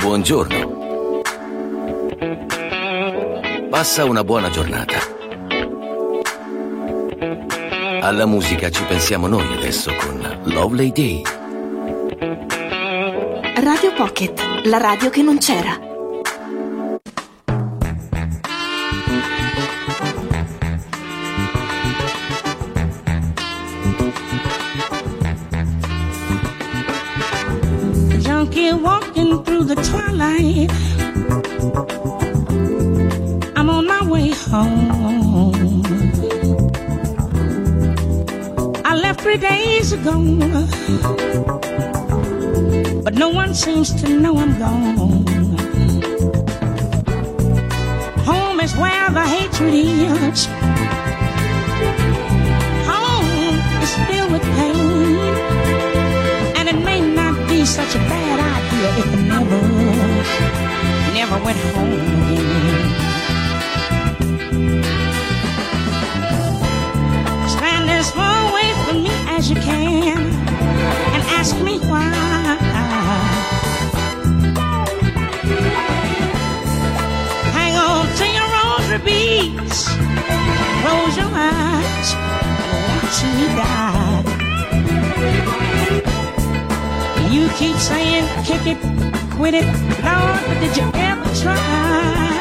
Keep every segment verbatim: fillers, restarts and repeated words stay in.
Buongiorno. Passa una buona giornata. Alla musica ci pensiamo noi adesso con Lovely Day. Radio Pocket, la radio che non c'era. Junkie walking through the twilight. I'm on my way home. I left three days ago, but no one seems to know I'm gone. Home is where the hatred is. Home is filled with pain, and it may not be such a bad idea if it never, never went home again. Stand as far away from me as you can and ask me why. Hang on to your rosary beads, close your eyes and watch me die. You keep saying kick it, quit it, Lord, but did you ever try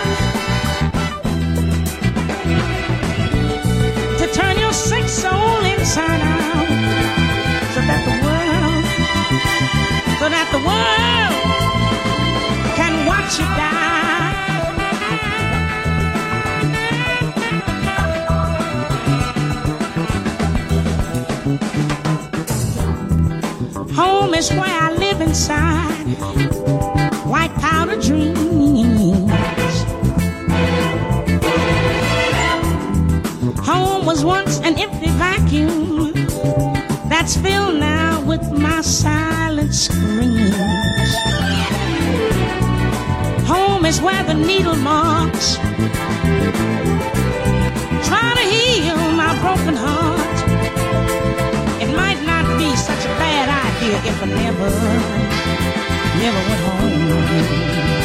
to turn your sick soul inside out, so that the world, so that the world can watch you die? Home is where I live inside, white powder dreams. Home was once an empty vacuum that's filled now with my silent screams. Home is where the needle marks try to heal my broken heart. It might not be such a bad idea if I never, never went home again.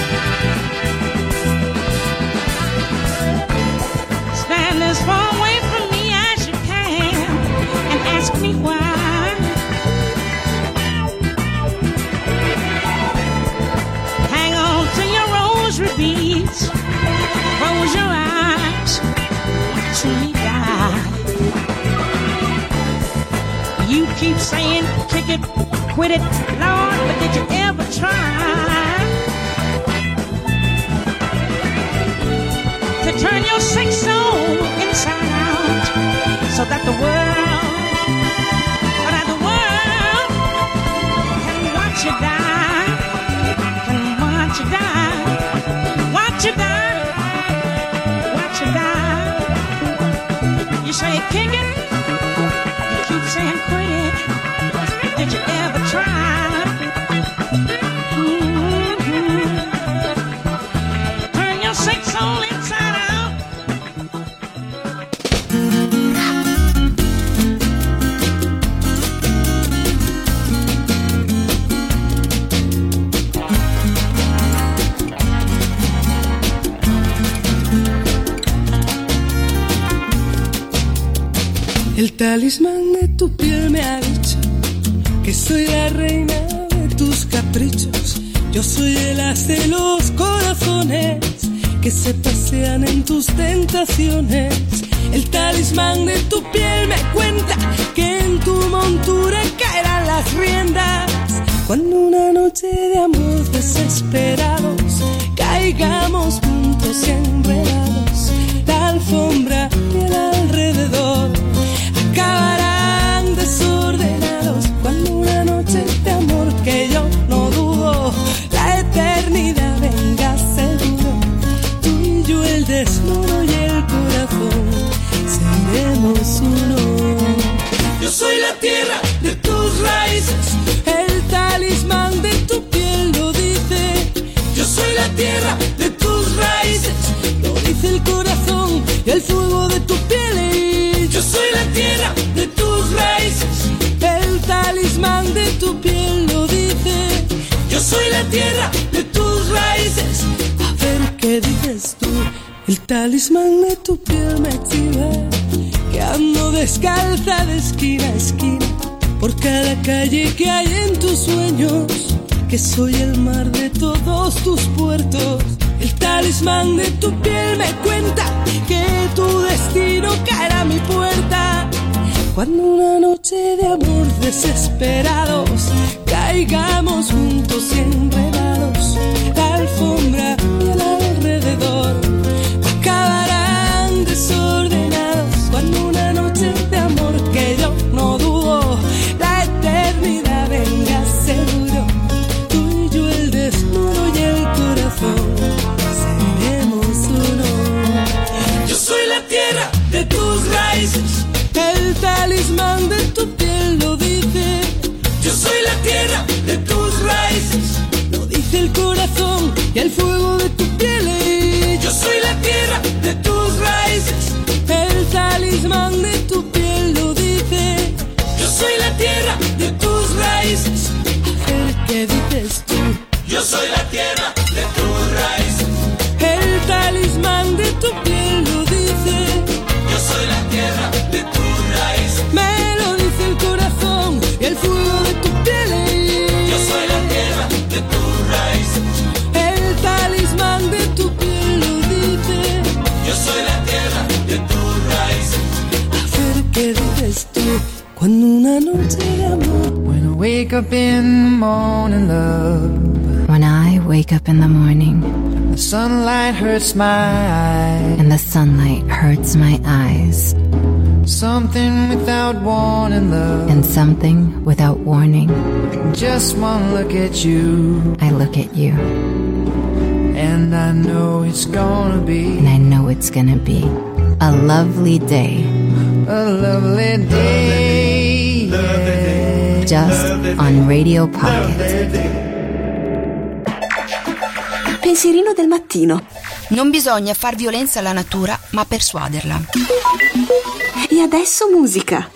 Stand as far away from me as you can and ask me why. Hang on to your rosary beads, close your eyes, watch me die. You keep saying kick it, quit it, Lord, but did you ever try to turn your sick soul inside out, so that the world, so that the world can watch you die, can watch you die, watch you die, watch you die. You say kick it, you keep saying quit it, did you ever try? Mm-hmm. Turn your sick soul inside out. El talismán de tu piel me ha dicho que soy la reina de tus caprichos. Yo soy el as de los corazones que se pasean en tus tentaciones. El talismán de tu piel me cuenta que en tu montura caerán las riendas cuando una noche de amor desesperados caigamos juntos y enredados. La alfombra y el alrededor acabarán desordenados cuando una noche de amor que yo no dudo, la eternidad venga seguro. Tú y yo, el desnudo y el corazón, seremos uno. Yo soy la tierra de tus raíces, el talismán de tu piel lo dice. Yo soy la tierra de tus raíces, lo dice el corazón y el fuego de tu piel. Yo soy la tierra de tus raíces, talismán de tu piel lo dice. Yo soy la tierra de tus raíces. A ver qué dices tú. El talismán de tu piel me exhibe que ando descalza de esquina a esquina por cada calle que hay en tus sueños, que soy el mar de todos tus puertos. El talismán de tu piel me cuenta que tu destino caerá a mi puerta cuando una noche de amor desesperados caigamos juntos y enredados. La alfombra y el alrededor acabarán desordenados cuando una noche de amor que yo no dudo la eternidad venga seguro. Tú y yo el desnudo y el corazón seremos uno. Yo soy la tierra de tus raíces, el talismán de tu piel lo dice. Yo soy la tierra de tus raíces, lo dice el corazón y el fuego de tu piel. Yo soy la tierra de tus raíces, el talismán de tu piel lo dice. Yo soy la tierra de tus raíces. A ver qué dices tú. Yo soy la tierra de tus raíces, el talismán de tu piel lo dice. Yo soy la tierra de tus raíces, me lo dice el corazón y el fuego de tu piel. Yo soy la tierra de tus raíces, el talismán de tu piel lo dice. Yo soy la tierra de tus raíces. A ver qué dices tú cuando una noche de amor. When I wake up in the morning, love. When I wake up in the morning, the sunlight hurts my eyes, and the sunlight hurts my eyes. Something without warning, love. And something without warning. Just one look at you, I look at you. And I know it's gonna be. And I know it's gonna be a lovely day. A lovely day. Yeah. Just on Radio Pocket. Pensierino del mattino. Non bisogna far violenza alla natura, ma persuaderla. E adesso musica.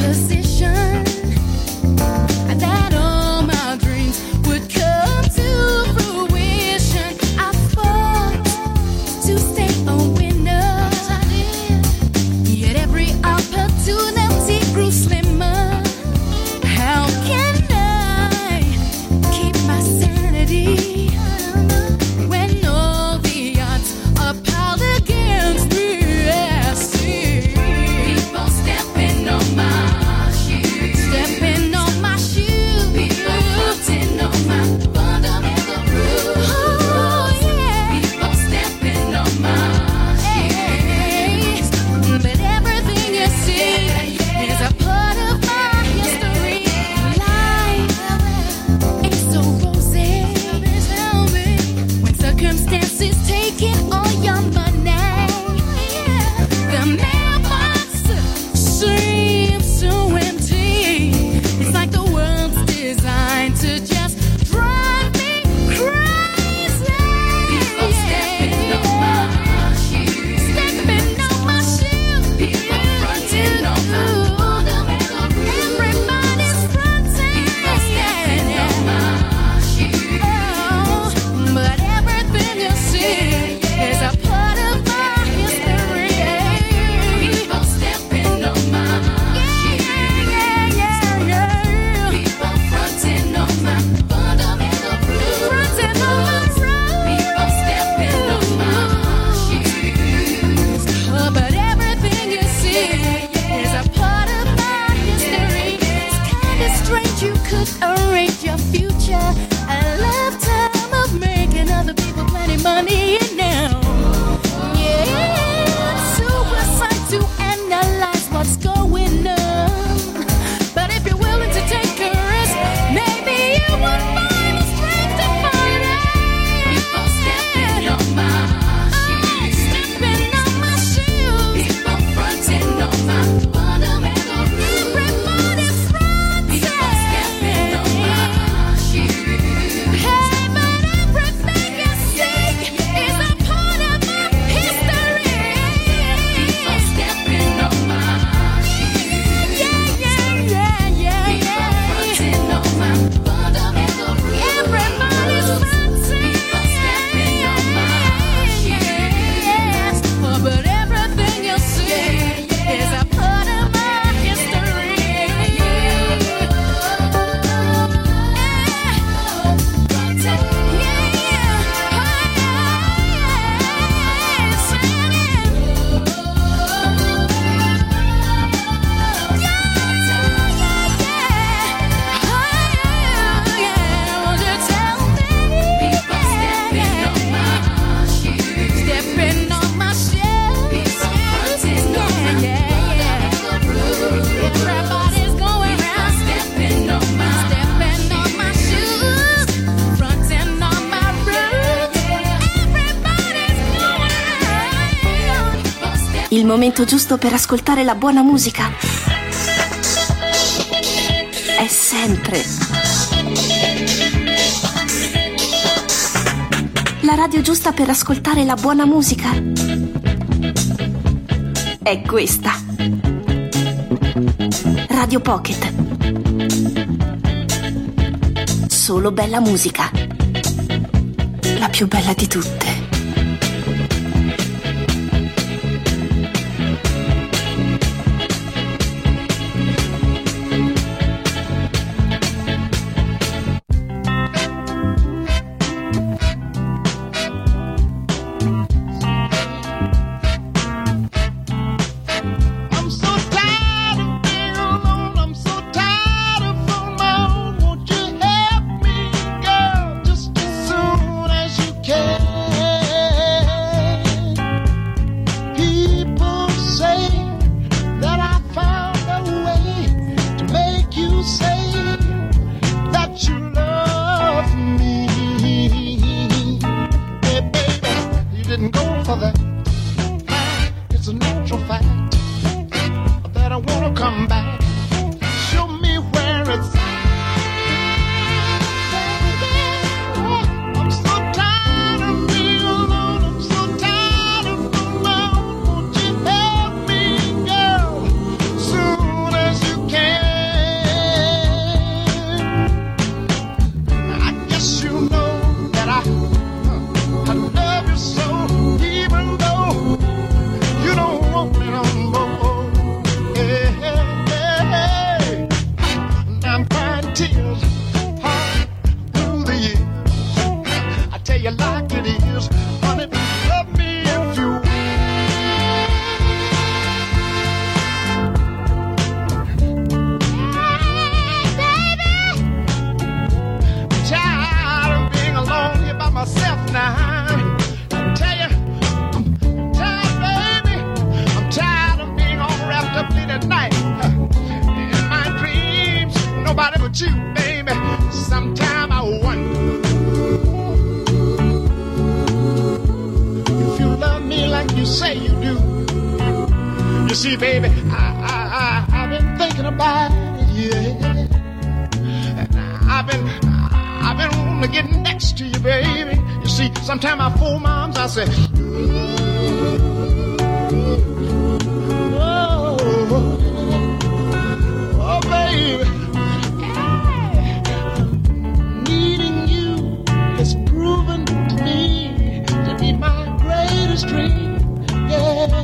position that all my dreams would come to fruition. I fought to stay a winner, yet every opportunity grew slimmer. How can I keep my sanity when all the odds are piled against me? I see people stepping on my shoes, stepping on my shoes, people putting on my fundamental rules. Oh yeah, people stepping on my shoes, but everything you see is a part of my history. Life ain't so rosy when circumstances taking all your money. The mailbox seems so empty. It's like the world's designed to just drive me crazy. People stepping on my shoes, stepping on my shoes. People fronting on my fundamental rules. Everybody's fronting, people stepping on my shoes. Oh, but everything you see is a part of my history. People stepping on my shoes. Yeah, yeah, yeah. People fronting on my fundamental rules. Fronting on my rules. People stepping on my shoes. Oh, but everything you see is a part of my history. It's kinda strange you could arrange your future. A lifetime of making other people plenty money now. Yeah, suicide to analyze what's going on. But if you're willing to take a risk, maybe you would find the strength to fight it. People stepping on my shoes, stepping on my shoes. People fronting on my fundamental rules. Everybody's fronting. People stepping on my shoes. Hey, but everything you see is a part of my history. People stepping on my shoes. Yeah, yeah, yeah, yeah, yeah. People fronting on my fundamental rules. Everybody's fronting. People stepping on my shoes. Oh, but everything you see is a part of my history. Stepping on my shoes, yeah, yeah, yeah. Everybody's going round, stepping on my, stepping on my shoes, fronting on my rules. Everybody's going round. Il momento giusto per ascoltare la buona musica è sempre la radio giusta per ascoltare la buona musica è questa. Radio Pocket. Solo bella musica. La più bella di tutte. I'm so tired of being alone. I'm so tired of on my own. Won't you help me, girl, just as soon as you can? about you, baby. Sometime I wonder if you love me like you say you do. You see, baby, I, I, I, I've been thinking about it, yeah. And I've been, I've been wanting to get next to you, baby. You see, sometimes I fool my arms, I say, oh, oh, baby. Needing you has proven to me to be my greatest dream, yeah.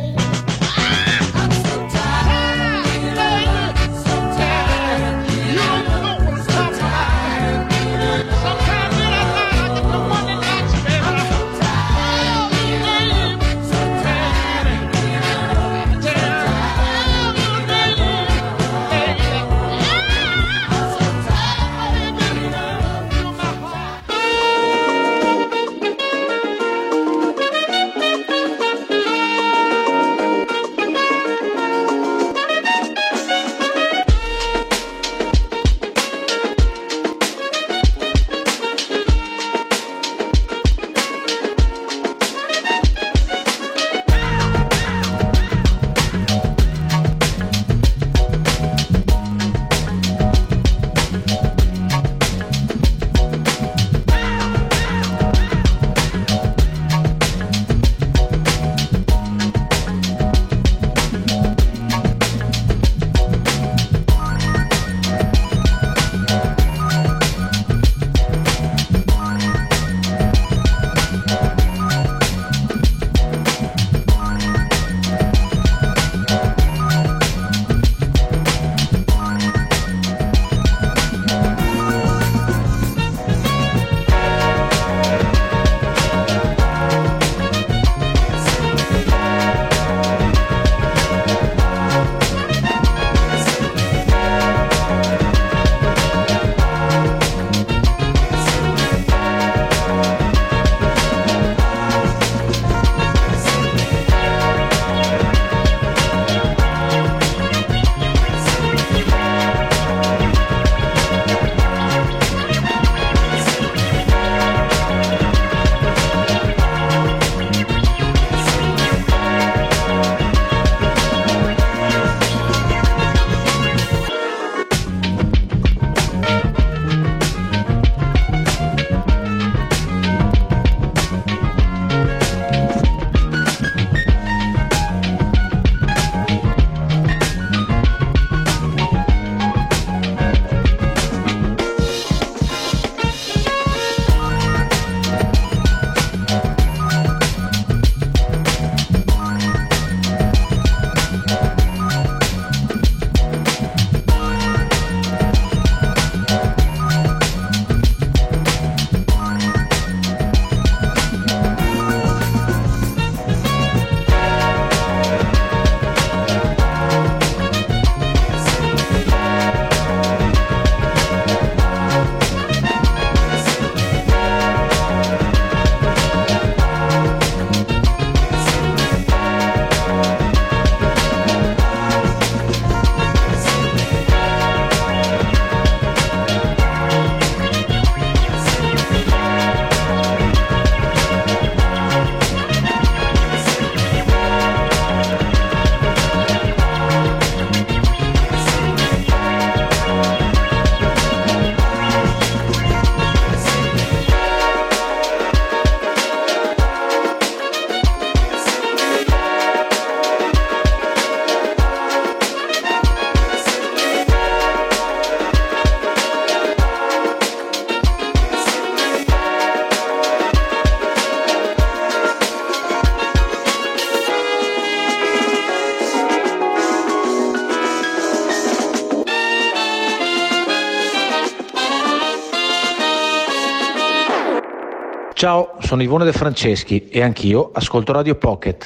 Ciao, sono Ivone De Franceschi e anch'io ascolto Radio Pocket.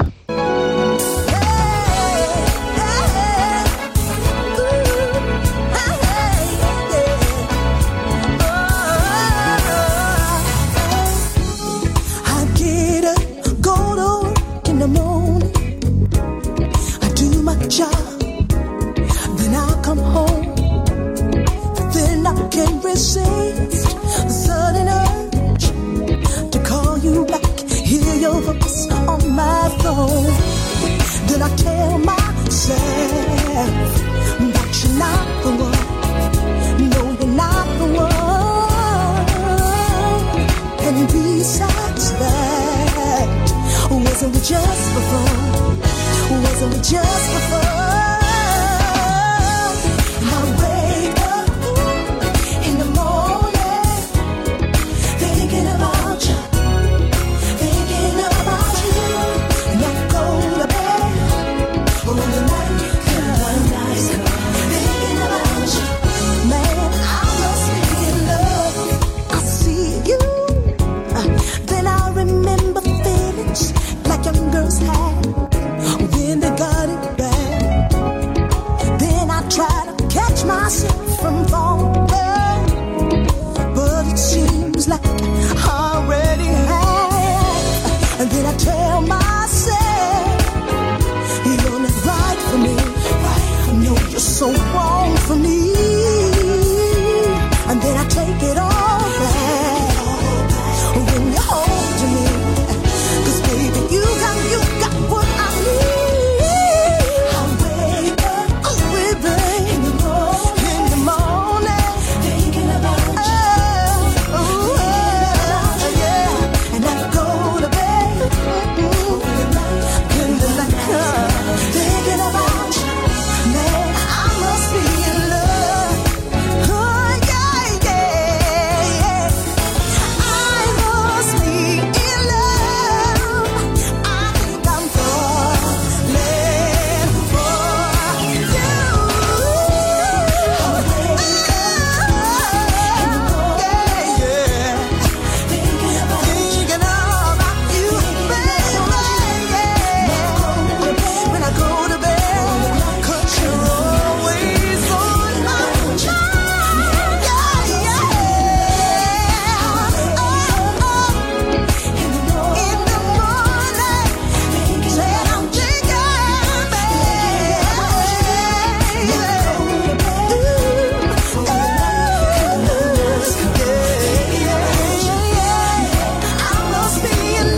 Job, then I come home, then I get just for fun. And I wake up in the morning thinking about you, thinking about you. And I go to bed when the night comes, thinking about you. Man, I must be in love. I see you, uh, then I remember feelings like young girls had when they got it bad. Then I try to catch myself from falling, but it seems like I already have. And then I tell myself, you're not right for me. No, you're so wrong for me. And then I take it all back when you hold to me. 'Cause baby, you got, you got what I need. I wake up, oh baby, in the morning, in the morning, thinking about you, oh, oh yeah. And I go to bed, mm-hmm, in the night comes, thinking about you. Man, I must be in love. Oh yeah, yeah, yeah. I must be in love. I think I'm falling for you. Yeah, yeah. Thinking about you, baby, yeah. When I go to bed, 'cause you're always on my mind. Yeah, yeah. Oh, oh. In the morning, said I'm thinking, baby. I must be in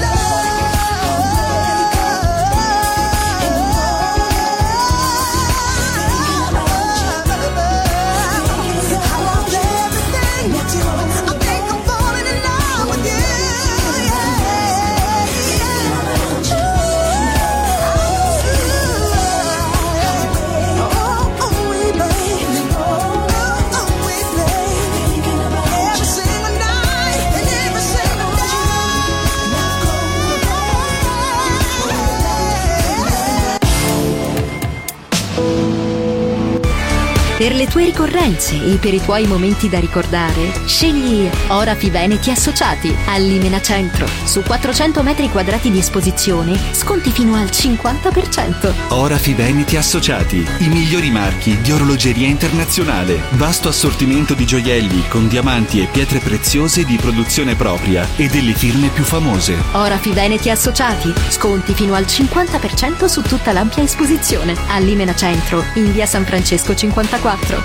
Per le tue ricorrenze e per i tuoi momenti da ricordare, scegli Orafi Veneti Associati a Limena Centro. Su quattrocento metri quadrati di esposizione, sconti fino al cinquanta per cento. Orafi Veneti Associati, i migliori marchi di orologeria internazionale. Vasto assortimento di gioielli con diamanti e pietre preziose di produzione propria e delle firme più famose. Orafi Veneti Associati, sconti fino al cinquanta per cento su tutta l'ampia esposizione. A Limena Centro, in via San Francesco cinquantaquattro.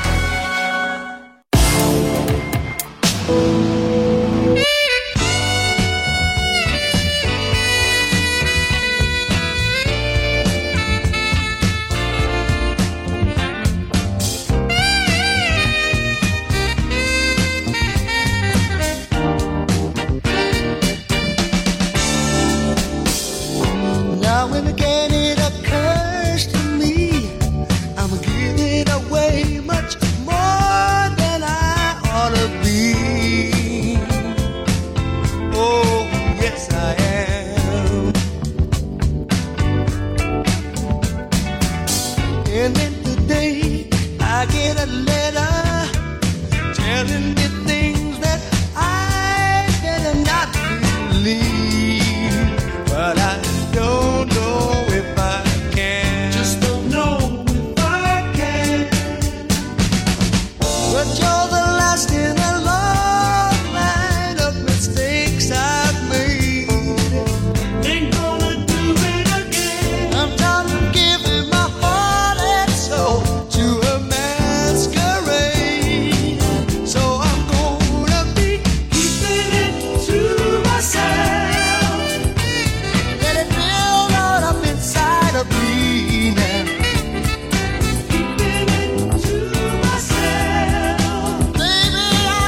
Now when again it occurs to me, I'm giving away much more than I ought to be. Oh, yes I am. And then today I get a letter telling me things that I better not believe. But I don't know if I can. Just don't know if I can. But you're the last in a long line of mistakes I've made. Ain't gonna do it again. I'm done giving my heart and soul to a masquerade. So I'm gonna be keeping it to myself. Let it build on up inside of me now. Keeping it to myself. Baby, I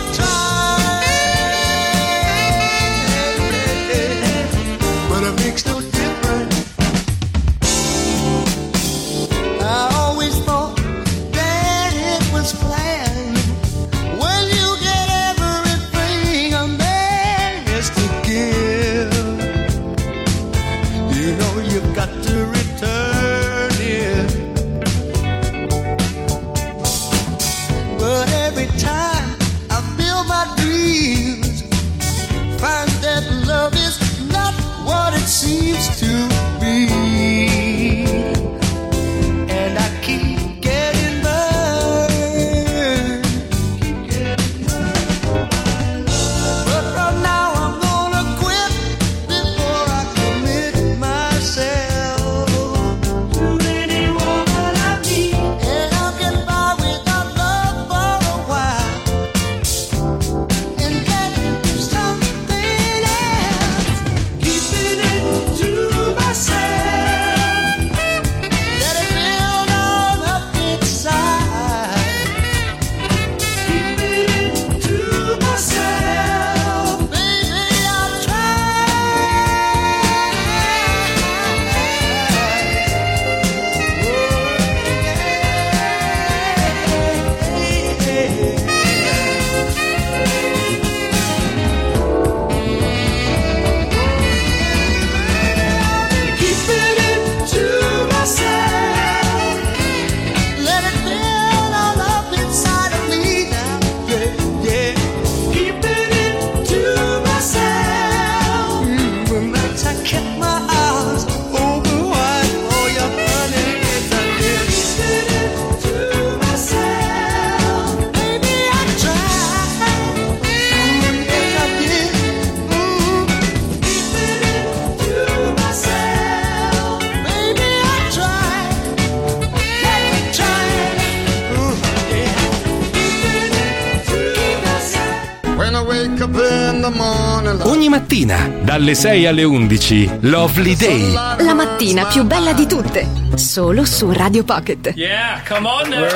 Ogni mattina, dalle sei alle undici, Lovely Day. La mattina più bella di tutte, solo su Radio Pocket. Yeah, come on now.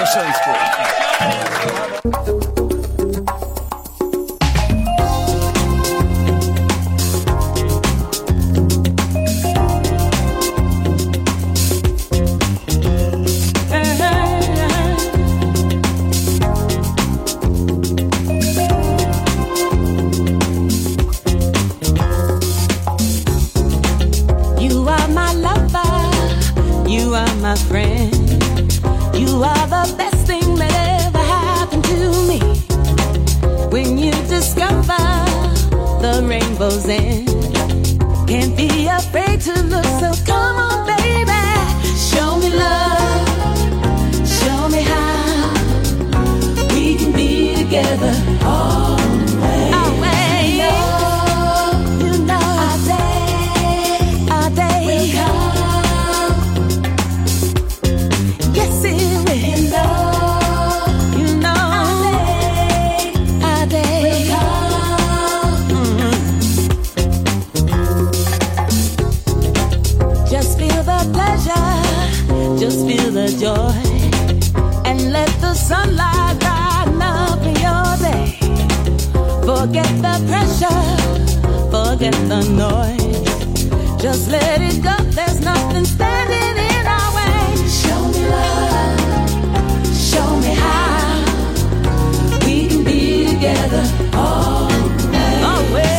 My friend, you are the best thing that ever happened to me. When you discover the rainbow's end, can't be afraid to look, so come on baby, show me love, show me how we can be together always. Always. You know our day, our day will come. Just feel the joy and let the sunlight brighten up your day. Forget the pressure, forget the noise. Just let it go, there's nothing standing in our way. Show me love, show me how we can be together always. Always.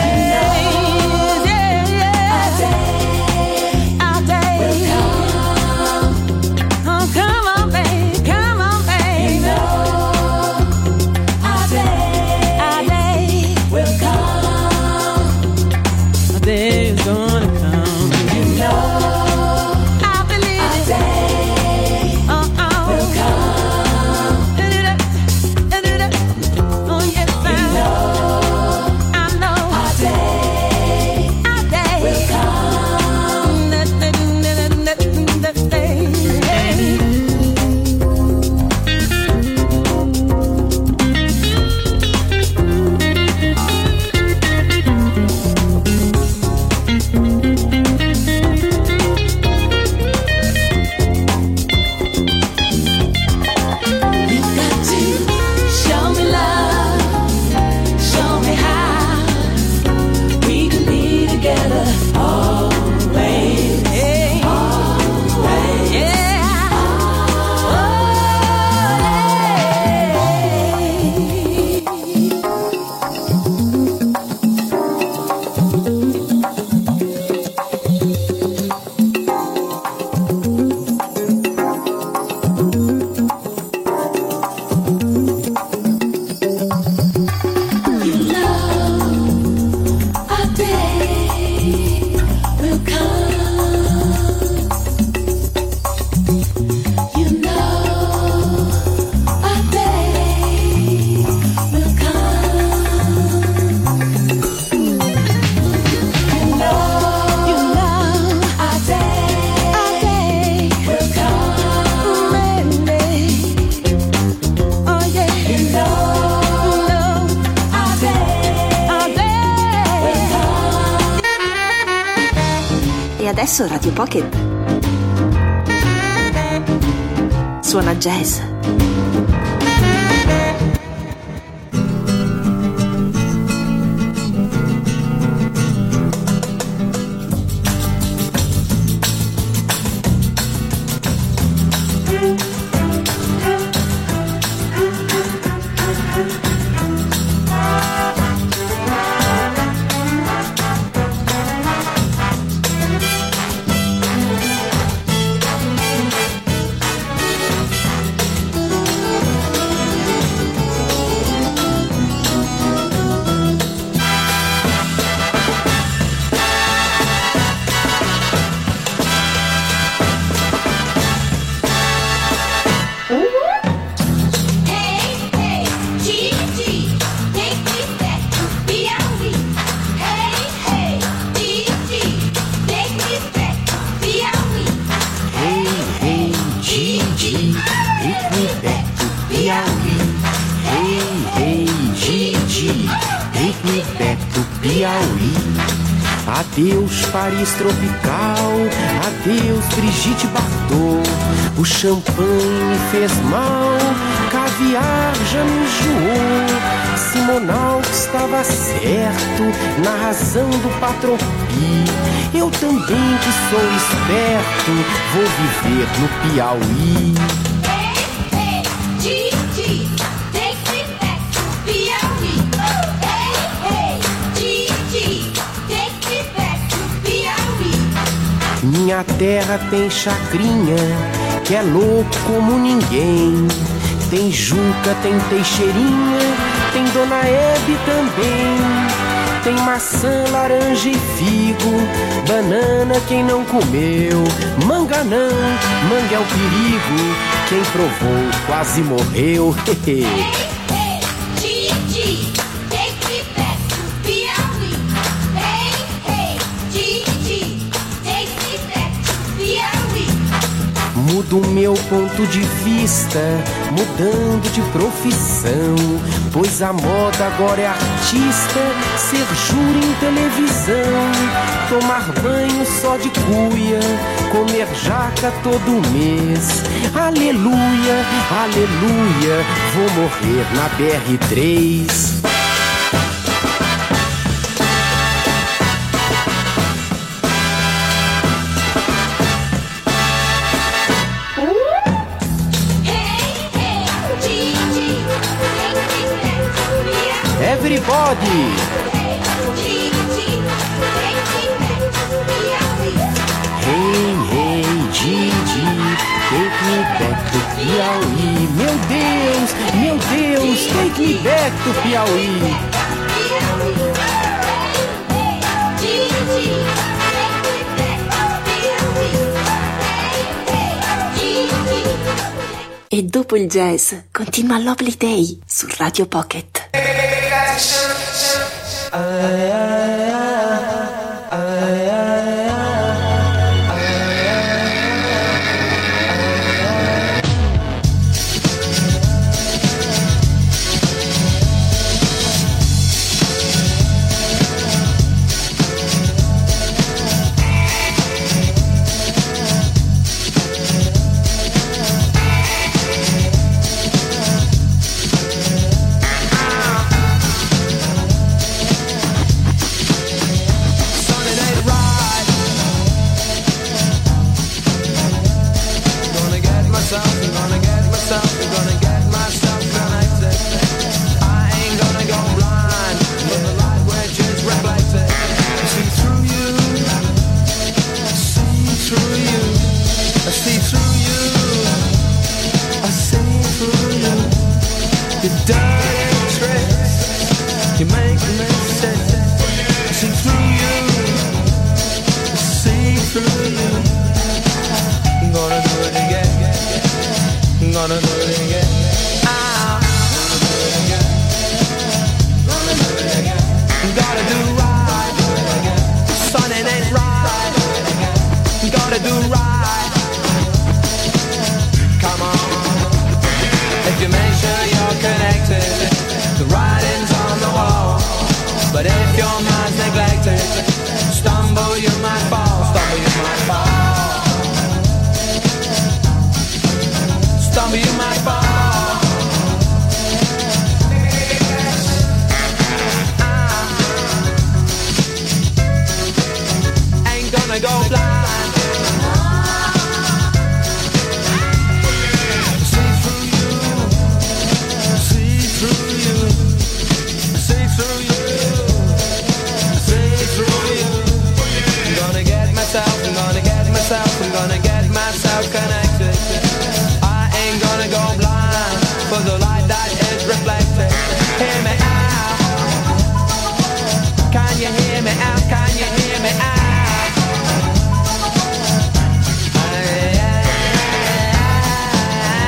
Adesso Radio Pocket suona jazz. back do Piauí. Adeus Paris tropical, adeus Brigitte Bardot. O champanhe me fez mal, caviar já me enjoou. Simonal estava certo na razão do Patropi. Eu também que sou esperto vou viver no Piauí. Minha terra tem chacrinha, que é louco como ninguém. Tem Juca, tem Teixeirinha, tem Dona Hebe também. Tem maçã, laranja e figo, banana quem não comeu. Manga não, manga é o perigo, quem provou quase morreu. Mudo meu ponto de vista, mudando de profissão, pois a moda agora é artista, ser júri em televisão, tomar banho só de cuia, comer jaca todo mês. Aleluia, aleluia, vou morrer na B R três. Everybody! Hey, hey, Gigi, take me back to Piauí. Meu Deus, meu Deus, take me back to Piauí. E dopo il jazz continua Lovely Day su Radio Pocket.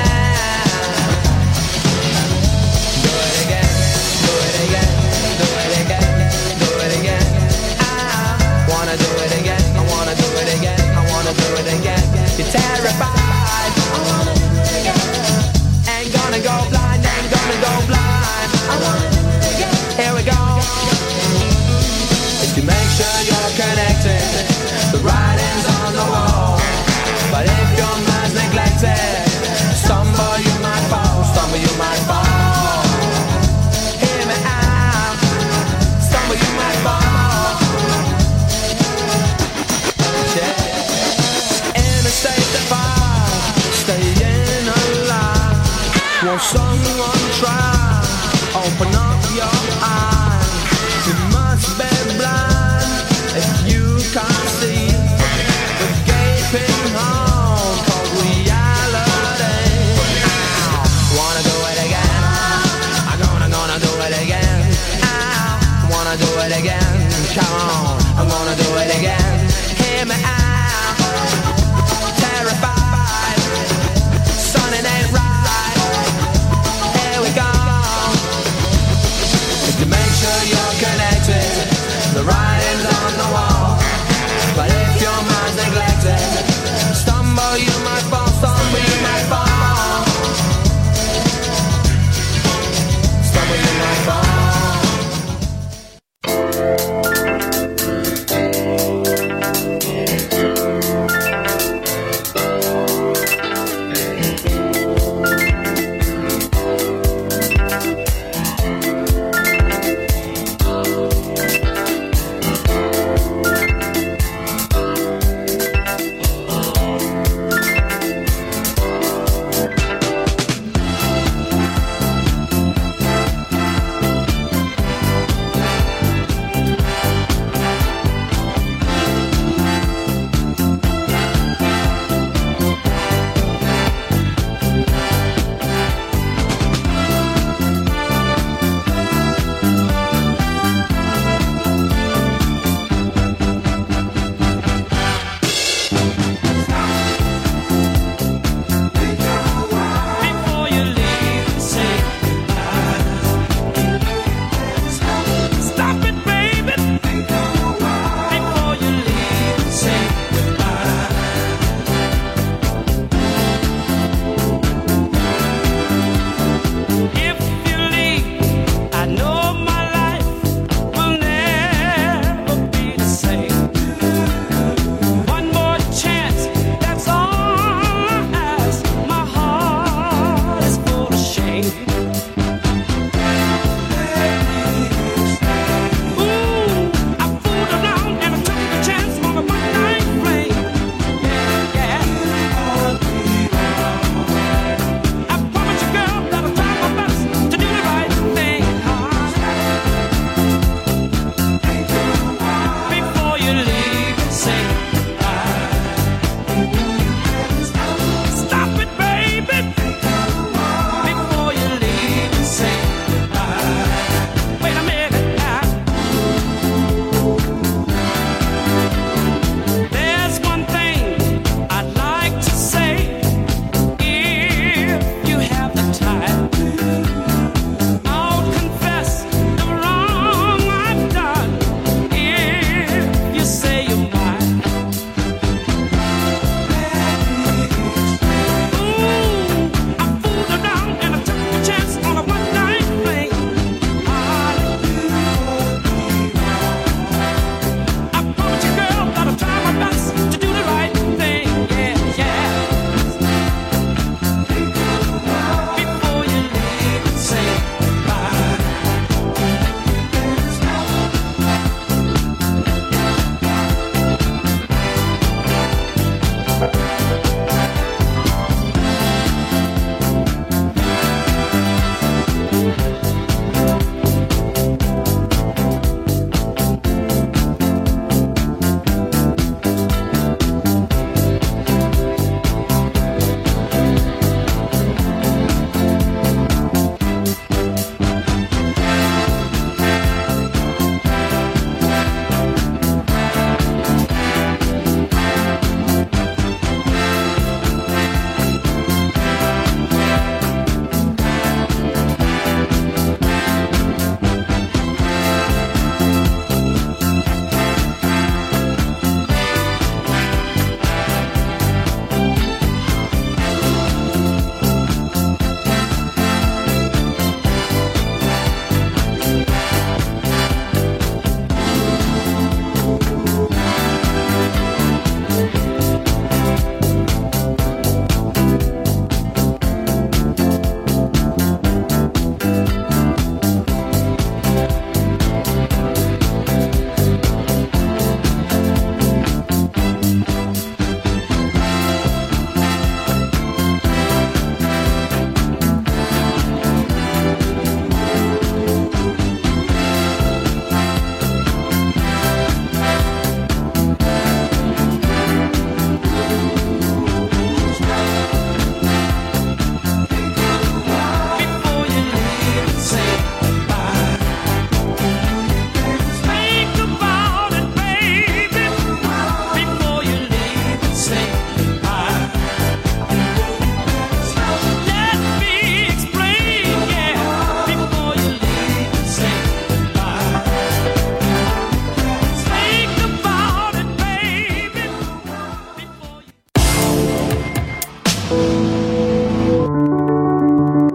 Do it again, do it again, do it someone try, open up your eyes. You must be blind if you can't see the gaping hole called reality. I wanna do it again. I'm gonna, gonna do it again. I wanna do it again. Come on, I'm gonna do it again. Hear me out. Terrified, son, it ain't right. Here we go. To make sure you're connected, the writing's on the wall. But if your mind's neglected, stumble you might fall, stumble you might fall. Stumble you might fall.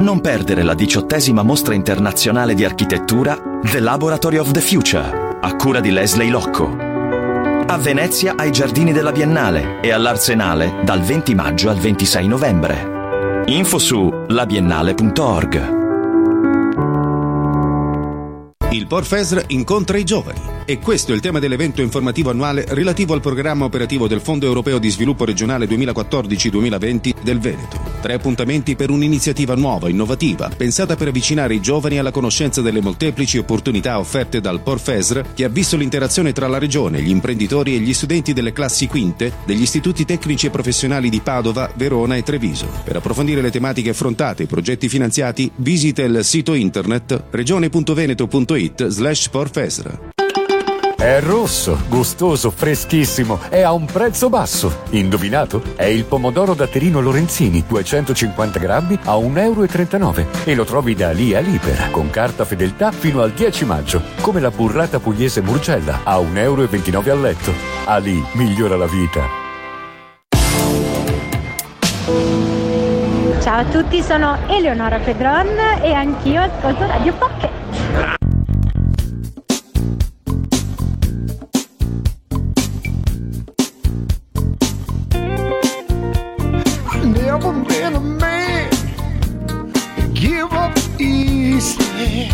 non perdere la diciottesima mostra internazionale di architettura The Laboratory of the Future, a cura di Leslie Locco. A Venezia ai Giardini della Biennale e all'Arsenale dal venti maggio al ventisei novembre. Info su labiennale punto org. Il Porfesr incontra i giovani. E questo è il tema dell'evento informativo annuale relativo al programma operativo del Fondo Europeo di Sviluppo Regionale duemilaquattordici duemilaventi del Veneto. Tre appuntamenti per un'iniziativa nuova, innovativa, pensata per avvicinare i giovani alla conoscenza delle molteplici opportunità offerte dal Porfesr, che ha visto l'interazione tra la Regione, gli imprenditori e gli studenti delle classi quinte degli istituti tecnici e professionali di Padova, Verona e Treviso. Per approfondire le tematiche affrontate e i progetti finanziati, visita il sito internet regione.veneto.it slash Porfesr. È rosso, gustoso, freschissimo e a un prezzo basso. Indovinato? È il pomodoro datterino Lorenzini, duecentocinquanta grammi a un euro e trentanove. E lo trovi da lì a Libera, con carta fedeltà fino al dieci maggio. Come la burrata pugliese Murgella, a un euro e ventinove al letto. Ali migliora la vita. Ciao a tutti, sono Eleonora Pedron e anch'io ascolto Radio Pocket. Never been a man to give up easy.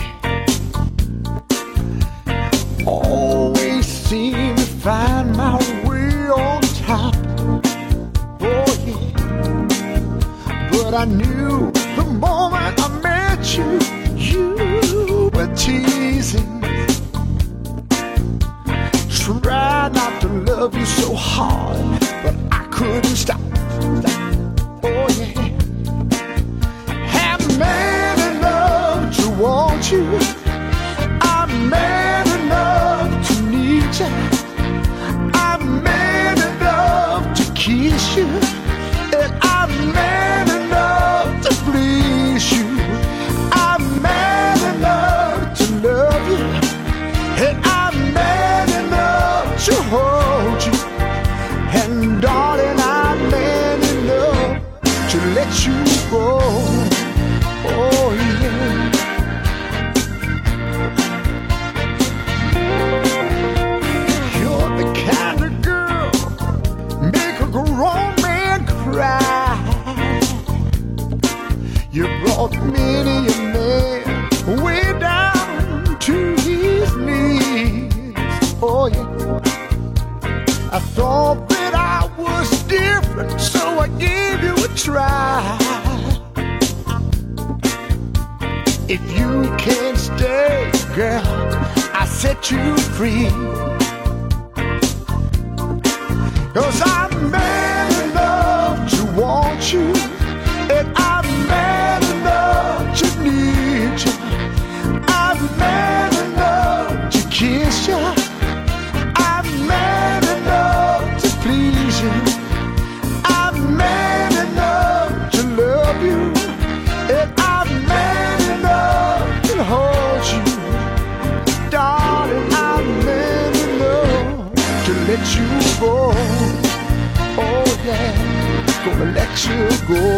Always seem to find my way on top. Oh yeah. But I knew the moment I met you, you were teasing. Tried not to love you so hard, but I couldn't stop. Oh yeah, I'm man enough to want you. I'm man enough to need you. I'm man enough to kiss you. And I'm man enough to please you. I'm man enough to love you. And I'm man enough to hold you. And darling, I'm man enough to let you go. Oh yeah. You're the kind of girl make a grown man cry. You brought many a man way down to his knees. Oh yeah. I thought that I was different, so I gave you a try. If you can't stay, girl, I set you free. 'Cause I'm man enough to want you, and I'm man enough to need you. I'm man enough to kiss you. I'm man enough to please you. I'm man enough to love you. And I'm man enough to hold you. Darling, I'm man enough to let you go. Oh yeah, gonna let you go.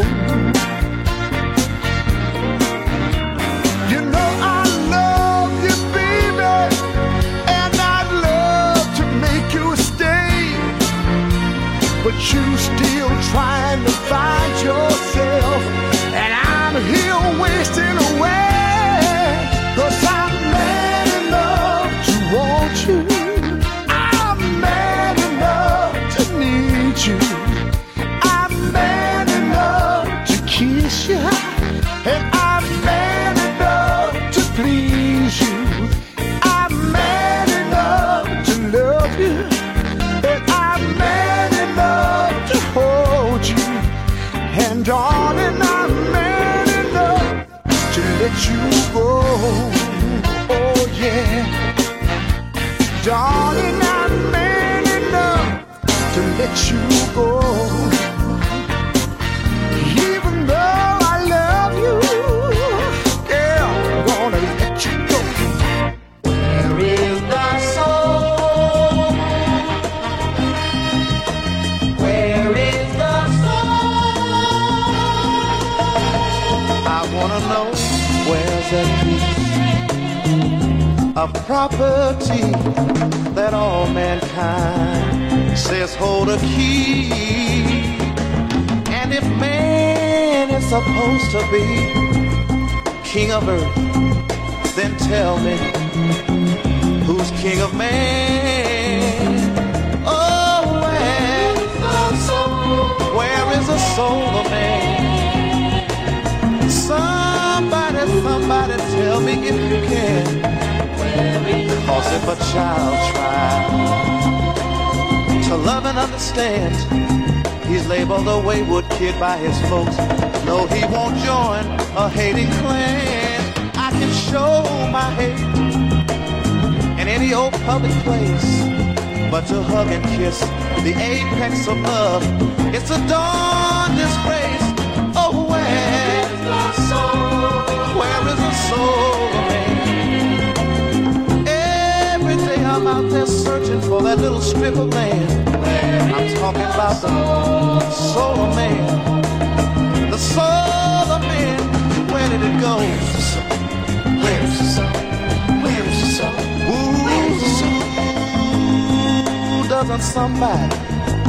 You know I love you, baby, and I'd love to make you stay. But you still trying to find yourself, and I'm here wasting away. 'Cause I'm man enough to want you. I'm man enough to need you. I'm man enough to kiss you. And I'm man enough to please you. I'm man enough to love you. And I'm man enough to hold you. And darling, I'm man enough to let you go. Oh yeah. Darling, I'm man enough to let you go. Even though I love you, yeah, I'm gonna let you go. Where is the soul? Where is the soul? I wanna know. of property that all mankind says hold a key. And if man is supposed to be king of earth, then tell me, who's king of man? Oh, where, where is the soul of man? Somebody, somebody tell me if you can. Cause if a child tries to love and understand, he's labeled a wayward kid by his folks. No, he won't join a hating clan. I can show my hate in any old public place, but to hug and kiss the apex of love, it's a dawn disgrace. Oh, where is the soul? Where is the soul of man? Every day I'm out there searching for that little strip of land. I'm talking about the soul of man. The soul of man. Where did it go? Where's the soul? Where's the soul? Where's the soul? Ooh, doesn't somebody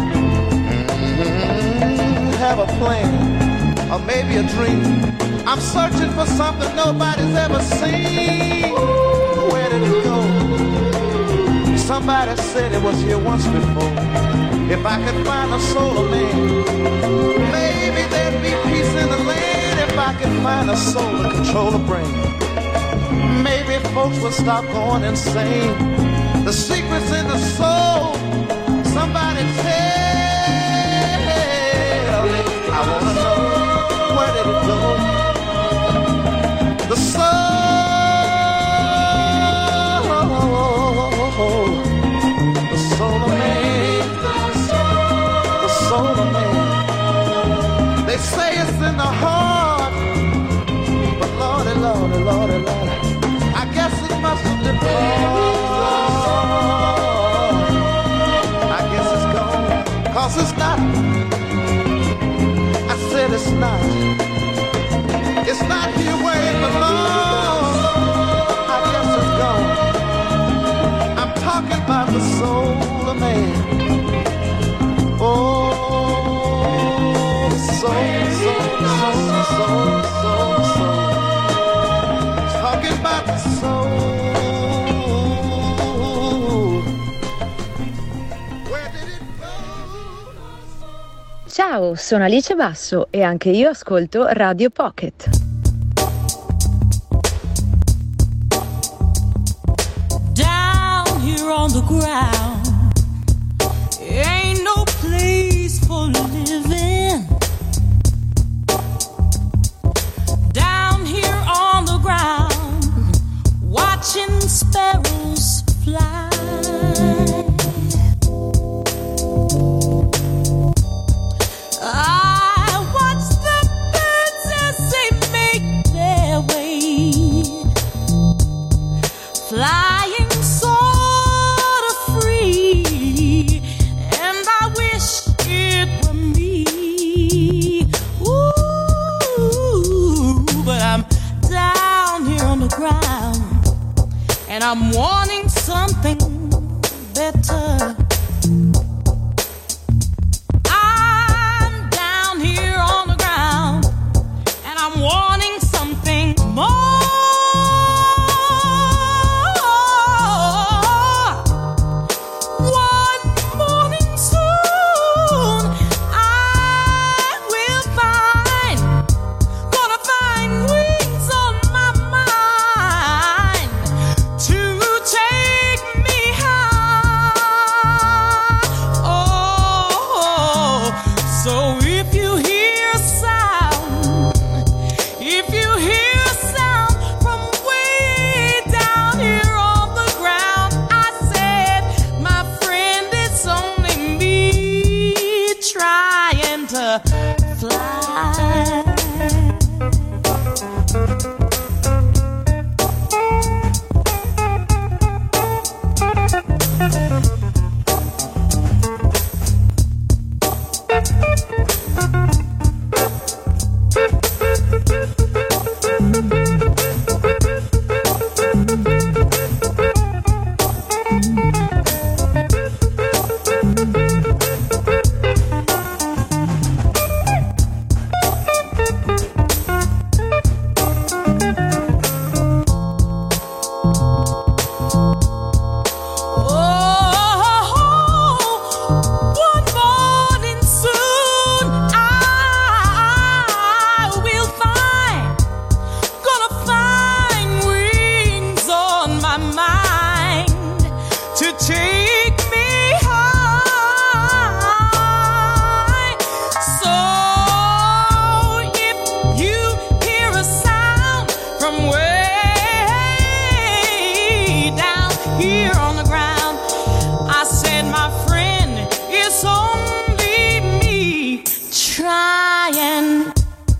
mm-hmm, have a plan? Or maybe a dream? I'm searching for something nobody's ever seen. Where did it go? Somebody said it was here once before. If I could find a soul of man, maybe there'd be peace in the land. If I could find a soul to control the brain, maybe folks would stop going insane. The secret's in the soul. Somebody tell me. I wanna know, where did it go? The soul, the soul of man, the soul of man. They say it's in the heart, but Lordy, Lordy, Lordy, Lordy, I guess it must have departed. I guess it's gone, cause it's not. I said it's not. It's not here where it belongs. I guess it's gone. I'm talking about the soul of man. Oh, the soul, soul, soul, soul, soul, soul. Talking about the soul. Where did it go? Ciao, sono Alice Basso e anche io ascolto Radio Pocket. On the ground, ain't no place for living. Down here on the ground, watching sparrows fly. I watch the birds as they make their way, flying so and I'm wanting something better. I'm down here on the ground and I'm wanting something more. One morning soon I will find, gonna find wings on my mind to take me high.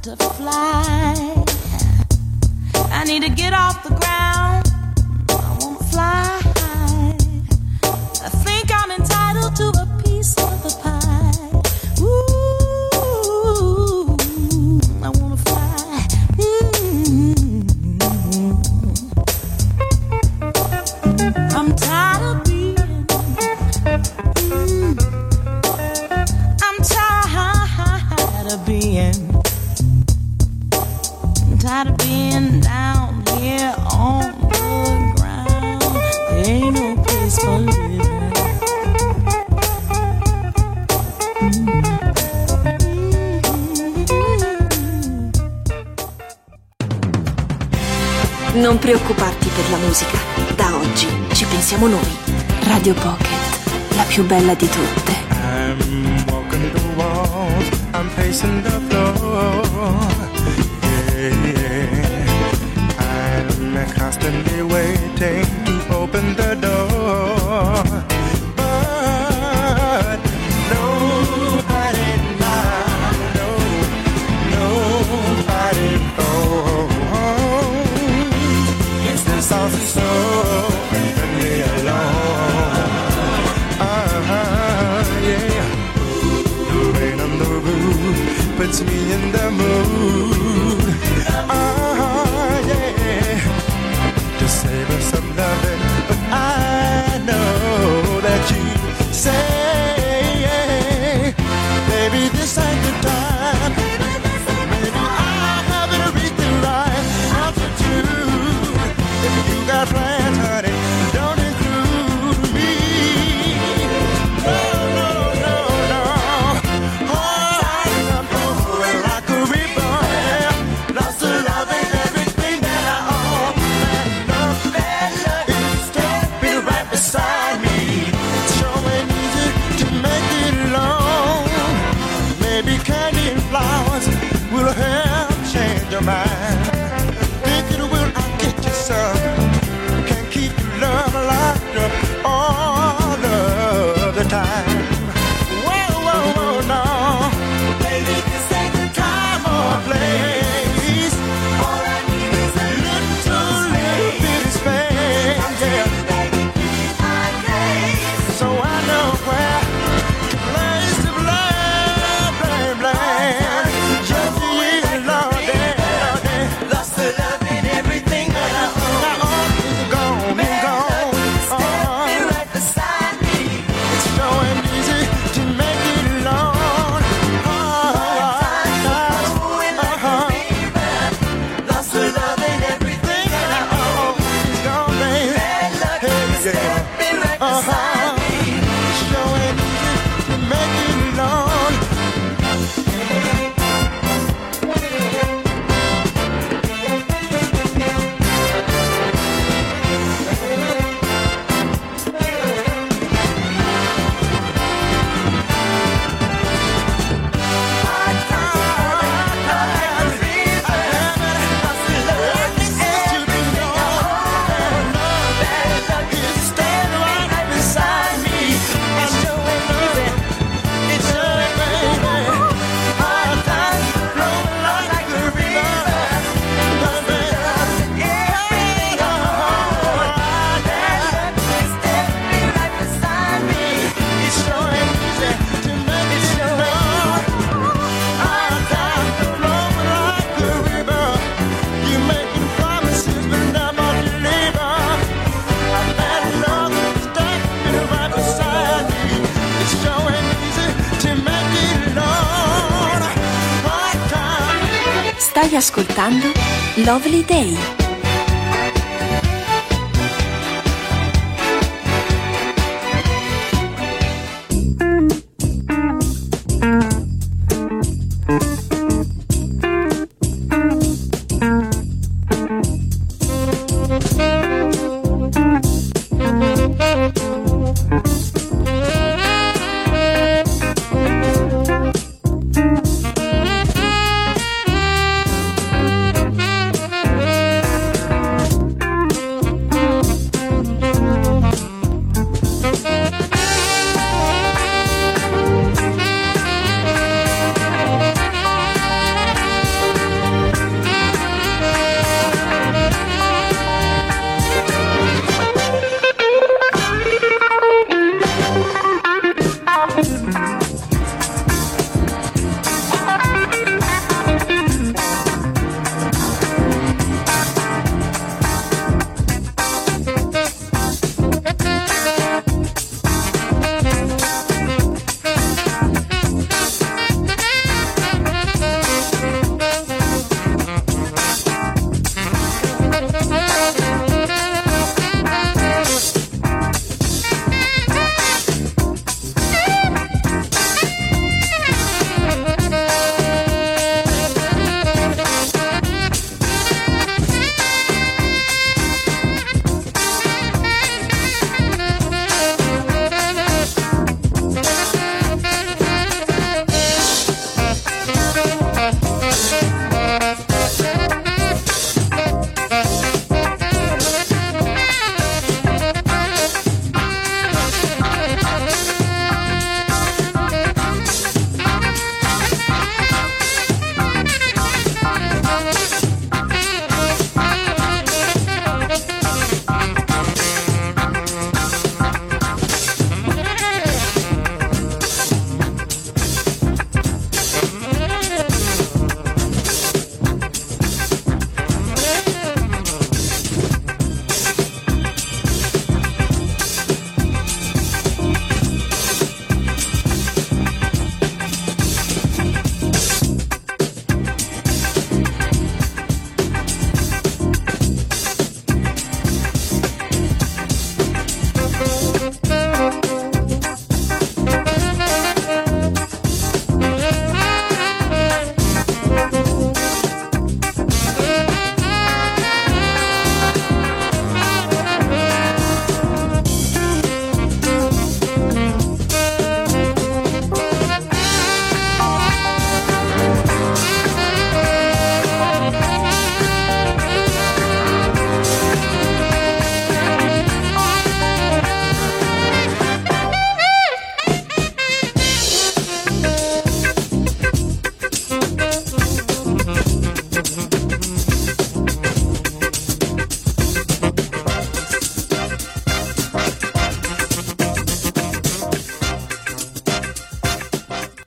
to fly. I need to get off the ground. I wanna fly. I think I'm entitled to a piece of the pie. Ooh, I wanna fly. Mm-hmm. I'm tired of being. Mm, I'm tired of being. I'm tired of being down here on the ground. There ain't no place for living. Non preoccuparti per la musica. Da oggi ci pensiamo noi. Radio Pocket, la più bella di tutte. I'm walking the walls, I'm pacing the floor. Yeah, yeah. I'm constantly waiting to open the door. But nobody now, no, nobody knows. It's the saucy soul, leave me alone. Uh-huh, yeah. The rain on the roof puts me in the mood. Uh-huh, yeah. To save us some loving, but I know that you say, baby, this ain't the time. Maybe I haven't reached the right altitude. If you got plans, honey, don't include me. No, no, no, no. Oh, I'm going like a reborn. Lost the love and everything that I own. That love is standing right beside me. It's showing easy to make it alone. Maybe candy and flowers will help change your mind. Think it will, I'll get you some. Can't keep your love locked up all of the time. Whoa, whoa, whoa, no. Baby, this ain't the time or place. All I need is a little, little bit of space. Yeah. So I know where to place the blame, blame, blame. Just you, Lord, Lord, lost the love and everything that I own. Now all is gone, been gone. Uh-huh. Right beside me. It's showing easy to make it alone. Uh-huh. Uh-huh. Lost the love and everything that I own. It's gone, baby. Hey, yeah. Uh-huh. It's showing easy to make it alone. Stai ascoltando Lovely Day.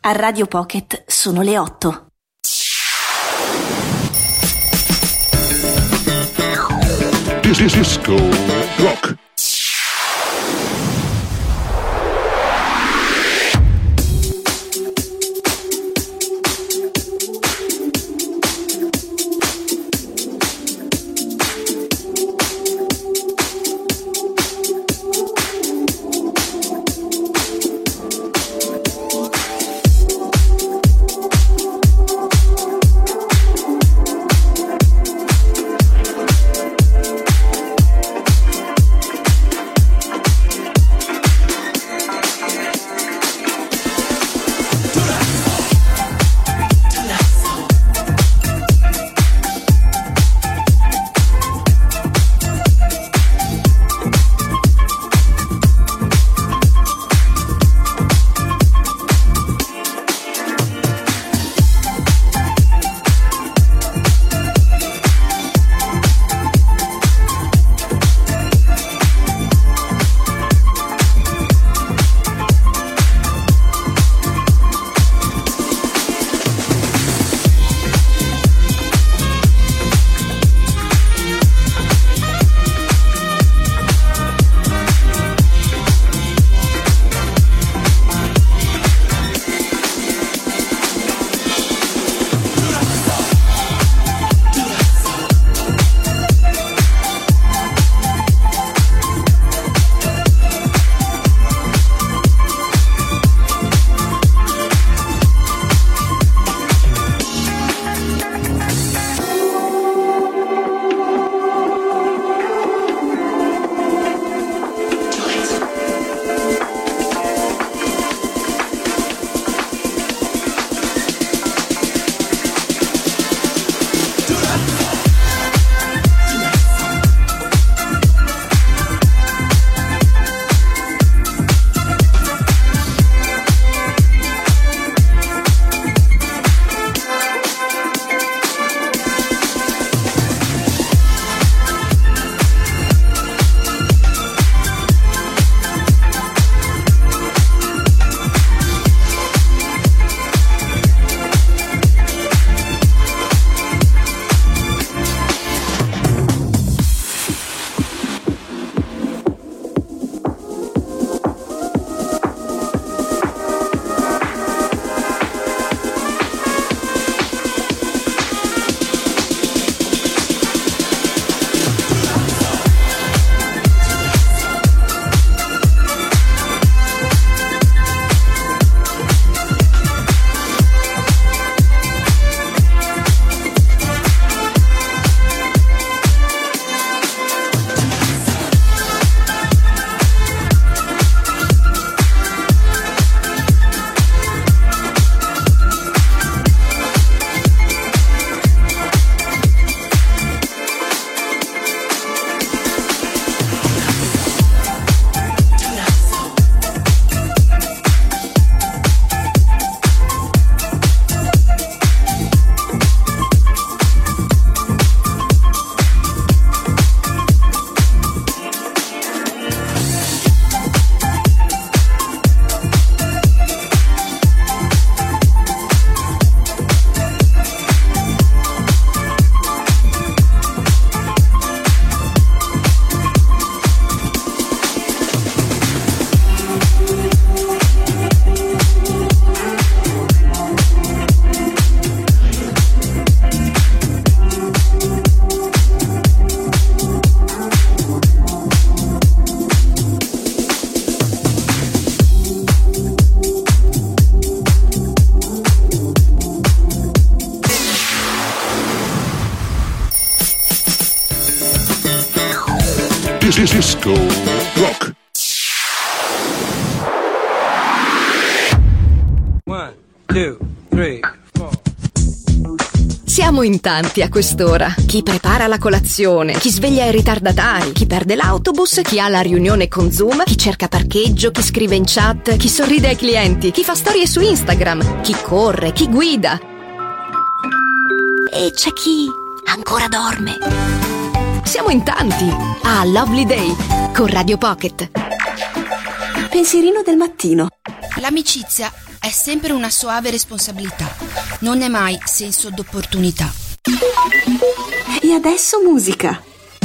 A Radio Pocket sono le otto. Disco Rock. Disco Rock. One, two, three, four. Siamo in tanti a quest'ora. Chi prepara la colazione, chi sveglia i ritardatari, chi perde l'autobus, chi ha la riunione con Zoom, chi cerca parcheggio, chi scrive in chat, chi sorride ai clienti, chi fa storie su Instagram, chi corre, chi guida. E c'è chi ancora dorme. Siamo in tanti a Lovely Day con Radio Pocket. Pensierino del mattino. L'amicizia è sempre una soave responsabilità, non è mai senso d'opportunità. E adesso musica.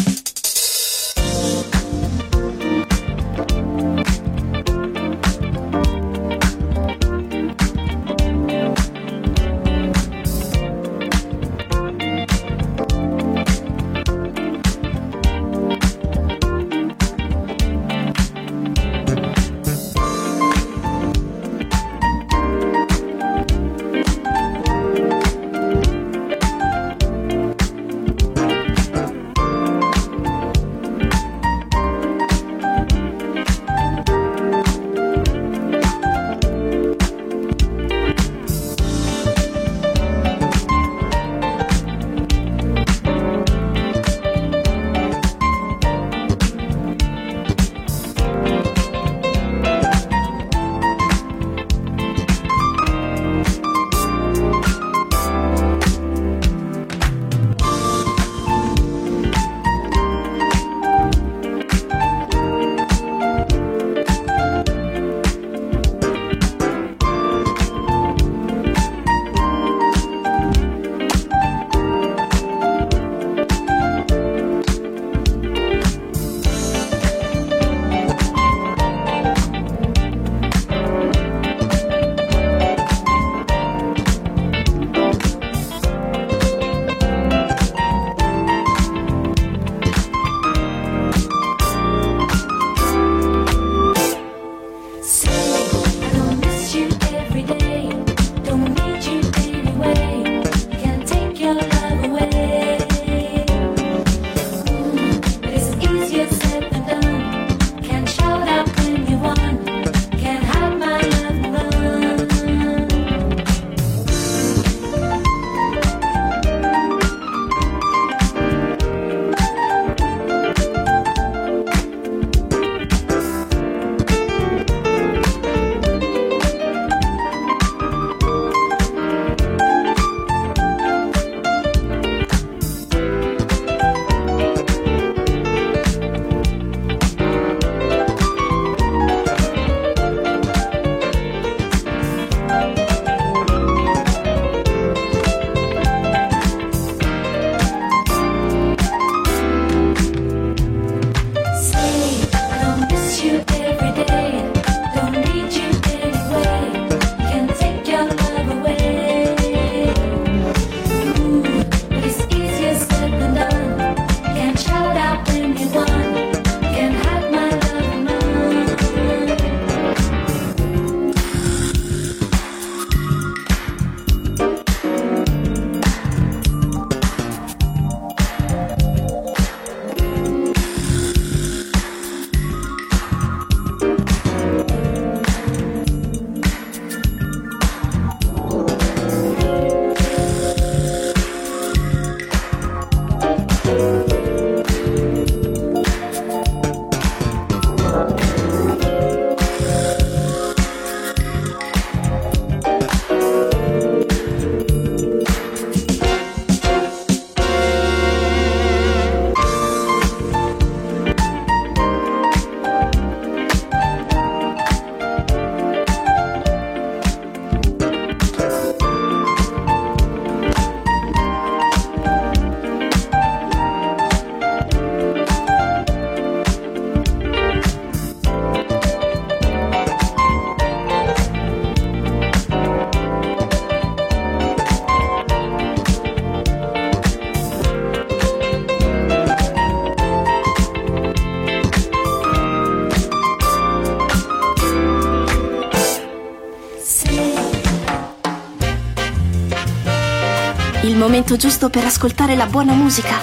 Il momento giusto per ascoltare la buona musica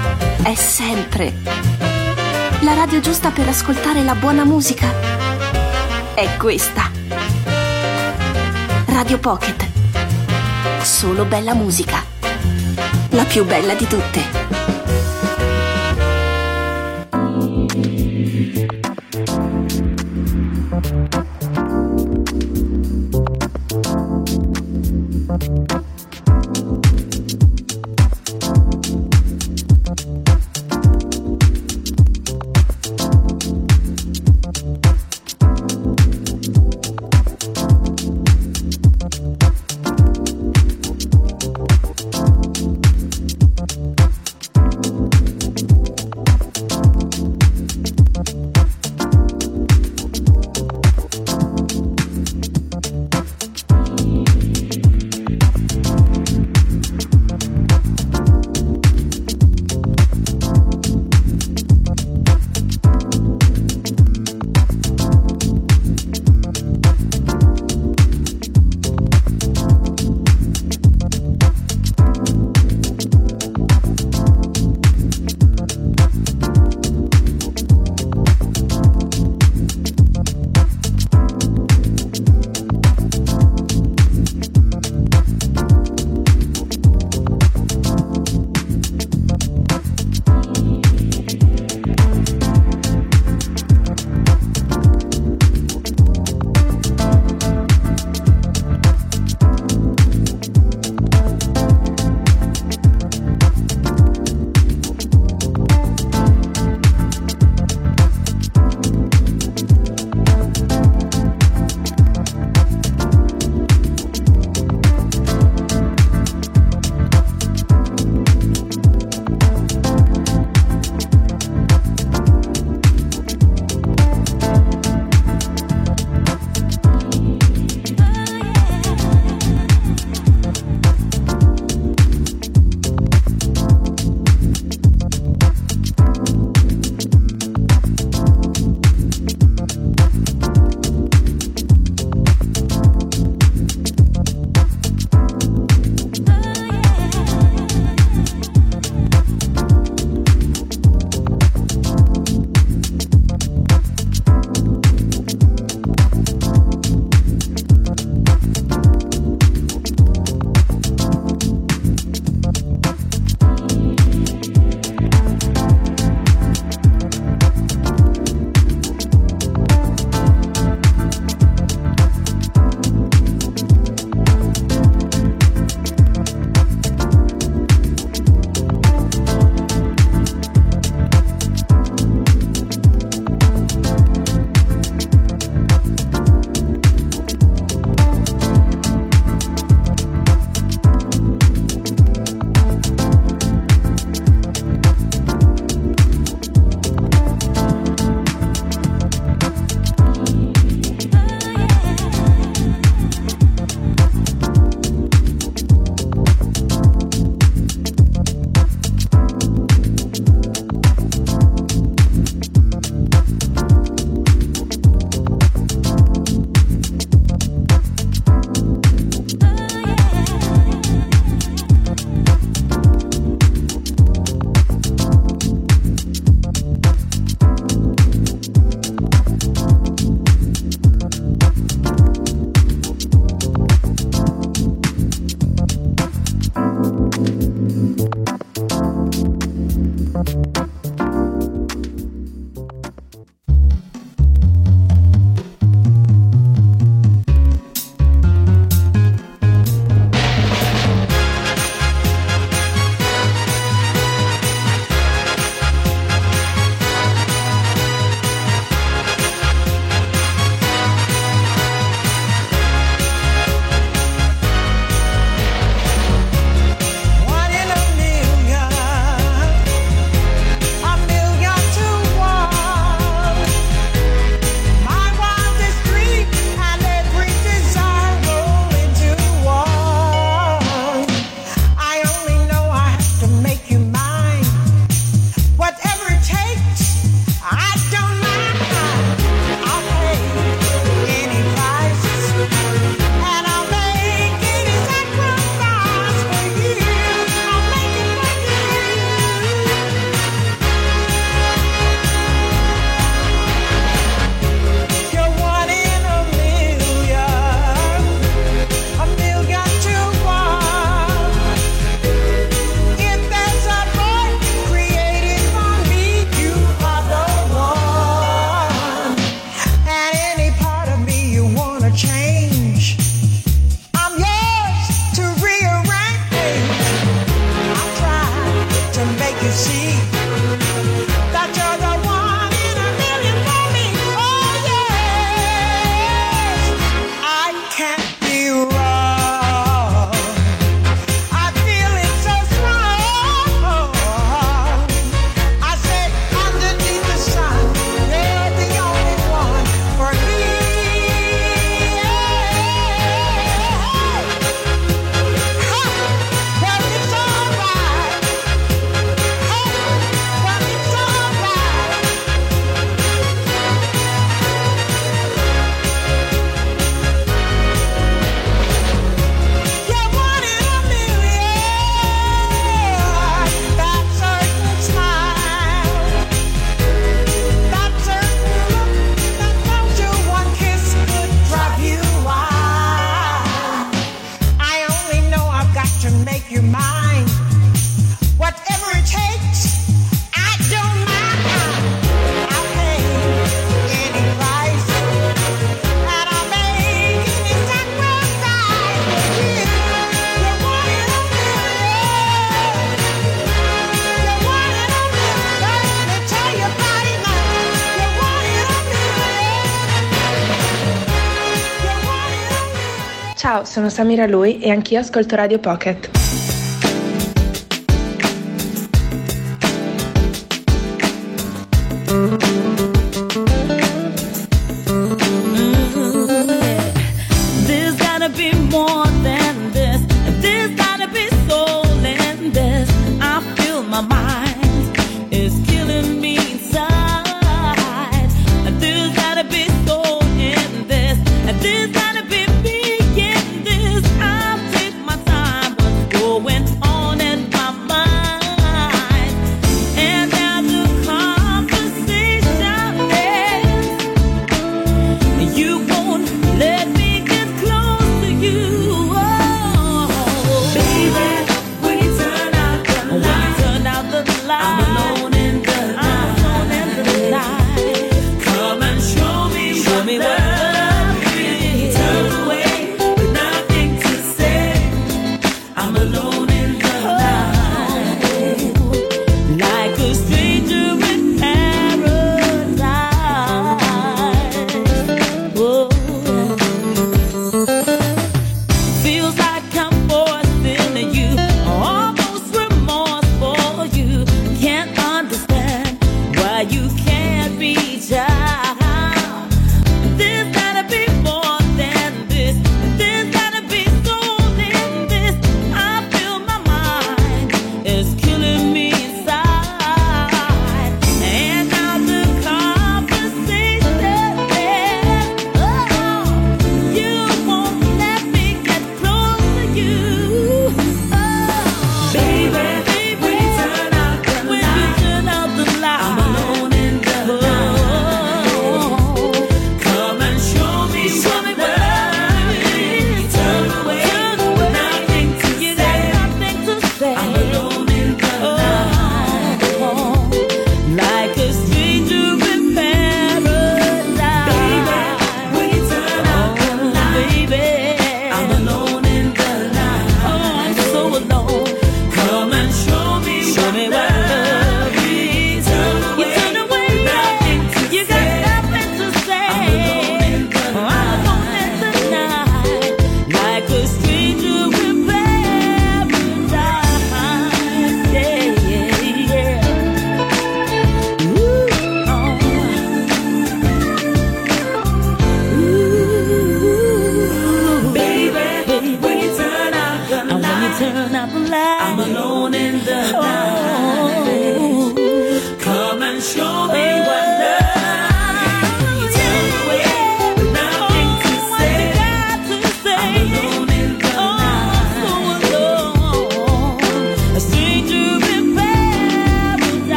è sempre. La radio giusta per ascoltare la buona musica è questa. Radio Pocket. Solo bella musica. La più bella di tutte. Ciao, sono Samira Lui e anch'io ascolto Radio Pocket.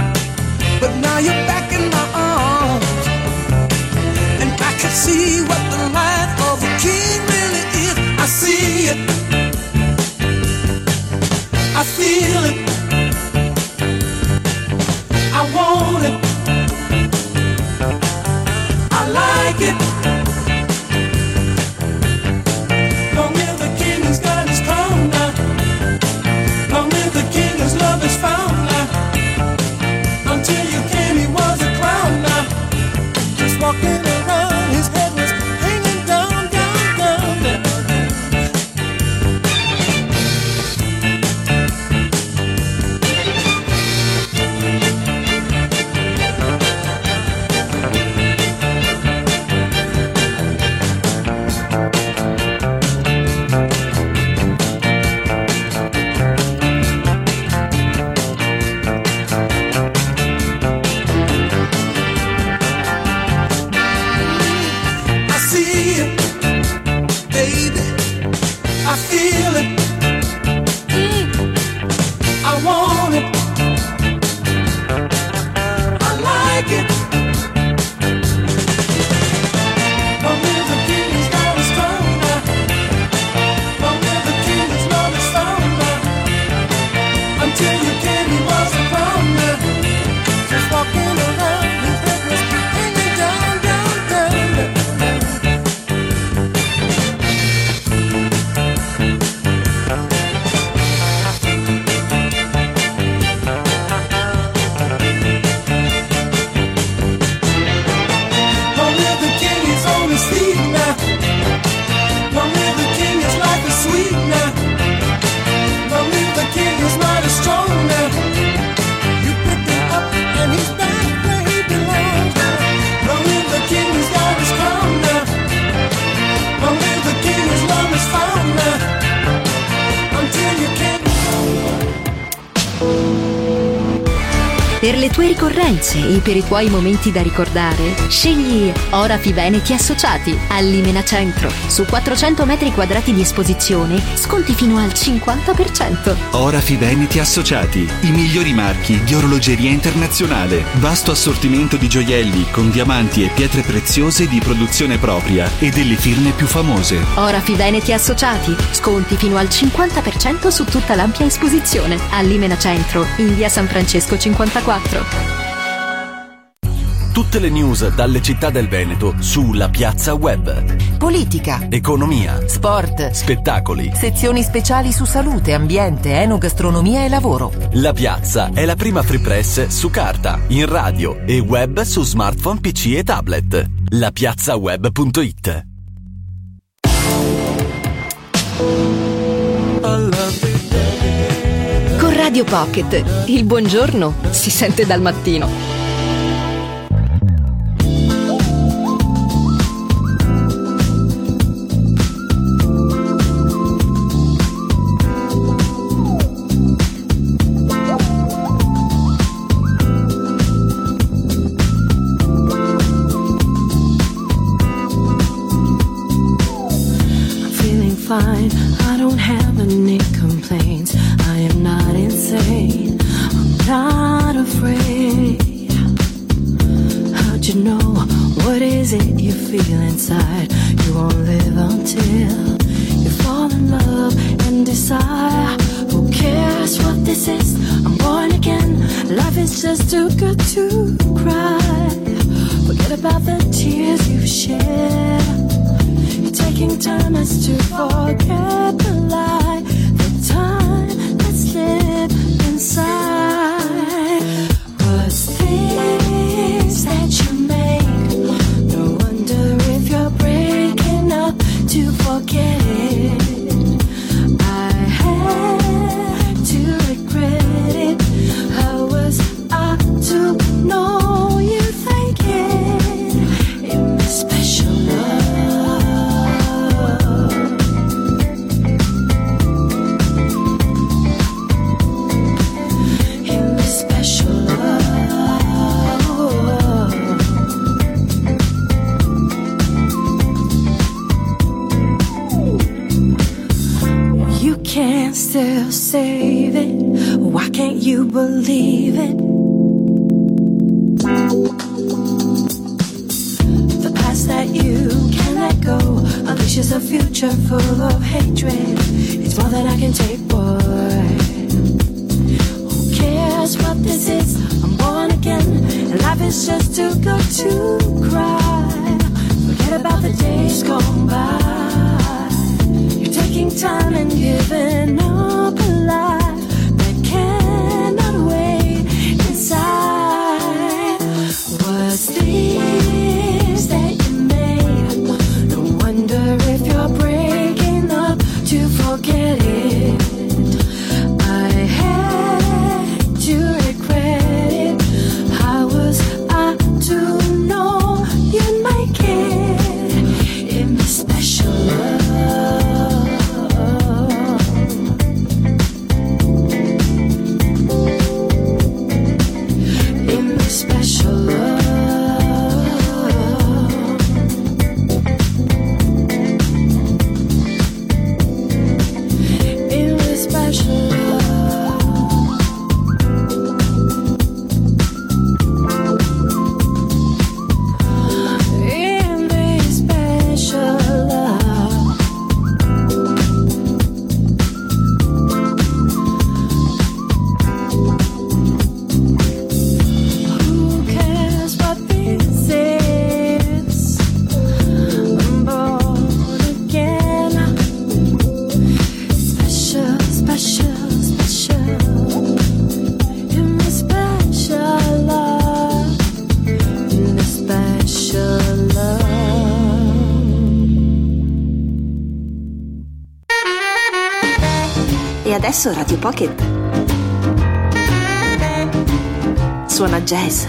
But now you're back in my arms, and I can see what the it. I feel it. I want it. I like it. Long live the king, he's got his crown now. Long live the king, his love is found now. Until you came, he was a clown now. Just walking around, his head was hanging down, down, down, down. I feel it. Mm. I want it. I like it. Long live the king, he's got his throne now. Long live the king, his love is found now. Until you came, he was a clown now. Just walking around, his head was hanging down, down, down, down. Per le tue ricorrenze e per i tuoi momenti da ricordare, scegli Orafi Veneti Associati a Limena Centro. Su quattrocento metri quadrati di esposizione, sconti fino al cinquanta per cento. Orafi Veneti Associati, i migliori marchi di orologeria internazionale. Vasto assortimento di gioielli con diamanti e pietre preziose di produzione propria e delle firme più famose. Orafi Veneti Associati, sconti fino al cinquanta per cento su tutta l'ampia esposizione. A Limena Centro, in via San Francesco cinquantaquattro. Tutte le news dalle città del Veneto sulla piazza web. Politica, economia, sport, spettacoli, sezioni speciali su salute, ambiente, enogastronomia e lavoro. La piazza è la prima free press su carta, in radio e web su smartphone, P C e tablet. lapiazzaweb punto it. Con Radio Pocket, il buongiorno si sente dal mattino. Fine, I don't have any complaints. I am not insane, I'm not afraid. How'd you know? What is it you feel inside? You won't live until you fall in love and desire. Who cares what this is? I'm born again. Life is just too good to cry. Forget about the tears you've shed. Taking time as to forget the lie, the time that slipped inside was things that you made. No wonder if you're breaking up to forget it. I had to regret it. How was I to know you thinking it was special love? Can't still save it. Why can't you believe it? The past that you can let go, a vicious is a future full of hatred. It's more than I can take, boy. Who cares what this is? I'm born again, and life is just too good to cry. Forget about the days gone by. You're taking time and giving up a life that cannot wait inside. What's this that you made? No wonder if you're breaking up to forget it. I had to regret it. How was I to know you'd make it? Give me special love. Give me special love. E adesso Radio Pocket suona jazz.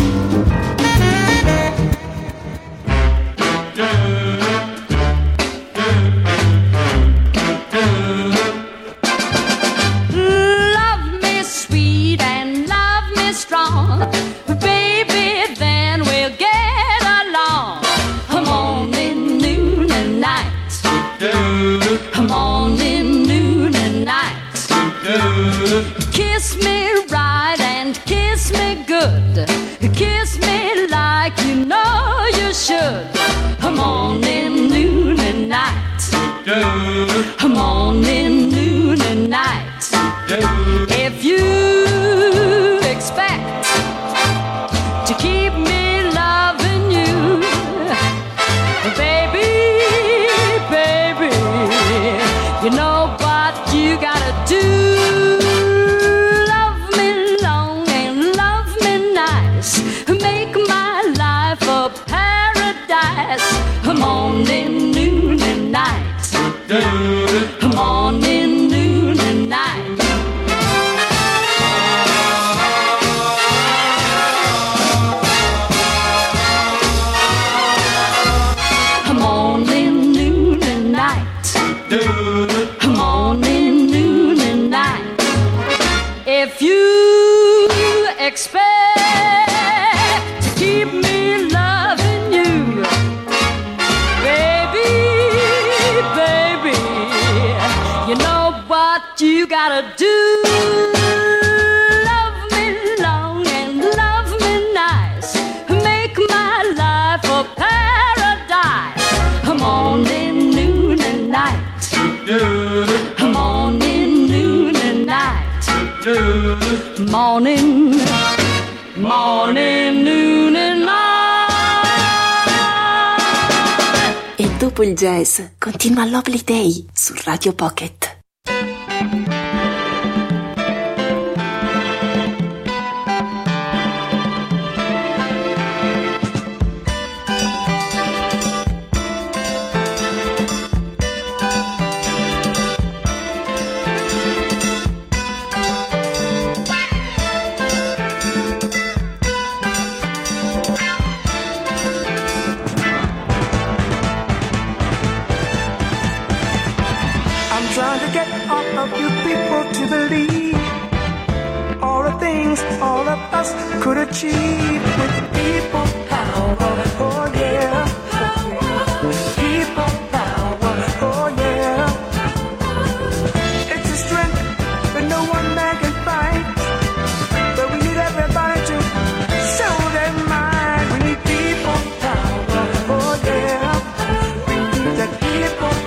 Kiss me right and kiss me good. Kiss me like you know you should. Morning, noon and night. Morning, noon and night. If you expect to keep me loving you, baby, baby, you know what you gotta do. Morning, noon and night. Morning, noon and night. Morning, noon and night. Morning, noon and night. If you expect to keep me loving you, you know what you gotta do. Love me long and love me nice. Make my life a paradise. Morning, noon and night. Morning, noon and night. Morning, morning, noon and night. E dopo il jazz continua Lovely Day su Radio Pocket. Trying to get all of you people to believe all the things all of us could achieve with people power. Oh yeah, people power. Oh yeah, it's a strength that no one man can fight, but we need everybody to show their mind. We need people power. Oh yeah, we need that people.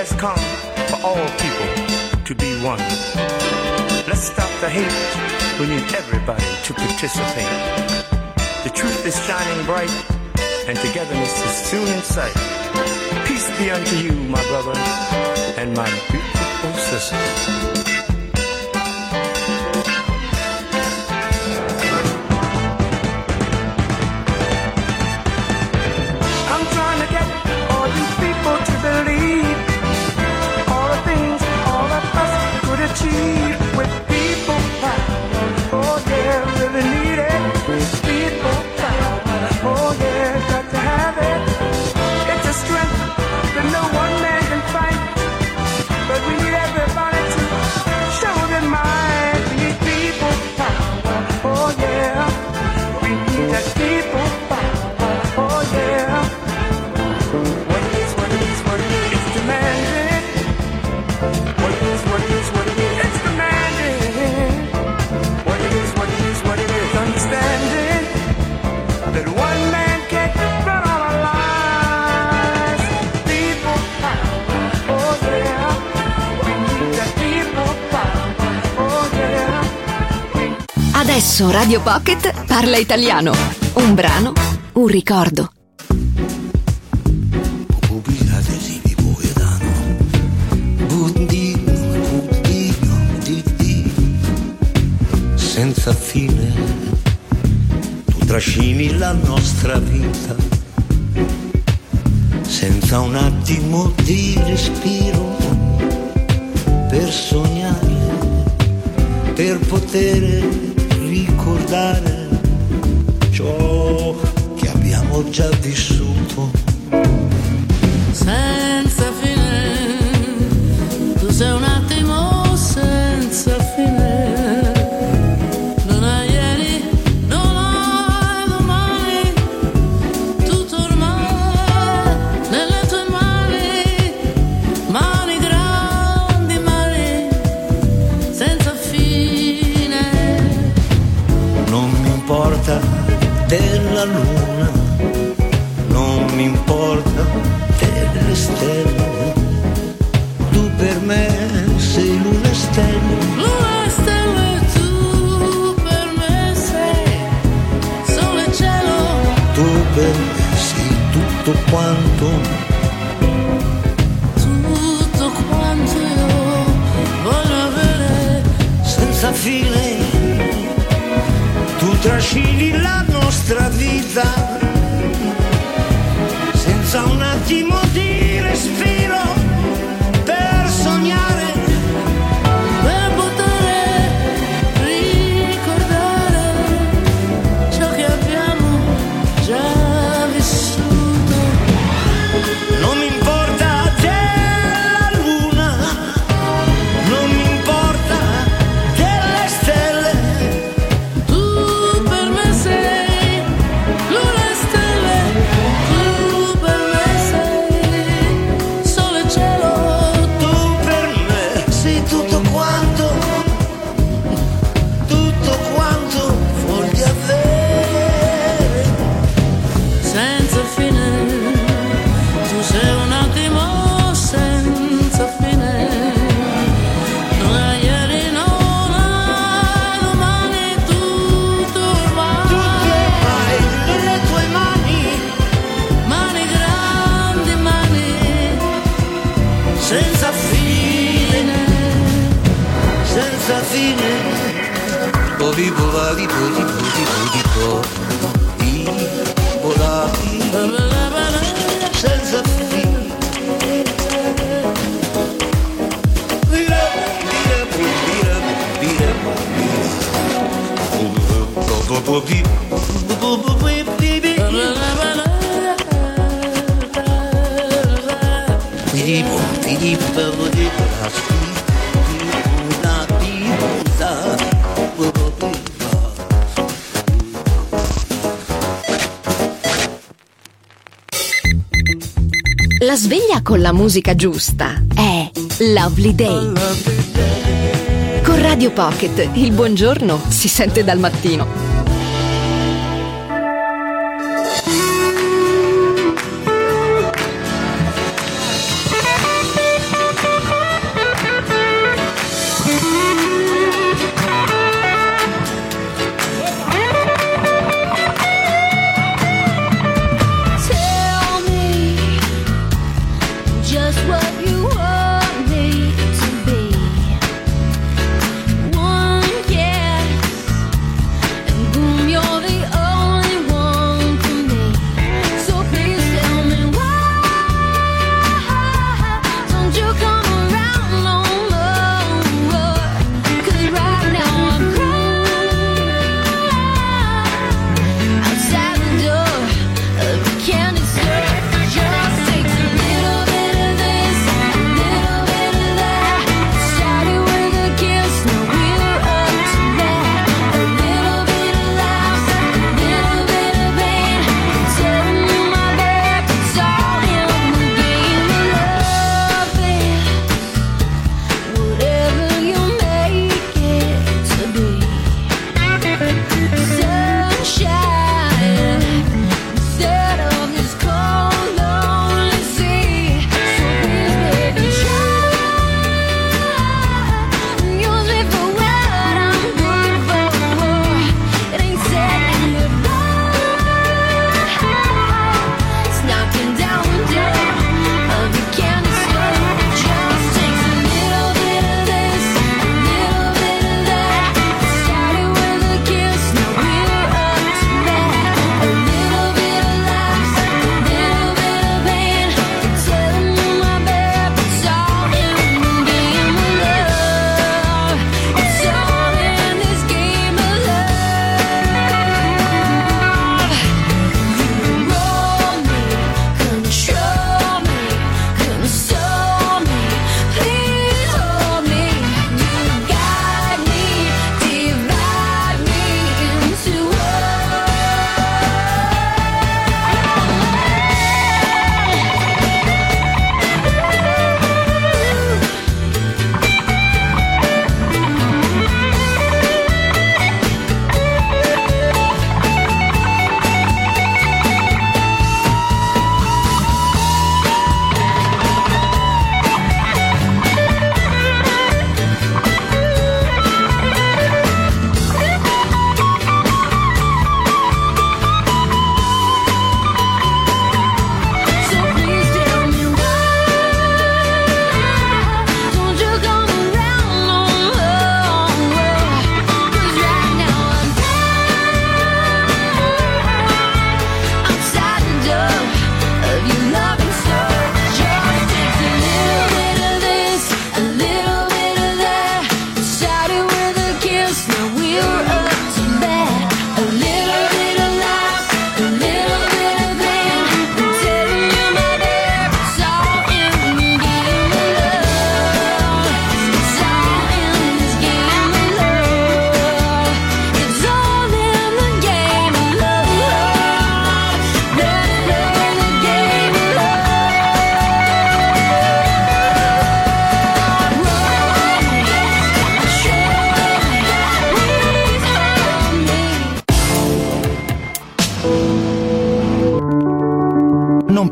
has come for all people to be one. Let's stop the hate. We need everybody to participate. The truth is shining bright, and togetherness is soon in sight. Peace be unto you, my brother, and my beautiful sister. Achieve with people power. Oh yeah, really need it. People power. Oh yeah, got to have it. It's a strength that no one man can fight, but we need everybody to show their mind. We need people power. Oh yeah, we need that people power. Oh yeah. What is, what is, what is, it's demanded. What is, what is, what is. That one man can't run all our lives. People power, oh yeah. We need that people power, oh yeah. Adesso Radio Pocket parla italiano. Un brano, un ricordo. Senza fine tu trascini la nostra vita, senza un attimo di respiro, per sognare, per poter ricordare ciò che abbiamo già vissuto. Senza fine, tu sei un attimo senza fine. Della luna, non mi importa delle stelle, tu per me sei luna e stelle. Luna e stelle, tu per me sei sole e cielo. Tu per me sei tutto quanto, tutto quanto io voglio avere. Senza fine tu trascini la nostra vita, senza un attimo di respiro, per sognare, per poter ricordare ciò che abbiamo già vissuto. Non mi importa della luna, non mi importa delle stelle. Tu per me sei luna e stelle, tu per me sei sole e cielo. Tu per me sei tutto quanto, tutto quanto voglio avere. Senza fine, tu sei un attimo senza fine. Non hai ieri, non hai domani, tutto ormai. Tutto ormai nelle tue mani, Mani grandi, mani senza fine, senza fine. O vivo la di po di po di po di po di volati senza fine. Vira, vira, vira, vira, La sveglia con la musica giusta è Lovely Day. Con Radio Pocket il buongiorno si sente dal mattino.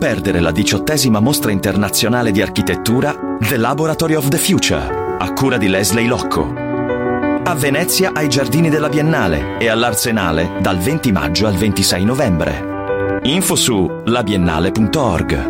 perdere la diciottesima mostra internazionale di architettura The Laboratory of the Future, a cura di Leslie Locco. A Venezia ai Giardini della Biennale e all'Arsenale dal venti maggio al ventisei novembre. Info su labiennale punto org.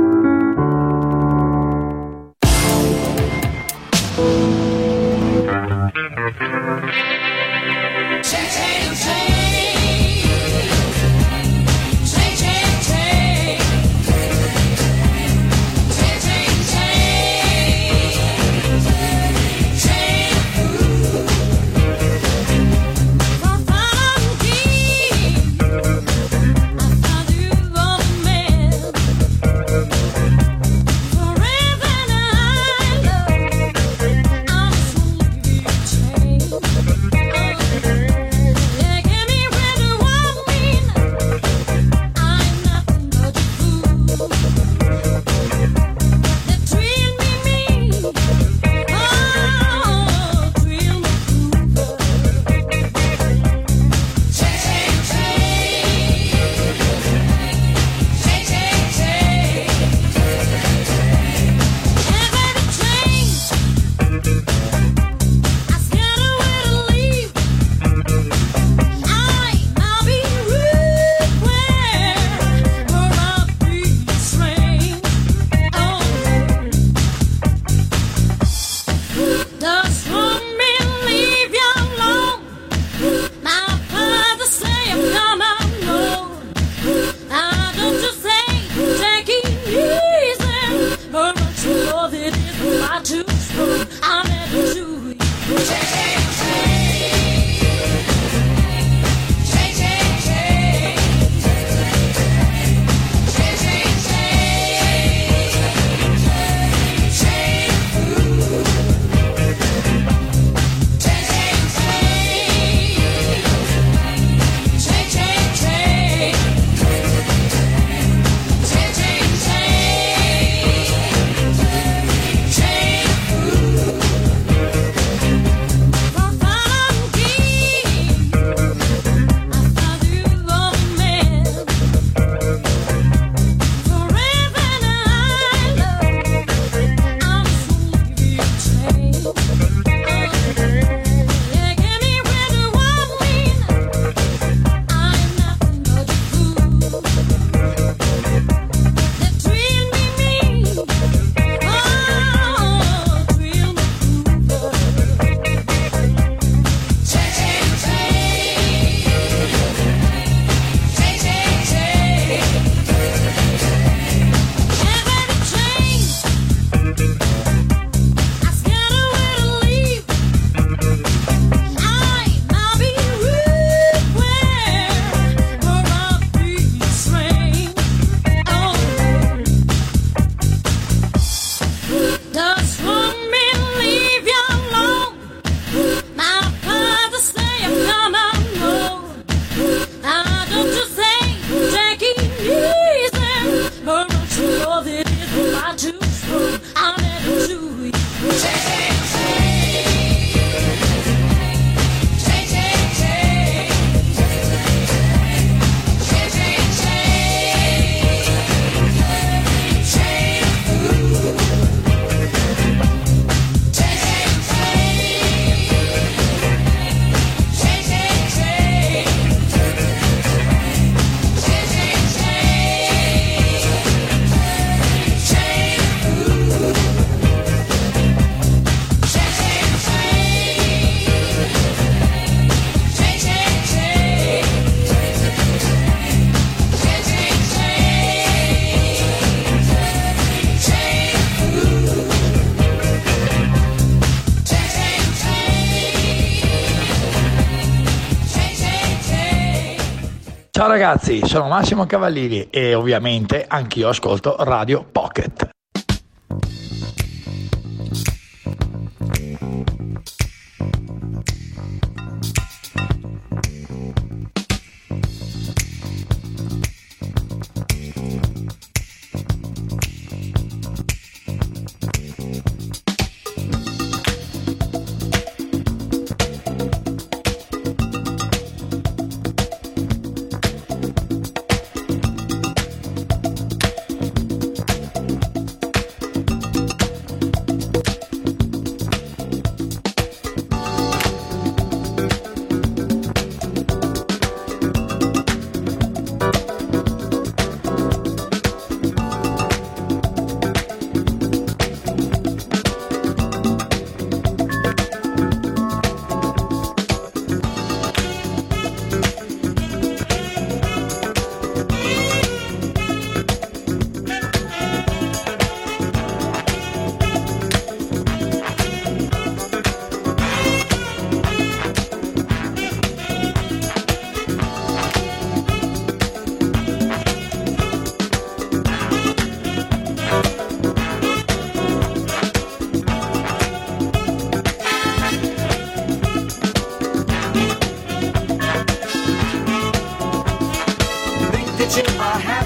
Ciao ragazzi, sono Massimo Cavallini e ovviamente anch'io ascolto Radio Pocket.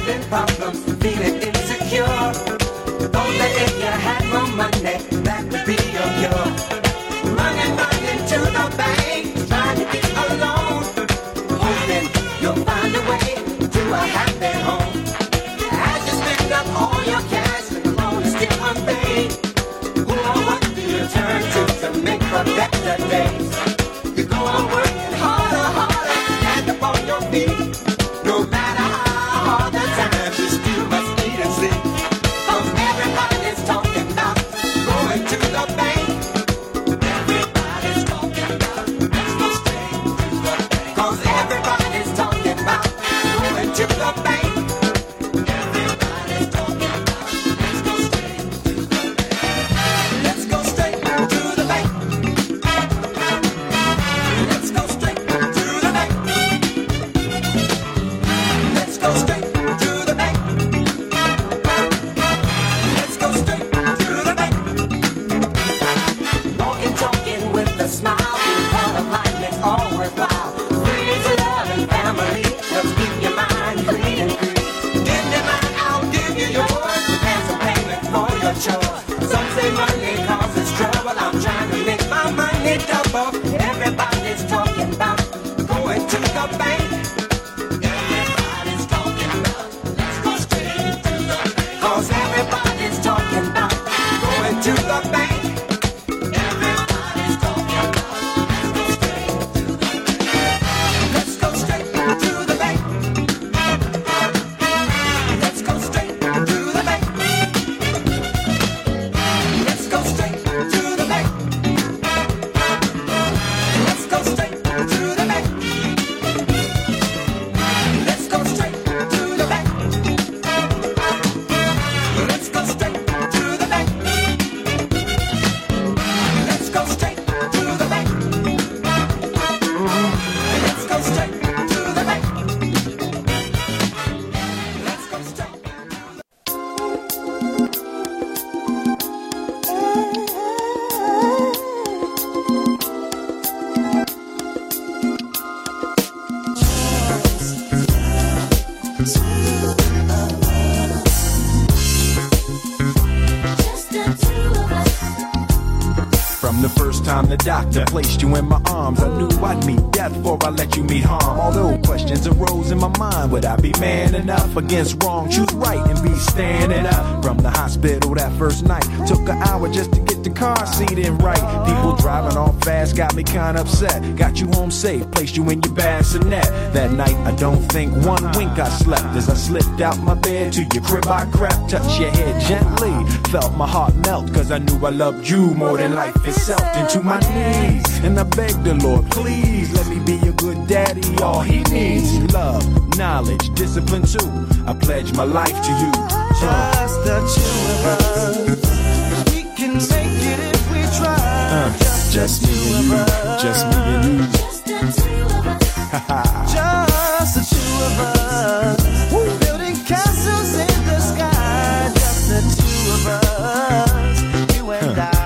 having problems, feeling insecure. Thought that if you had more money, that would be your cure. Running, running to the bank, trying to get a loan, hoping you'll find a way to a happy home. As you spend up all your cash, the loan is still unpaid. Who or what do you turn to to make for better days? You go on working harder, harder, stand up on your feet. No matter how hard the times, you still must eat and sleep. Cause everybody's talking about going to the bank. Everybody's talking about let's go straight to the bank. Cause everybody's talking about going to the bank. Everybody's talking about let's go straight to the bank. Let's go straight to the bank. Let's go straight to the bank. Let's go straight to the bank. Let's go straight to the bank. Walking, talking with a smile, being part of life makes all worthwhile. Free is love and family, let's keep your mind free and free. Give me mine, I'll give you yours, and some payment for your chores. Some say money causes trouble, I'm trying to make my money double. Everybody's talking about going to the bank. Everybody's talking about let's go straight to the bank. Cause everybody's talking about going to the bank. Everybody's talking about let's go straight to the bank. Let's go straight to the bank. Let's go straight to the bank. Let's go straight to the bank. Let's go straight to the bank. Let's go straight to the bank. Let's go straight to the bank. Let's go straight to the bank. Let's go straight. From the first time the doctor placed you in my arms, I knew I'd meet death before I let you meet harm. Although questions arose in my mind, would I be man enough against wrong, choose right, and be standing up? From the hospital that first night, took an hour just to get the car seat in right. People driving off fast got me kinda upset. Got you home safe, placed you in your bassinet. That night I don't think one wink I slept. As I slipped out my bed to your crib I crept, touched your head gently, felt my heart melt, cause I knew I loved you more than life itself. Into my knees, and I begged the Lord, please let me be a good daddy. All he needs, love, knowledge, discipline too. I pledge my life to you. Just the two of us, we can make it if we try. Uh, just, just the me two and of you, us. just me and you. Just the two of us. Just the two of us. Building castles in the sky. Just the two of us. You and I.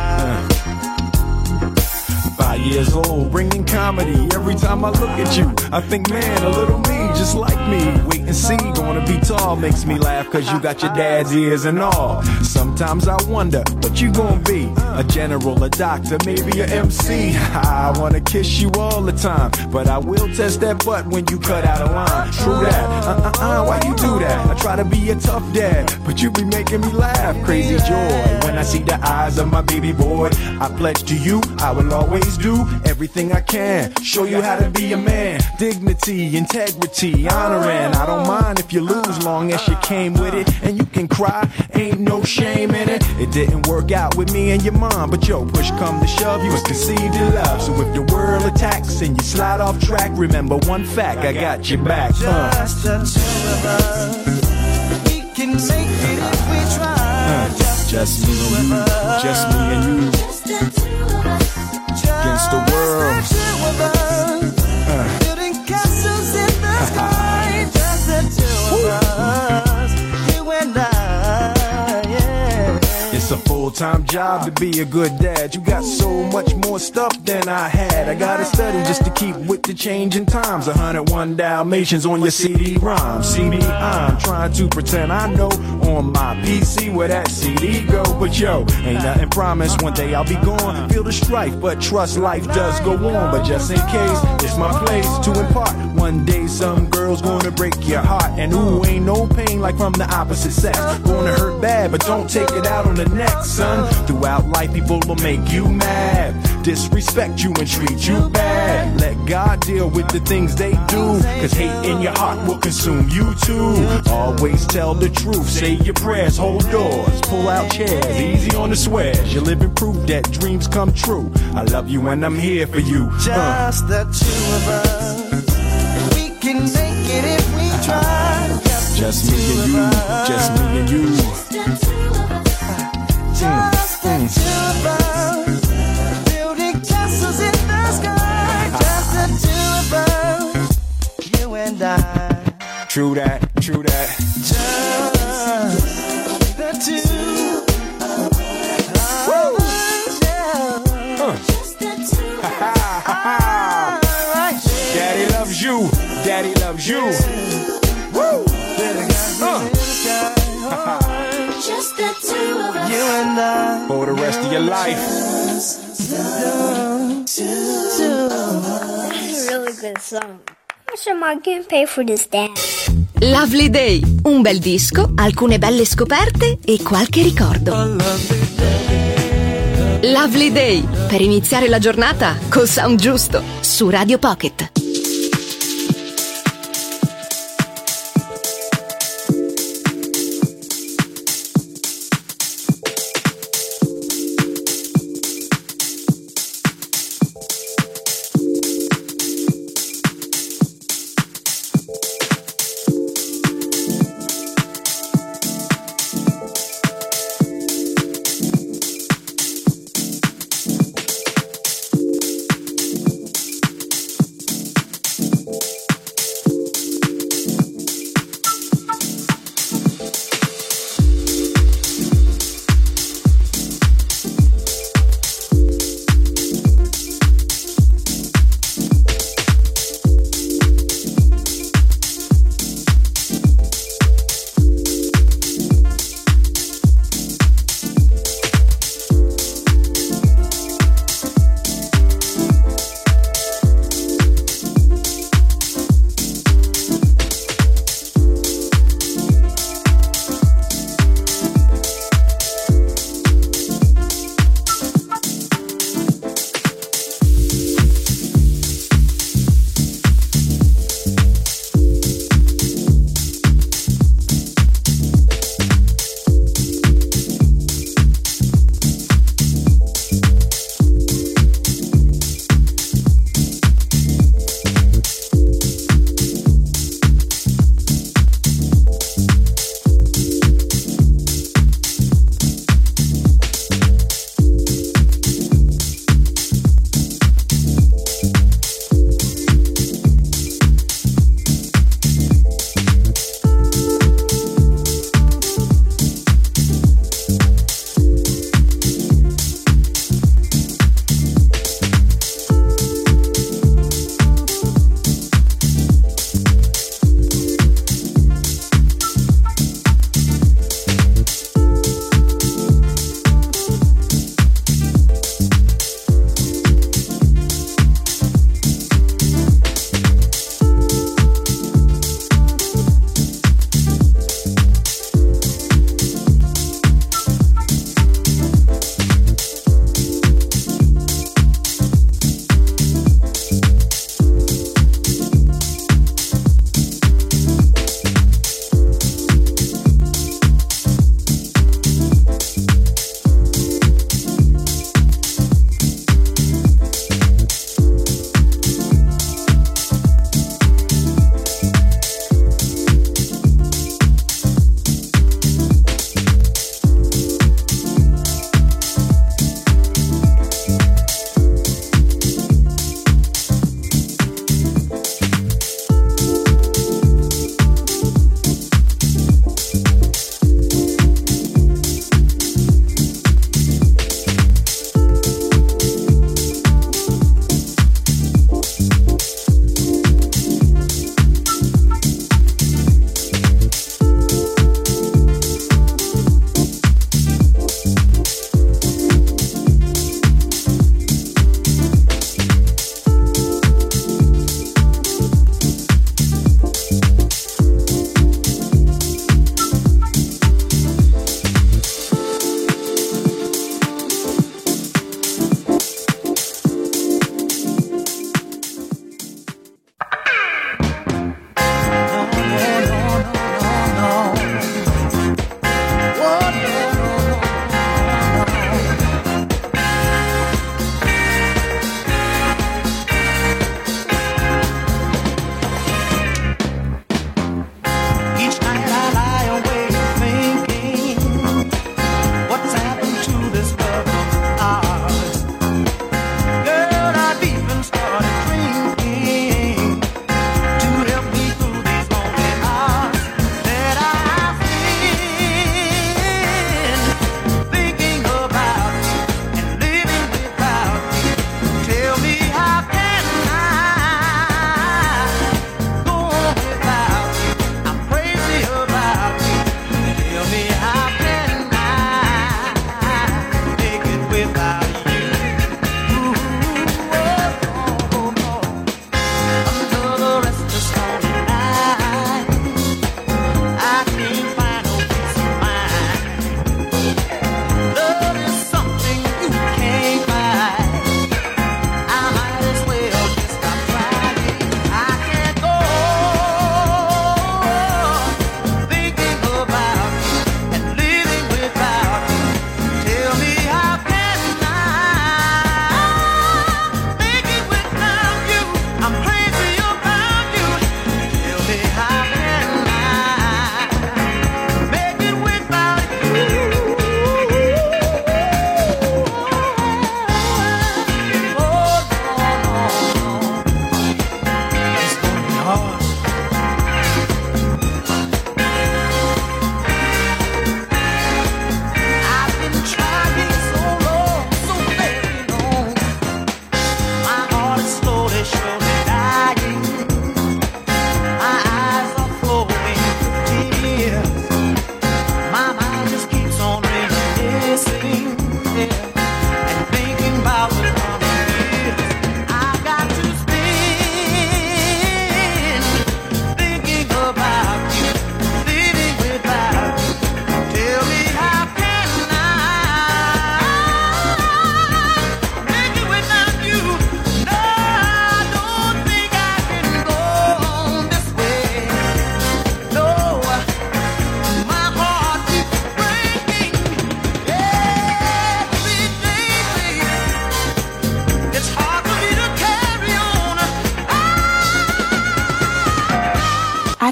Five years old, bringing comedy. Every time I look at you, I think, man, a little me, just like me. Wait and see, gonna be tall, makes me laugh, cause you got your dad's ears and all. Sometimes I wonder, what you gonna be? A general, a doctor, maybe a M C. I wanna kiss you all the time, but I will test that butt when you cut out a line. True that, uh-uh-uh, why you do that? I try to be a tough dad, but you be making me laugh. Crazy joy, when I see the eyes of my baby boy. I pledge to you, I will always do everything I can, show you how to be a man. Dignity, integrity, honoring. I don't mind if you lose, long as you came with it. And you can cry, ain't no shame in it. It didn't work out with me and your mom, but yo, push come to shove, you was conceived in love. So if the world attacks and you slide off track, remember one fact, I got your back. uh. Just the two of us, we can make it if we try. Uh, just, just the me two and of you, us. just me and you. Just the two of us. Against the world. Just the two of us. Uh. Building castles in the sky. Just the two of us. You and I, yeah. It's a full full-time job to be a good dad. You got so much more stuff than I had. I gotta study just to keep with the changing times. one oh one Dalmatians on your C D ROM. C D, I'm trying to pretend I know on my P C where that C D go. But yo, ain't nothing promised. One day I'll be gone. Feel the strife, but trust life does go on. But just in case, it's my place to impart. One day some girl's gonna break your heart. And ooh, ain't no pain like from the opposite sex. Gonna hurt bad, but don't take it out on the next, son. Throughout life, people will make you mad, disrespect you and treat you bad. Let God deal with the things they do, cause hate in your heart will consume you too. Always tell the truth, say your prayers, hold doors, pull out chairs, easy on the swears. You live and prove that dreams come true. I love you and I'm here for you. Just uh. the two of us, we can make it if we try. Just, just me and you, us. Just me and you. Just the two of us, just the mm. two of us, building castles in the sky. Just the two of us, you and I. True that, true that. Just the two of us. Woo! Uh. Just the two of us. Daddy loves you, daddy loves you. Woo! Uh. Just the two of us, you and I, for the rest of your life. That's a really good song. How much am I gonna pay for this dance? Lovely Day, un bel disco, alcune belle scoperte e qualche ricordo. Lovely Day, per iniziare la giornata col sound giusto su Radio Pocket.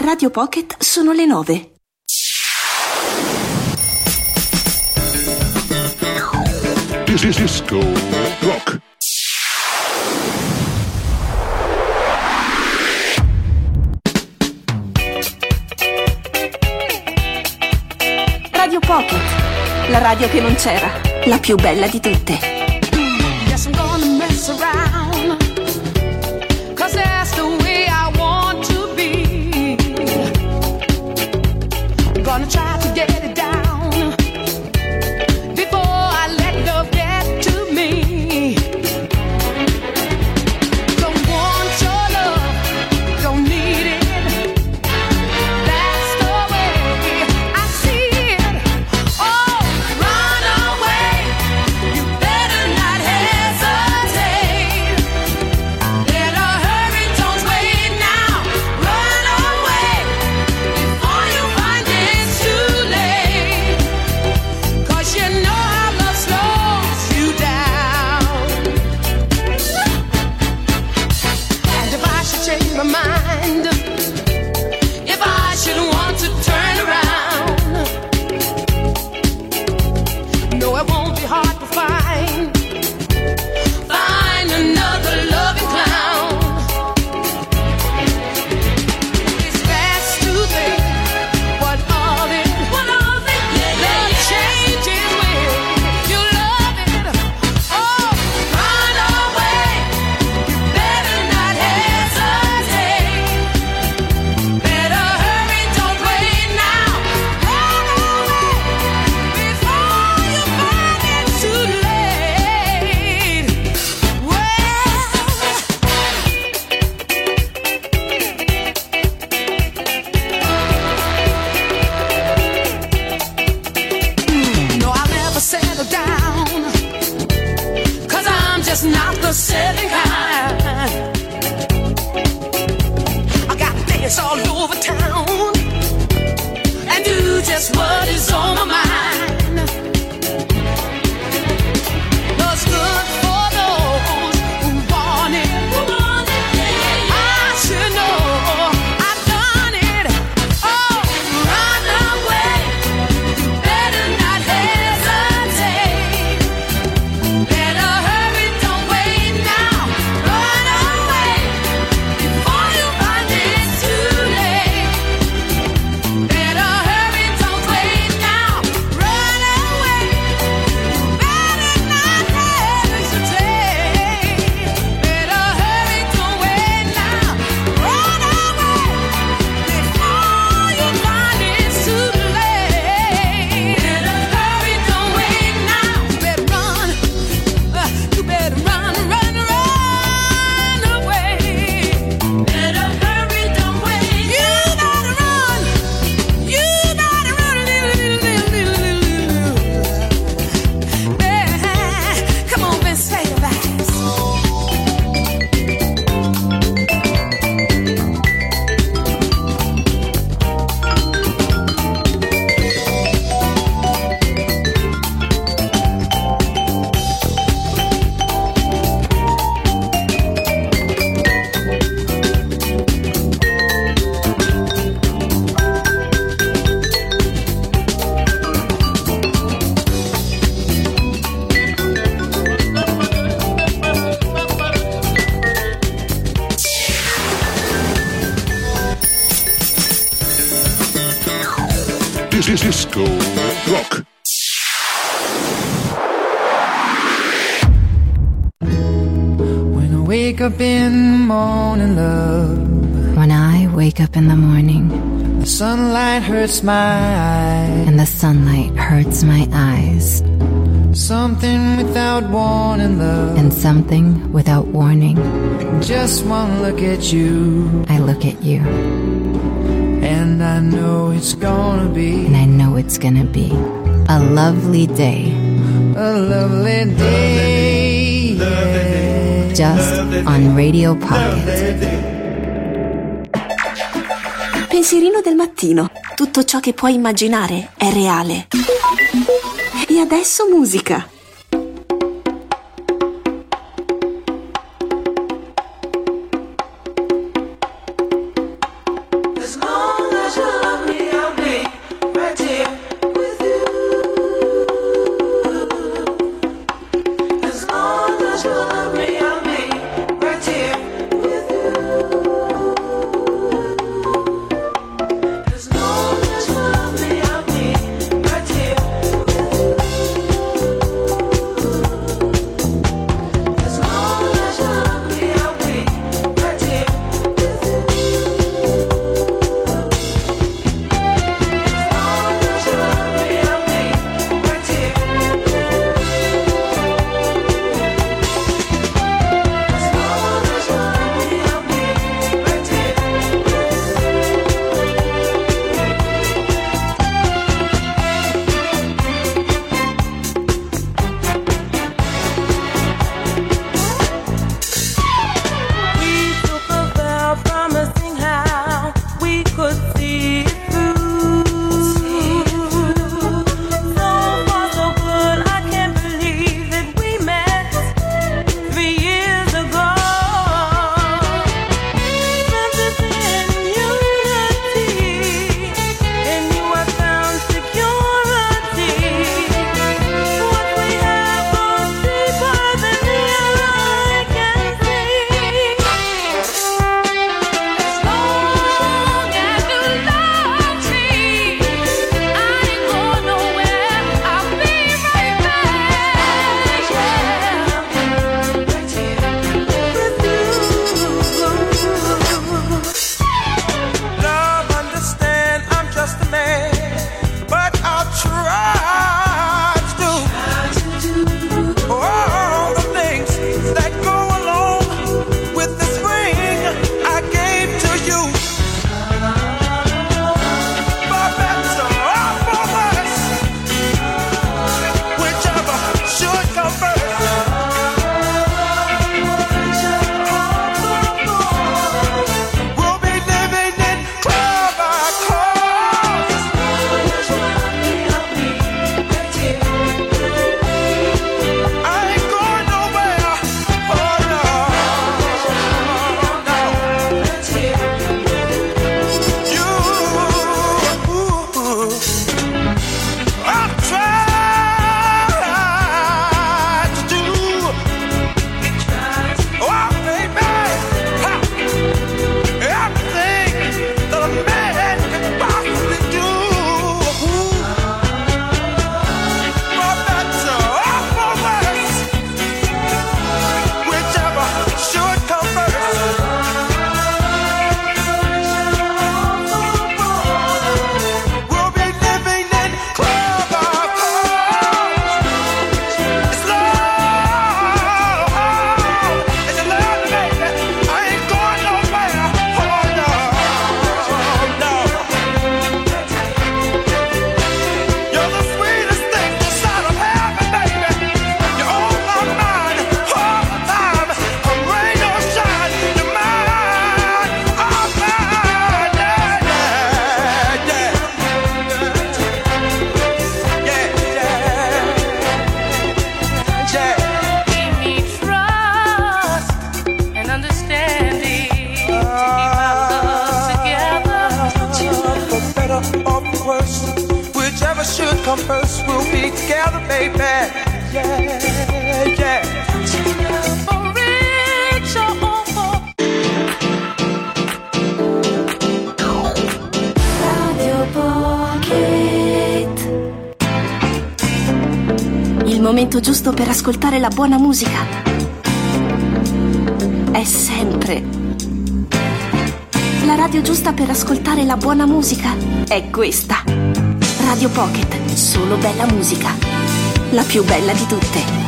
Radio Pocket sono le nove. Disco Rock. Radio Pocket, la radio che non c'era, la più bella di tutte. Yes, I'm gonna mess around, 'cause that's the way I want to be. I'm gonna try to get it down before I let love get to me. Don't want your love, don't need it. That's the way I see it. Oh, run away, you better not hesitate. Better hurry, don't wait now. Run away before you find it's too late. 'Cause you know how love slows you down. And if I should change my mind, if I should want to turn around, no, it won't be hard to find, find another loving clown. It's best to think what all it, what all it, love changes when you love it. Oh, run away, you better not hesitate. Better hurry, don't wait now. Run away before you find it's too late. Well, no, I'll never settle down, 'cause I'm just not the settling kind. I got things all over town and do just what is on my mind. What's good for those who want it, who want it. I should know I've done it. Oh, run away, you better not hesitate. Better hurry, don't wait now. Run away before you find it's too late. Better hurry, don't wait now. Run away, you better not hesitate. Better hurry, don't wait now. Run away before you find it's too late. Better hurry, don't wait now. You better run, uh, you better run, run, run away. Better hurry, don't wait. You gotta run, you gotta run, little, little, little, little, little. Yeah. Come on, Vince, say it fast. Disco Rock. When I wake up in the morning, love, When I wake up in the morning the sunlight hurts my eyes. and the sunlight hurts my eyes, Something without warning, love, and something without warning, just one look at you, I look at you, and I know it's gonna be and I know it's gonna be a lovely day, a lovely day, yeah. just on Radio Pocket. Pensierino del mattino. Tutto ciò che puoi immaginare è reale. E adesso musica. As long come first, we'll be together, baby. Yeah, yeah. Radio Pocket. Il momento giusto per ascoltare la buona musica è sempre. La radio giusta per ascoltare la buona musica è questa. Radio Pocket, solo bella musica. La più bella di tutte.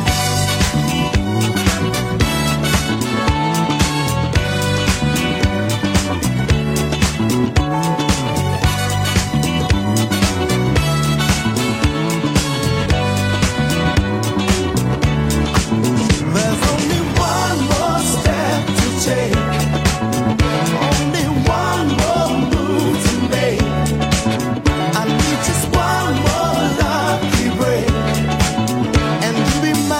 Just one more lucky break, and you'll be mine.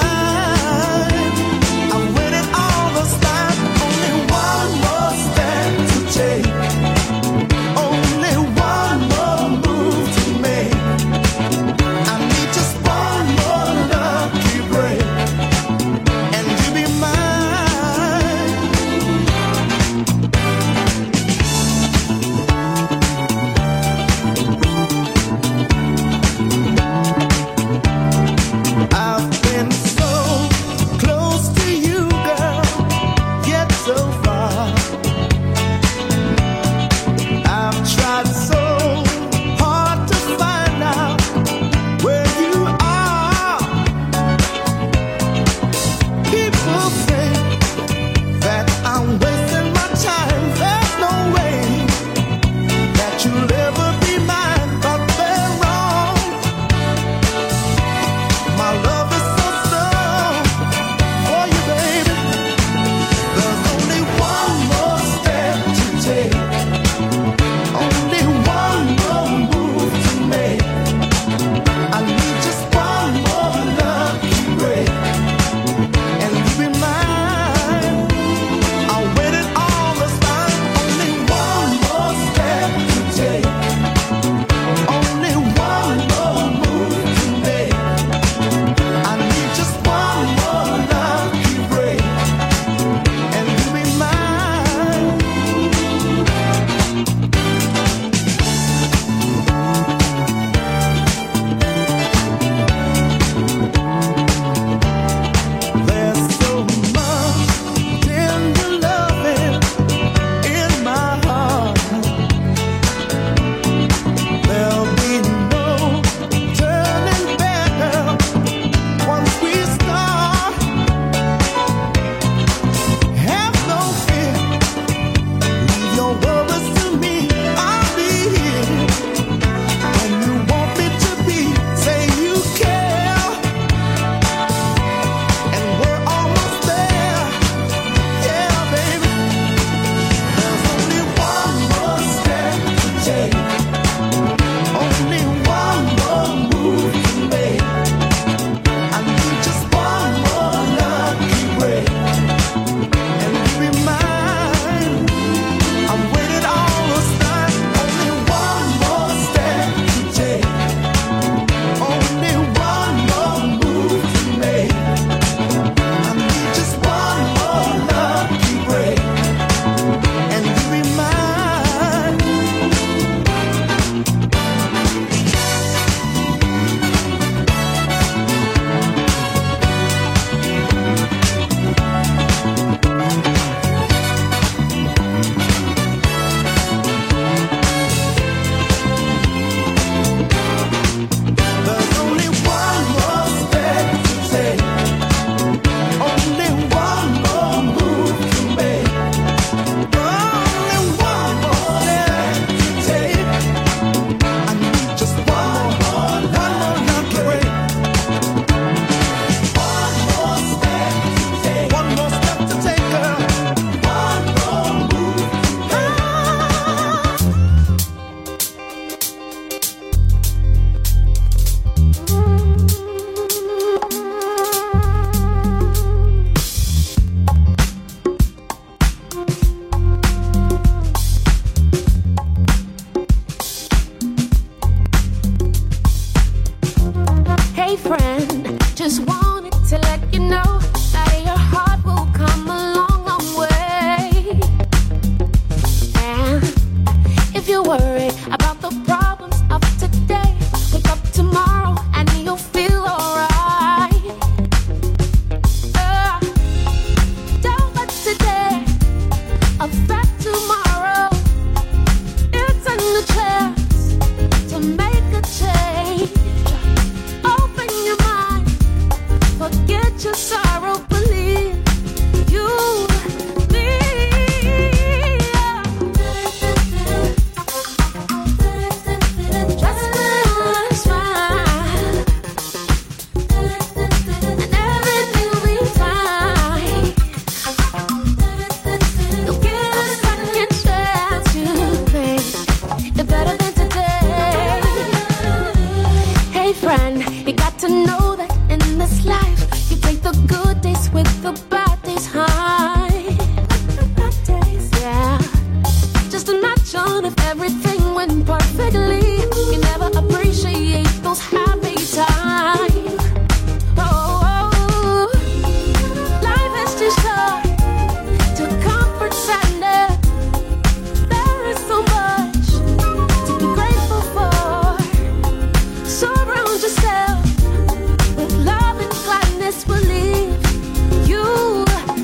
time. Yeah, just imagine if everything went perfectly. You never appreciate those happy times. Oh, oh, life is too short to comfort sadness. There is so much to be grateful for. Surround yourself with love and gladness will leave you.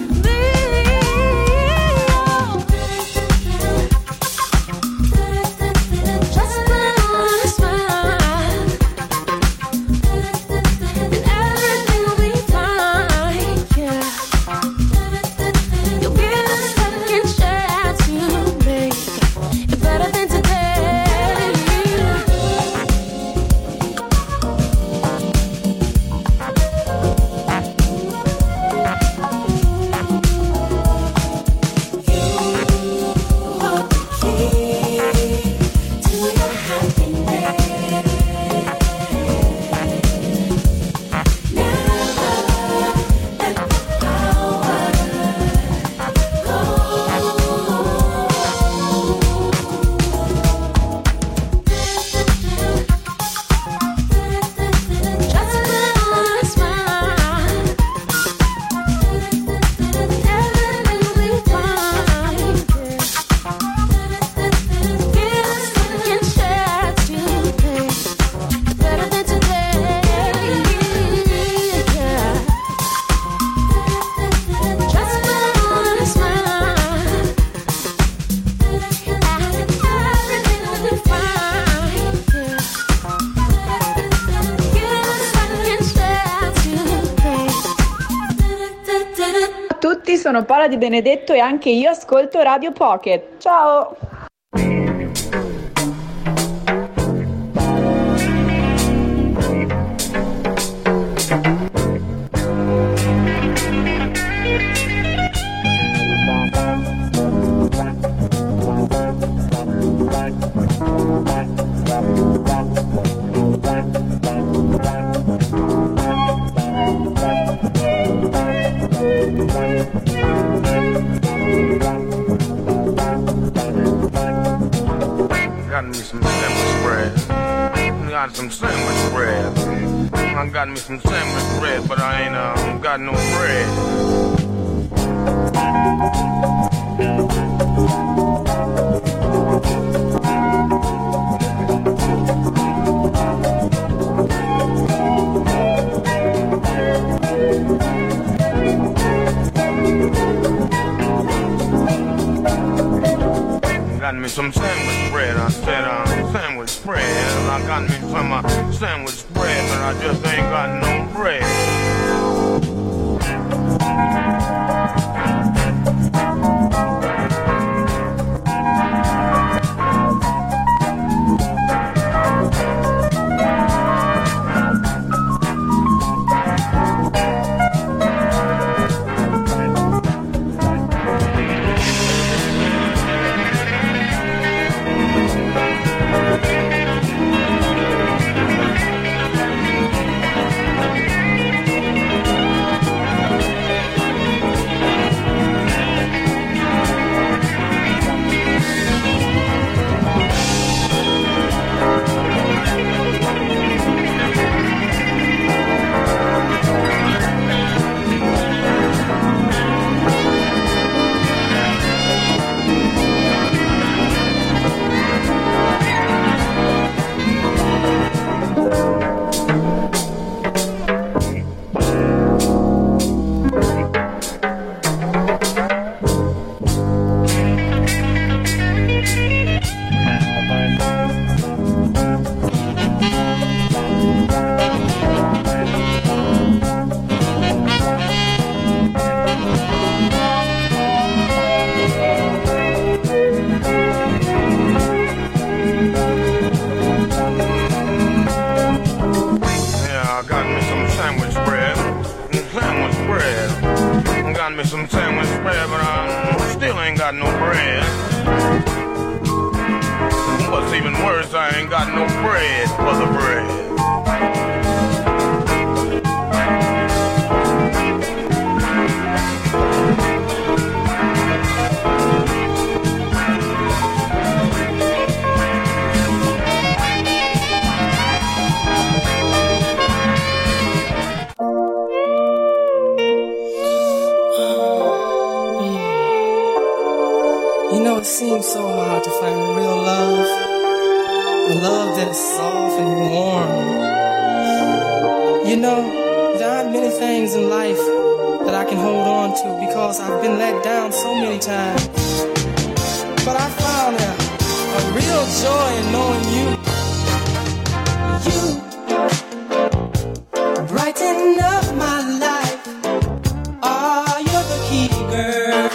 Sono Paola Di Benedetto e anche io ascolto Radio Pocket. Ciao! Got me some sandwich bread. Got some sandwich bread. I got me some sandwich bread, but I ain't uh, got no bread. Got me some sandwich bread. I said, uh, sandwich bread. I got me some uh, sandwich bread, but I just ain't got no bread. I ain't got no bread for the bread. You know, it seems so hard to find real love, a love that is soft and warm. You know, there aren't many things in life that I can hold on to because I've been let down so many times. But I found a, a real joy in knowing you. You brighten up my life. Oh, you're the key, girl.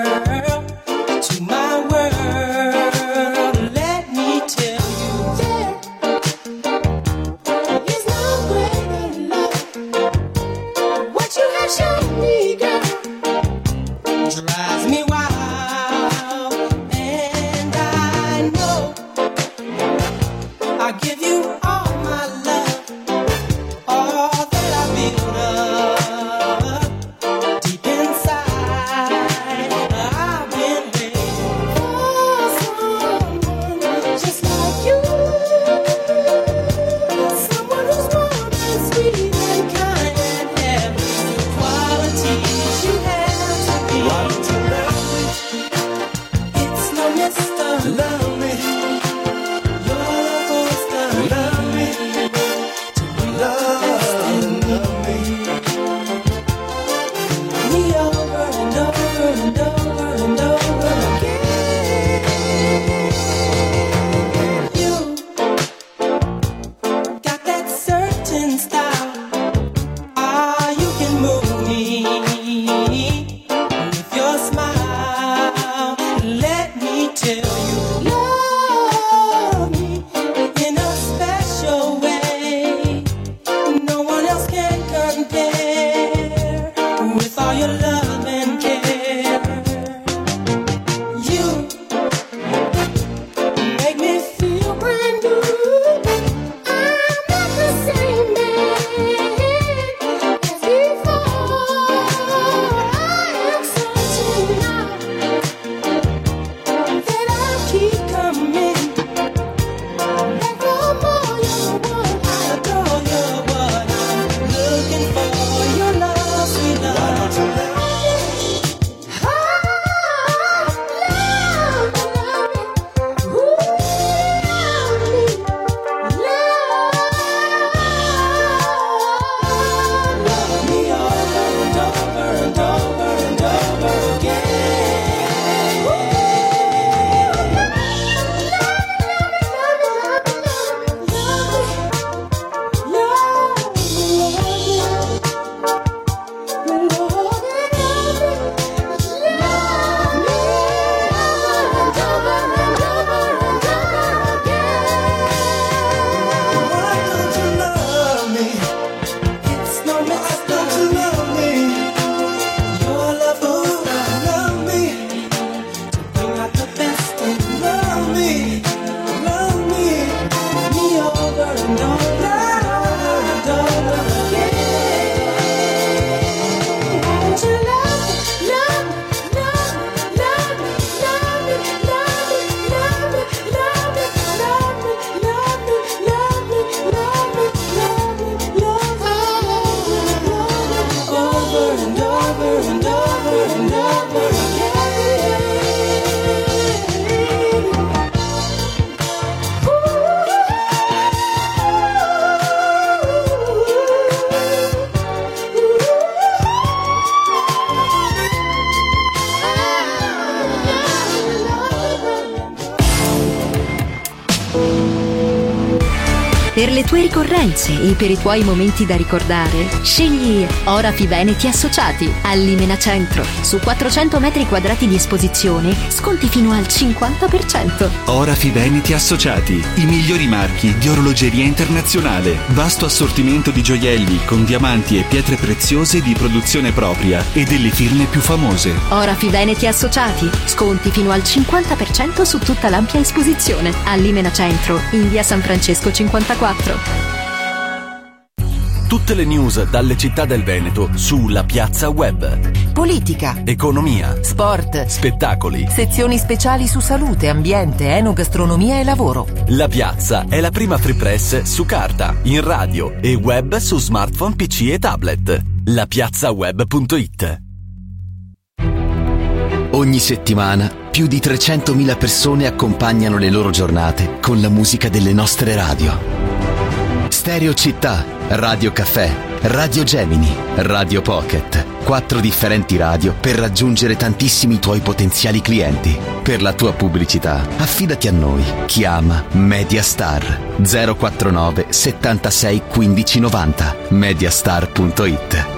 Per le tue ricorrenze e per i tuoi momenti da ricordare, scegli Orafi Veneti Associati al Limena Centro. Su quattrocento metri quadrati di esposizione, sconti fino al cinquanta per cento. Orafi Veneti Associati, i migliori marchi di orologeria internazionale. Vasto assortimento di gioielli con diamanti e pietre preziose di produzione propria e delle firme più famose. Orafi Veneti Associati, sconti fino al cinquanta per cento su tutta l'ampia esposizione. Al Limena Centro, in via San Francesco cinquantaquattro. Tutte le news dalle città del Veneto sulla Piazza Web. Politica, economia, sport, spettacoli, sezioni speciali su salute, ambiente, enogastronomia e lavoro. La Piazza è la prima free press su carta, in radio e web su smartphone, P C e tablet. la piazza web punto it. Ogni settimana più di trecentomila persone accompagnano le loro giornate con la musica delle nostre radio. Stereo Città, Radio Caffè, Radio Gemini, Radio Pocket. Quattro differenti radio per raggiungere tantissimi tuoi potenziali clienti. Per la tua pubblicità, affidati a noi. Chiama Mediastar zero quarantanove settantasei quindici novanta. mediastar punto it.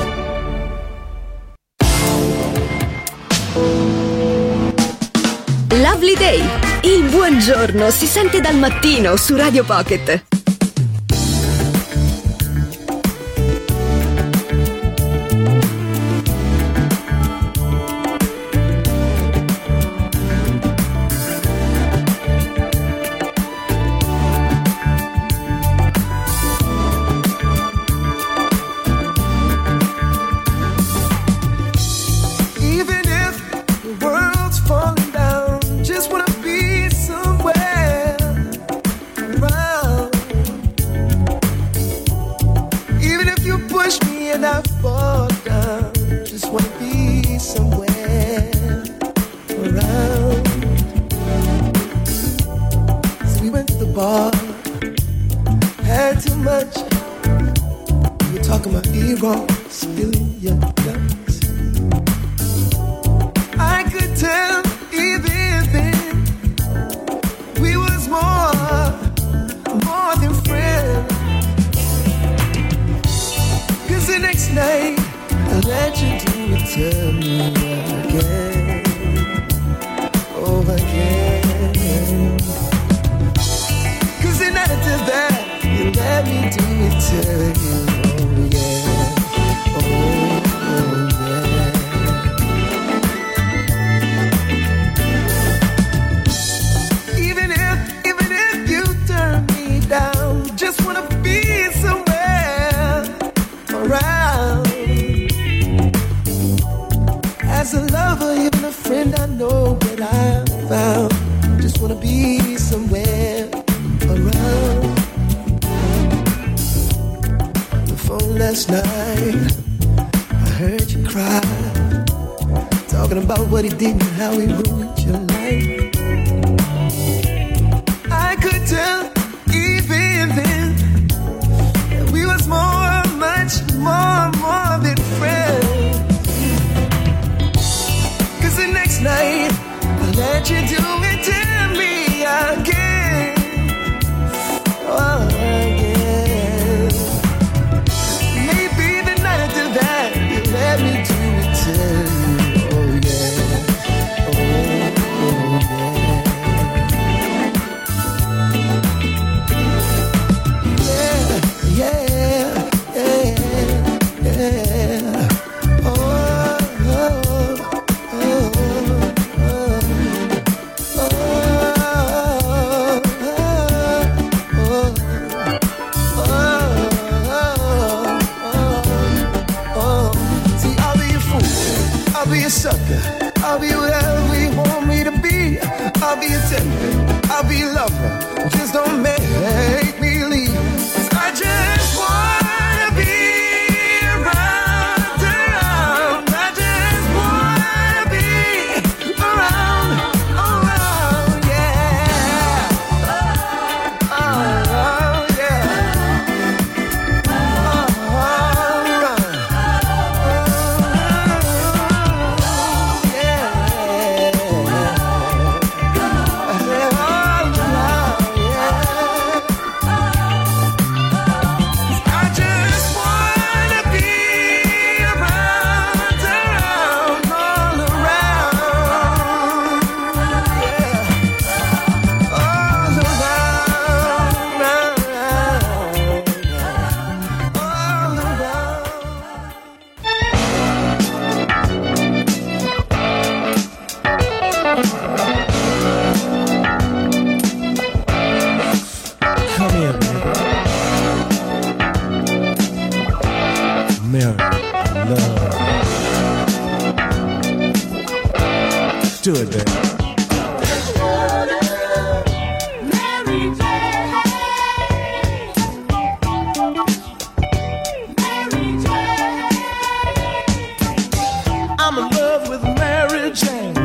Lovely Day. Il buongiorno si sente dal mattino su Radio Pocket. Do it, baby. I'm in love with Mary Jane.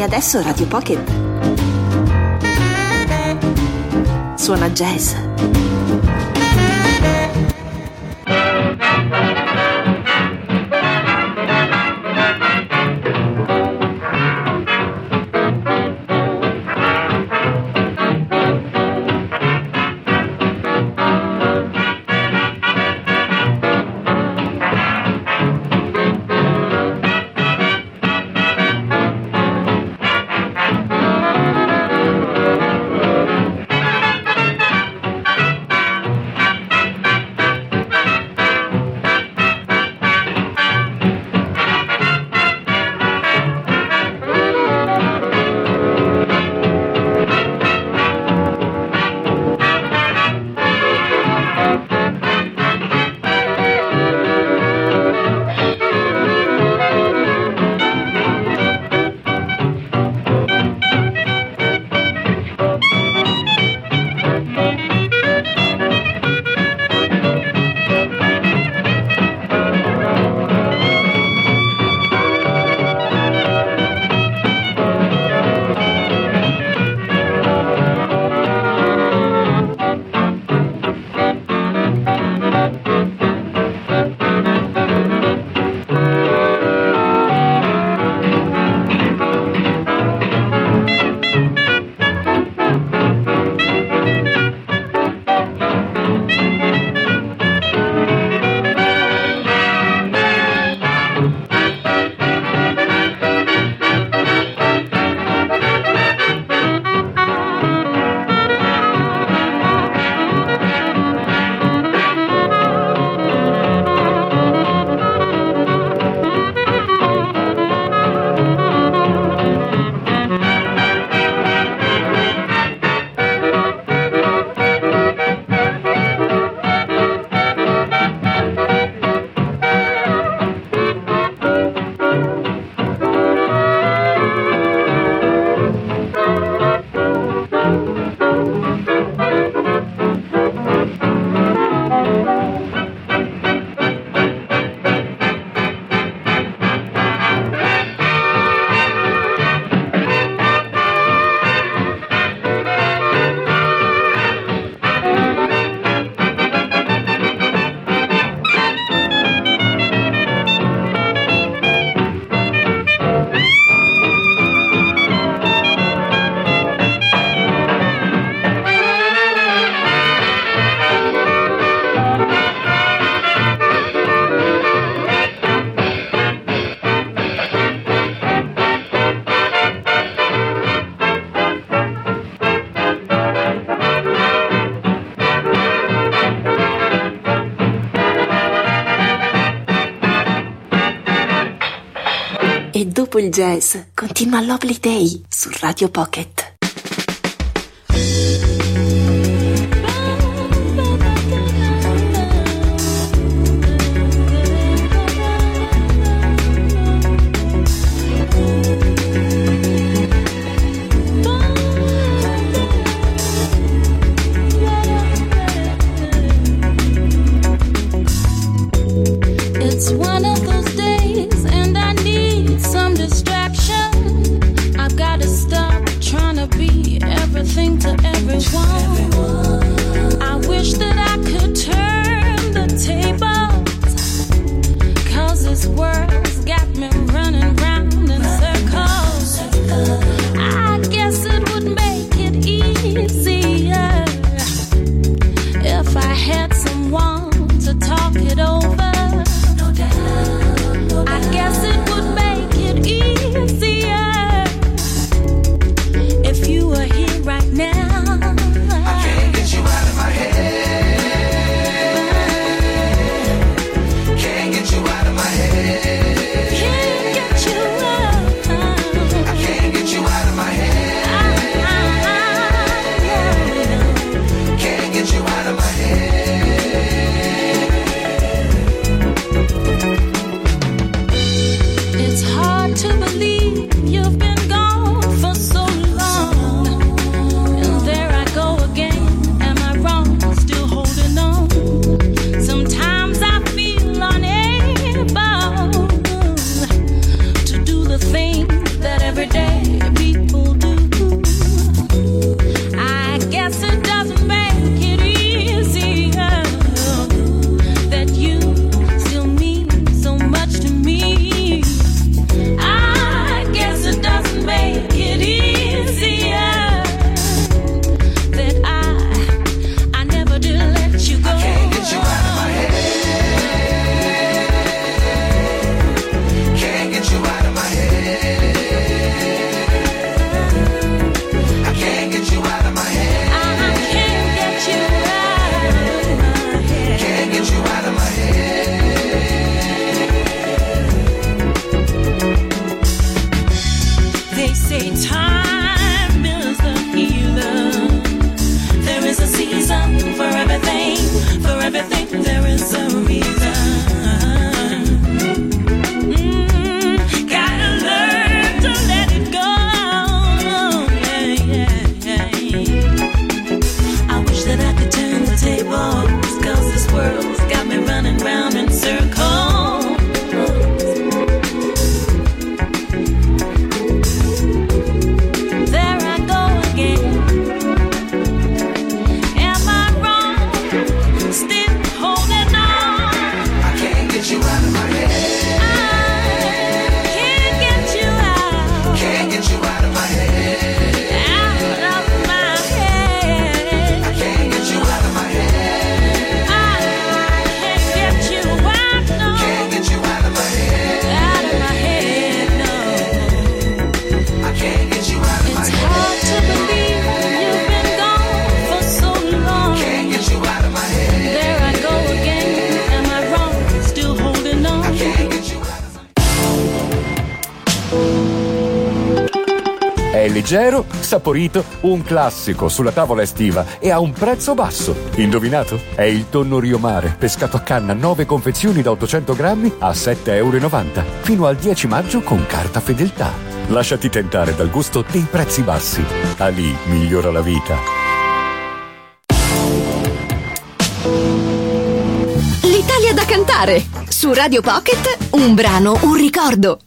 adesso Radio Pocket suona jazz. E dopo il jazz continua Lovely Day su Radio Pocket. leggero, saporito, un classico sulla tavola estiva e a un prezzo basso. Indovinato? È il tonno Rio Mare, pescato a canna, nove confezioni da ottocento grammi a sette virgola novanta euro, fino al dieci maggio con carta fedeltà. Lasciati tentare dal gusto dei prezzi bassi. Ali migliora la vita. L'Italia da cantare. Su Radio Pocket, un brano, un ricordo.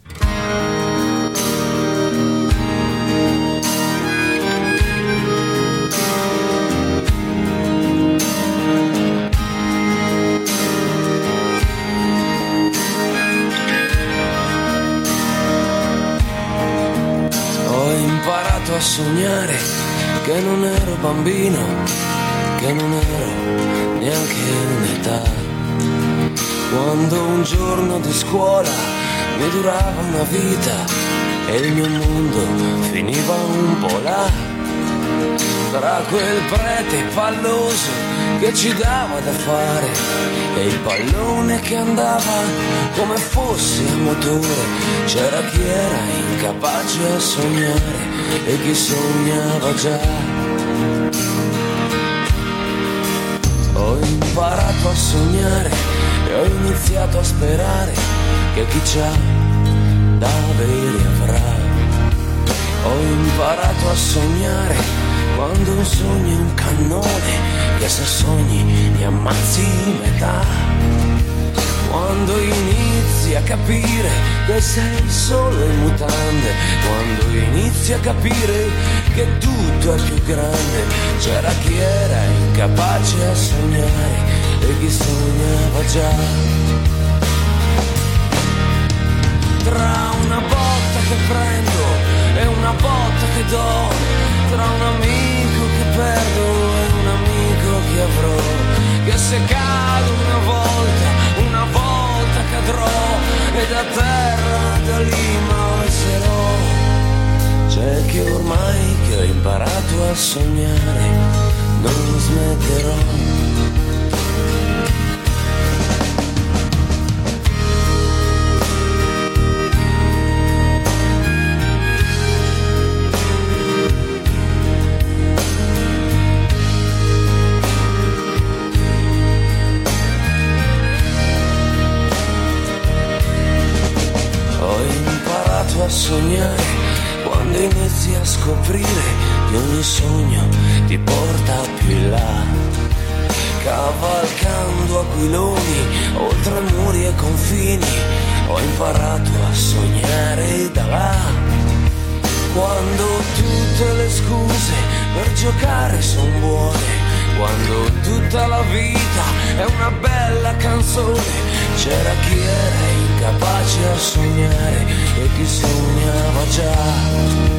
A sognare che non ero bambino, che non ero neanche un'età, quando un giorno di scuola mi durava una vita e il mio mondo finiva un po' là, tra quel prete palloso che ci dava da fare e il pallone che andava come fosse a motore. C'era chi era incapace a sognare e chi sognava già. Ho imparato a sognare e ho iniziato a sperare che chi c'ha da avere avrà. Ho imparato a sognare quando un sogno è un cannone che se sogni ne ammazzi metà. Quando inizi a capire che sei solo in mutande, quando inizi a capire che tutto è più grande. C'era chi era incapace a sognare e chi sognava già. Tra una botta che prendo e una botta che do, tra un amico che perdo e un amico che avrò, che se cado una volta, una volta cadrò e da terra da lì m'alzerò. C'è che ormai che ho imparato a sognare non smetterò. A sognare quando inizi a scoprire che ogni sogno ti porta più in là, cavalcando aquiloni oltre muri e confini. Ho imparato a sognare da là, quando tutte le scuse per giocare son buone, quando tutta la vita è una bella canzone. C'era chi era incapace a sognare e chi sognava già.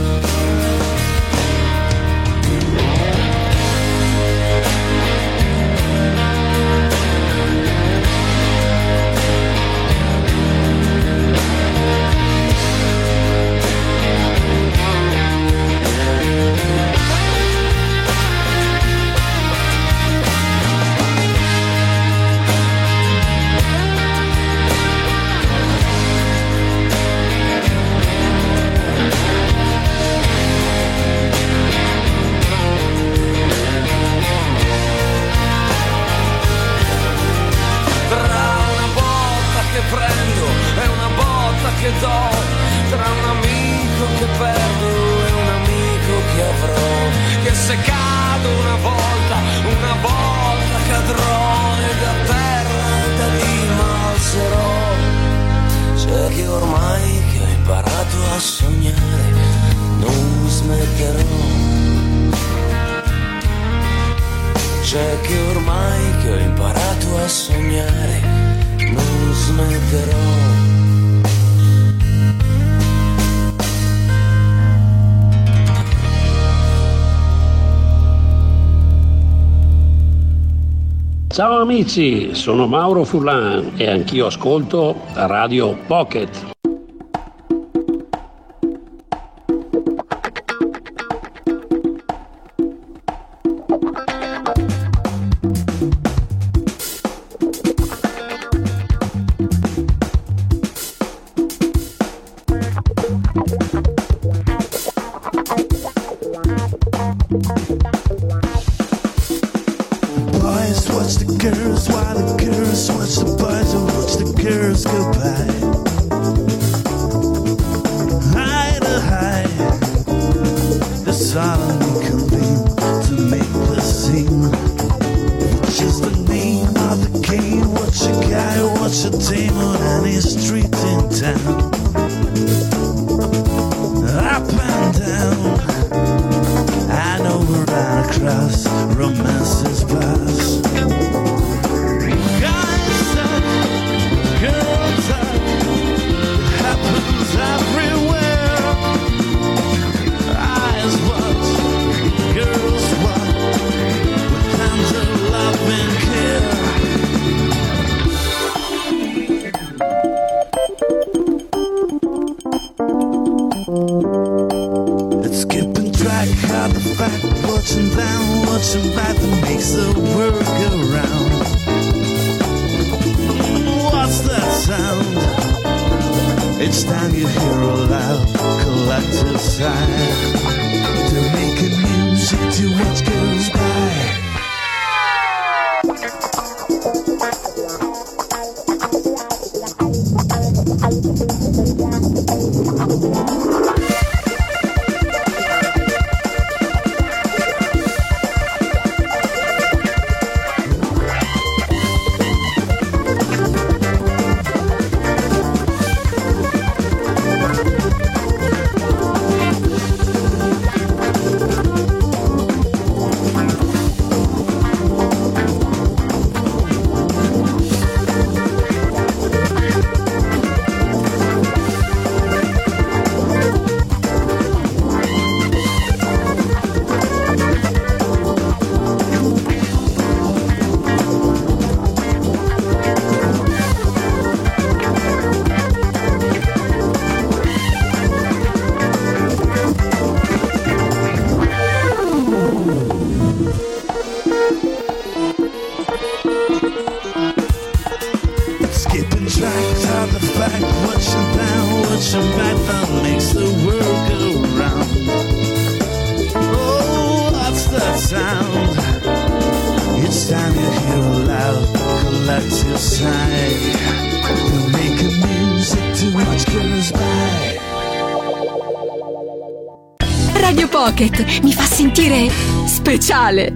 Che do, tra un amico che perdo e un amico che avrò, che se cado una volta, una volta cadrò e da terra da lì m'alzerò. C'è che ormai che ho imparato a sognare non smetterò. C'è che ormai che ho imparato a sognare non smetterò. Ciao amici, sono Mauro Furlan e anch'io ascolto Radio Pocket. the girls while the girls watch the boys and watch the girls go by. High to high, the solemnly convene to make the scene. Just the name of the game. Watch a guy, watch a dame on any street in town. Up and down, and over and across, romances pass. Guys up, girls up, it happens everywhere. Eyes watch, girls watch, with hands of love and care. It's keeping track of the fact, watching down, watching back that makes the world go round. What's that sound? Each time you hear a loud collective sigh, they're making music to watch girls by. Radio Pocket mi fa sentire speciale.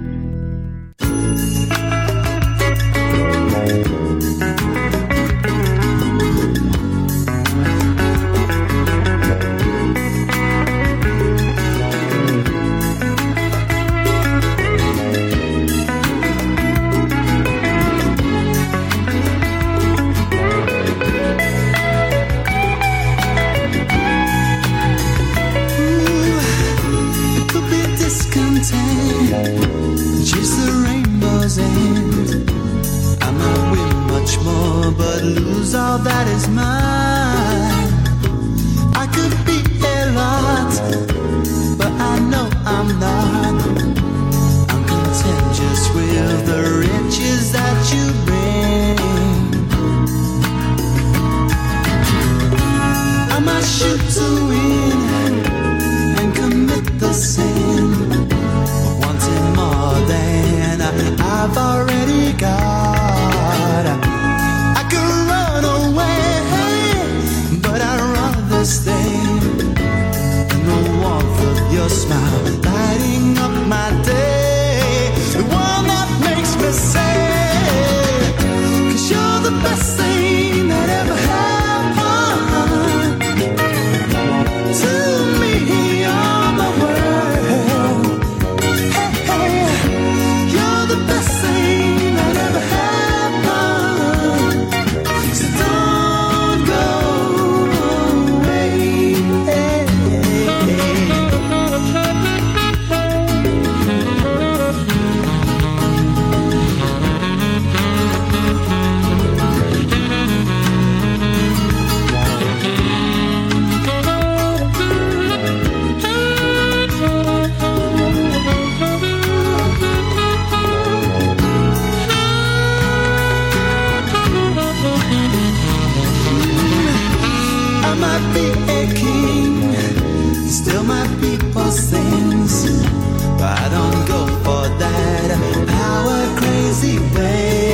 I don't go for that power crazy way.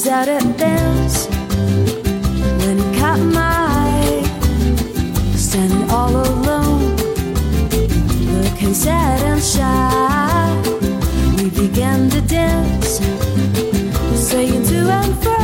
out at dance when he caught my eye, standing all alone, looking sad and shy. We began to dance, swaying to and fro,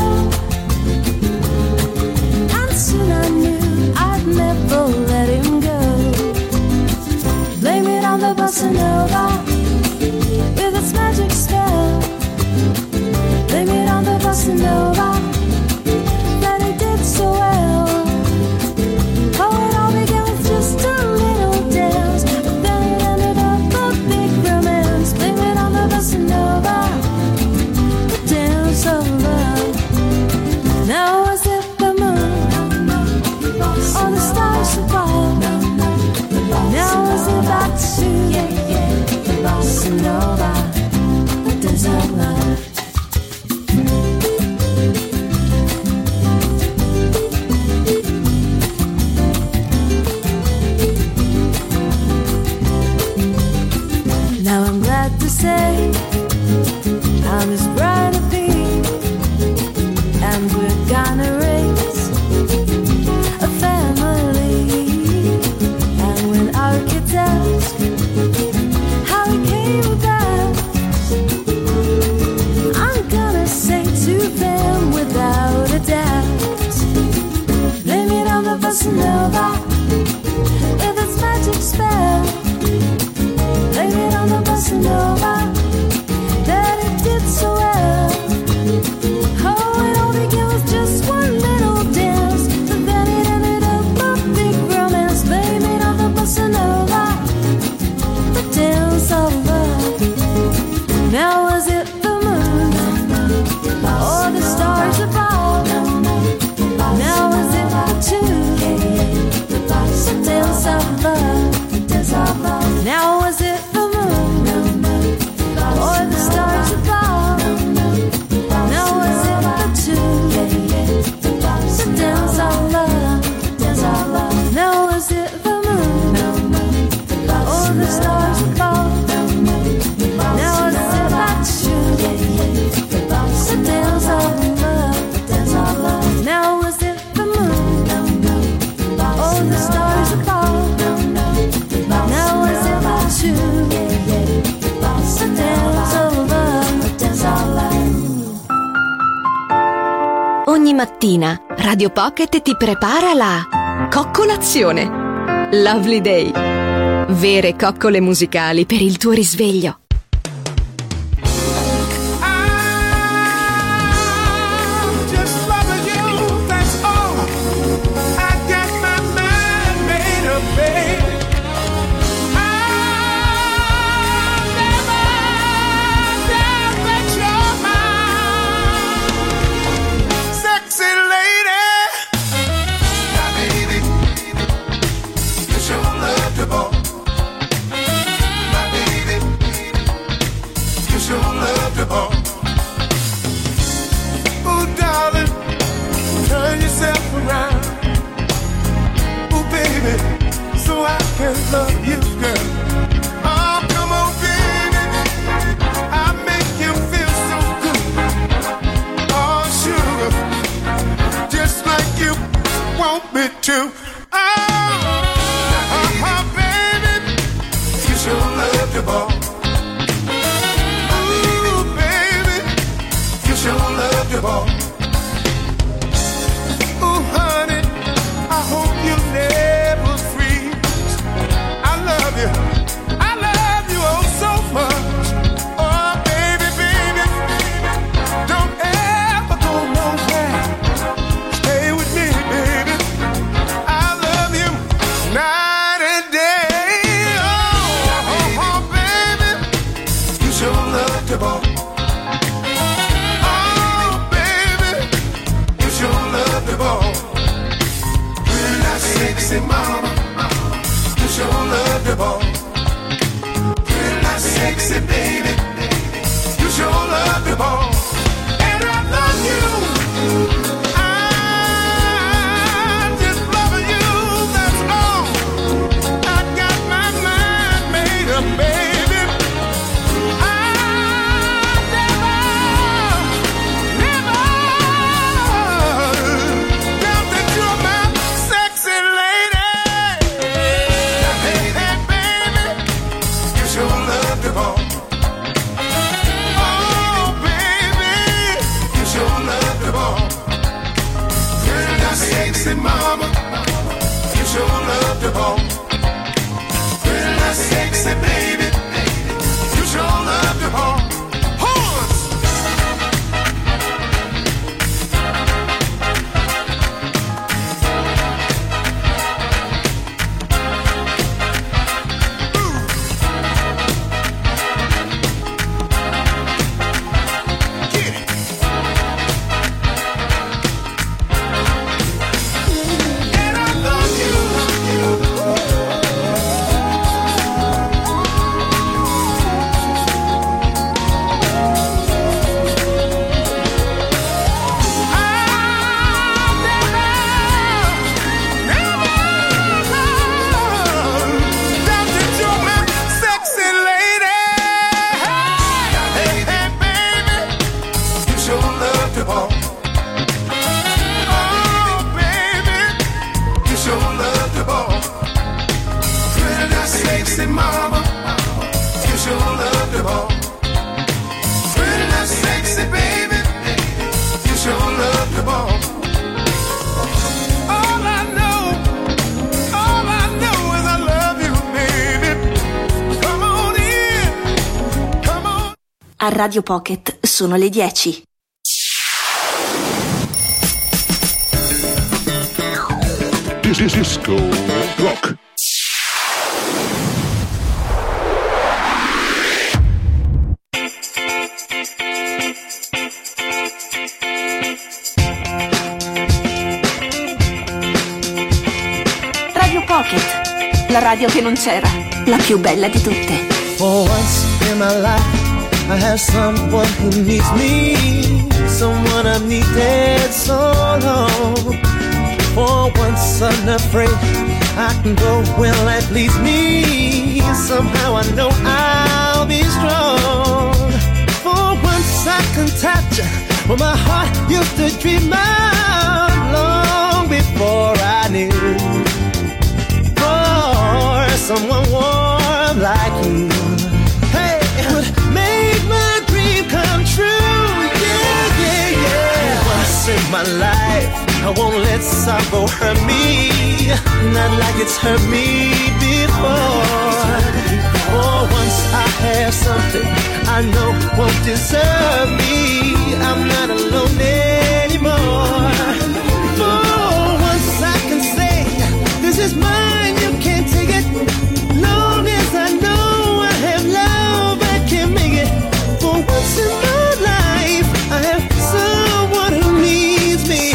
and soon I knew I'd never let him go. Blame it on the bossa nova with its magic spell. Blame it on the bossa nova that he did so well. Oh, it all began with just a little dance, but then it ended up a big romance. Blame it on the bossa nova, the dance of love. Now was it the moon or the stars above? Now was it back to the bossa nova, the dance of love. Now I'm glad to say I'm his bride to be, and we're gonna raise a family. And when our kids ask how it came about, I'm gonna say to them without a doubt, blame it on the bossa nova with its magic spell. Blame it on the bossa nova that it did so well. Oh, it all began with just one little dance, but then it ended up a big romance. Blame it on the bossa nova, the dance of love. Now was it the moon or the stars above? Now was it the two, the dance of love, the dance of love. Now was it or the stars above? Now was it the two, the dance of love, dance of love. Now was it the moon or the stars above? Now was it the two, the dance of love, dance of love. Now was it the moon or the stars above? Now was it the two, ogni mattina Radio Pocket ti prepara la coccolazione. Lovely Day. Vere coccole musicali per il tuo risveglio. Love you, girl. Oh, come on, baby. I make you feel so good. Oh, sugar, just like you want me to. Oh, oh, oh baby, you sure love the ball. Ooh, baby, you sure love the ball. Ooh, honey, I hope you never freeze. I love you, I love you oh so much. Oh baby, baby, don't ever go nowhere. Stay with me, baby. I love you night and day. Oh, oh, oh baby, you sure love the ball. Oh baby, you sure love the ball. Really not sexy mama, you sure love the ball. Pretty not sexy baby, you sure love the ball. And I love you, I'm just loving you, that's all. I got my mind made up, baby. I never, never sexy mama, you sure love the ball. Pretty little sexy baby, you sure love the ball. All I know, all I know is I love you, baby. Come on in, come on. A Radio Pocket sono le dieci. Disco Rock. Radio Pocket, la radio che non c'era, la più bella di tutte. For once in my life I have someone who needs me, someone I've needed so long. For once unafraid, I can go where life leads me. Somehow I know I'll be strong. For once I can touch what my heart used to dream of long before I knew. For someone warm like you, hey, would make my dream come true. Yeah, yeah, yeah. Once in my life I won't let sorrow hurt me, not like it's hurt me before. For once I have something I know won't deserve me, I'm not alone anymore. For once I can say, this is mine, you can't take it. Long as I know I have love, I can make it. For once in my life, I have someone who needs me.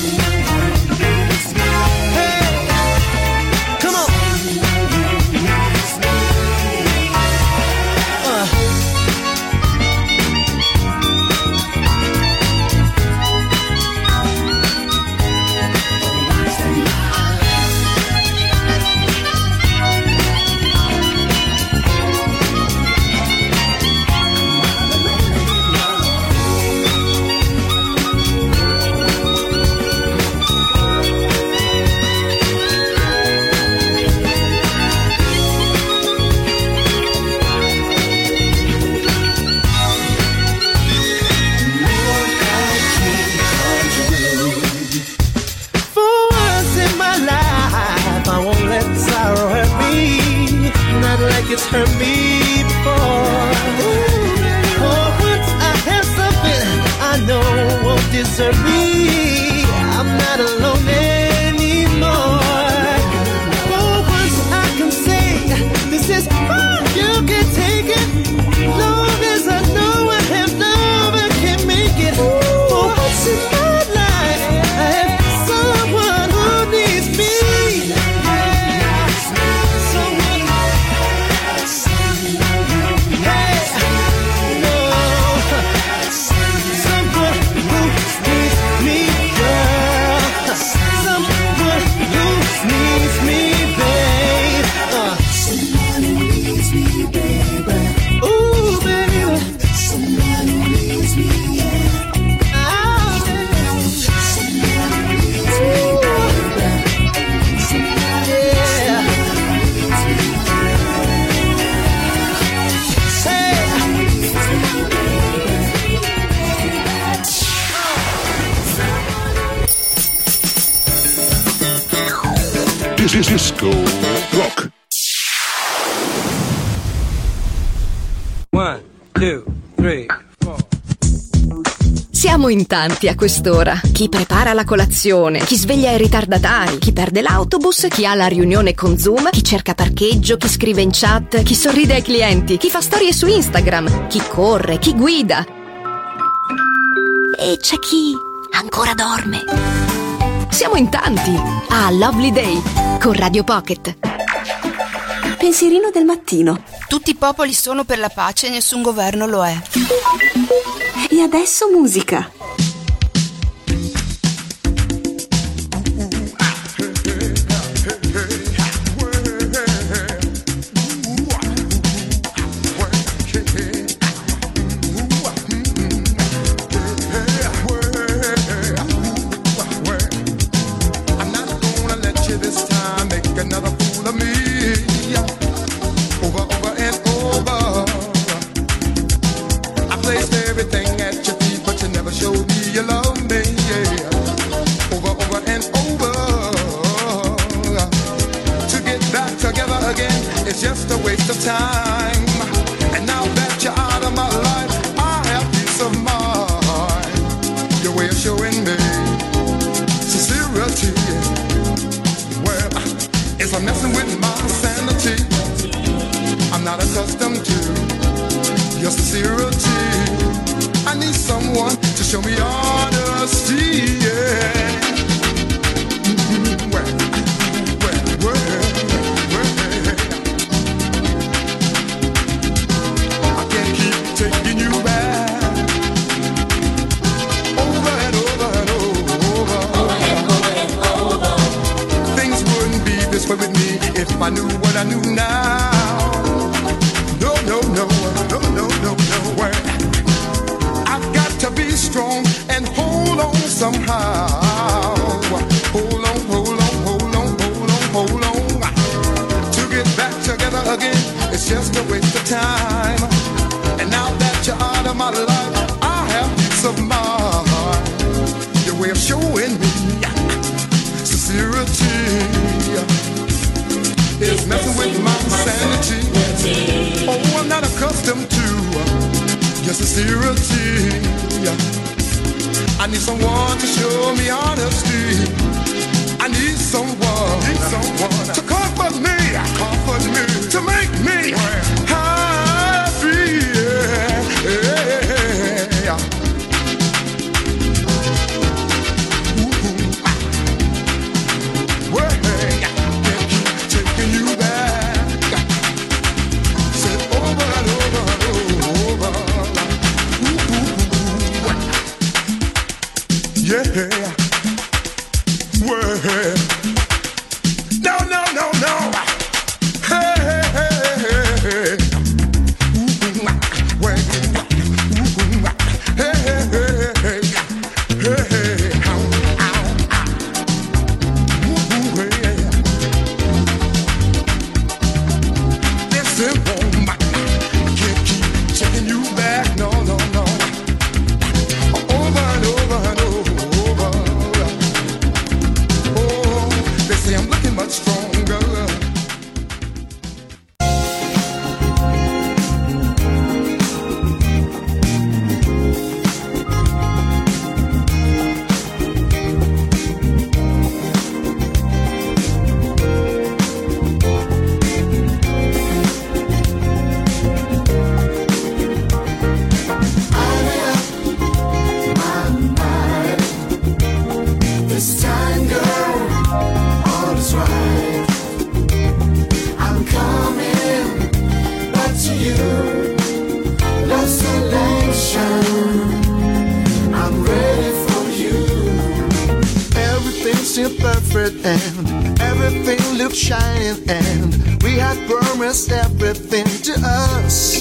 It's hurt me before. For once I have something I know won't desert me, I'm not alone anymore. For once I can say, this is mine, you can take it. Long as I know I have love, I can make it. For once in my life, I have someone who needs me. Disco Rock. One, two, three, four. Siamo in tanti a quest'ora. Chi prepara la colazione, chi sveglia i ritardatari, chi perde l'autobus, chi ha la riunione con Zoom, chi cerca parcheggio, chi scrive in chat, chi sorride ai clienti, chi fa storie su Instagram, chi corre, chi guida. E c'è chi ancora dorme. Siamo in tanti a Lovely Day con Radio Pocket. Pensierino del mattino. Tutti i popoli sono per la pace e nessun governo lo è. E adesso musica. it's just a waste of time. And now that you're out of my life, I have peace of mind. Your way of showing me sincerity, well, it's a messing with my sanity. I'm not accustomed to your sincerity. I need someone to show me honesty, yeah. Mm-hmm. Well, well, well, well. I can't keep taking you back over and over and over. Over and over and over. Things wouldn't be this way with me if I knew what I knew now. No, no, no, no, no, no, no way. I've got to be strong and hold on somehow. Hold on, hold on, hold on, hold on, hold on. To get back together again, it's just a waste of time. And now that you're out of my life, I have peace of mind. Your way of showing me sincerity is messing with my sanity. Oh, I'm not accustomed to your sincerity. I need someone to show me honesty. I need someone, need someone to comfort me, comfort me, to make me happy. Yeah. Ooh, ah. Well, hey, can't keep taking you back. Said over and over and over. Ooh, yeah. Well, no, no, no, no. Hey, hey, hey, hey, hey. Ooh, well, ooh, hey, hey, hey, hey, hey, hey, ow, ow, ow. Ooh, hey. Listen, woman, I can't keep taking you back. No, no, no. Over and over and over. I'm looking much stronger. This time, girl, all is right. I'm coming back to you. Lost selection. I'm ready for you. Everything seemed perfect and everything looked shining, and we had promised everything to us.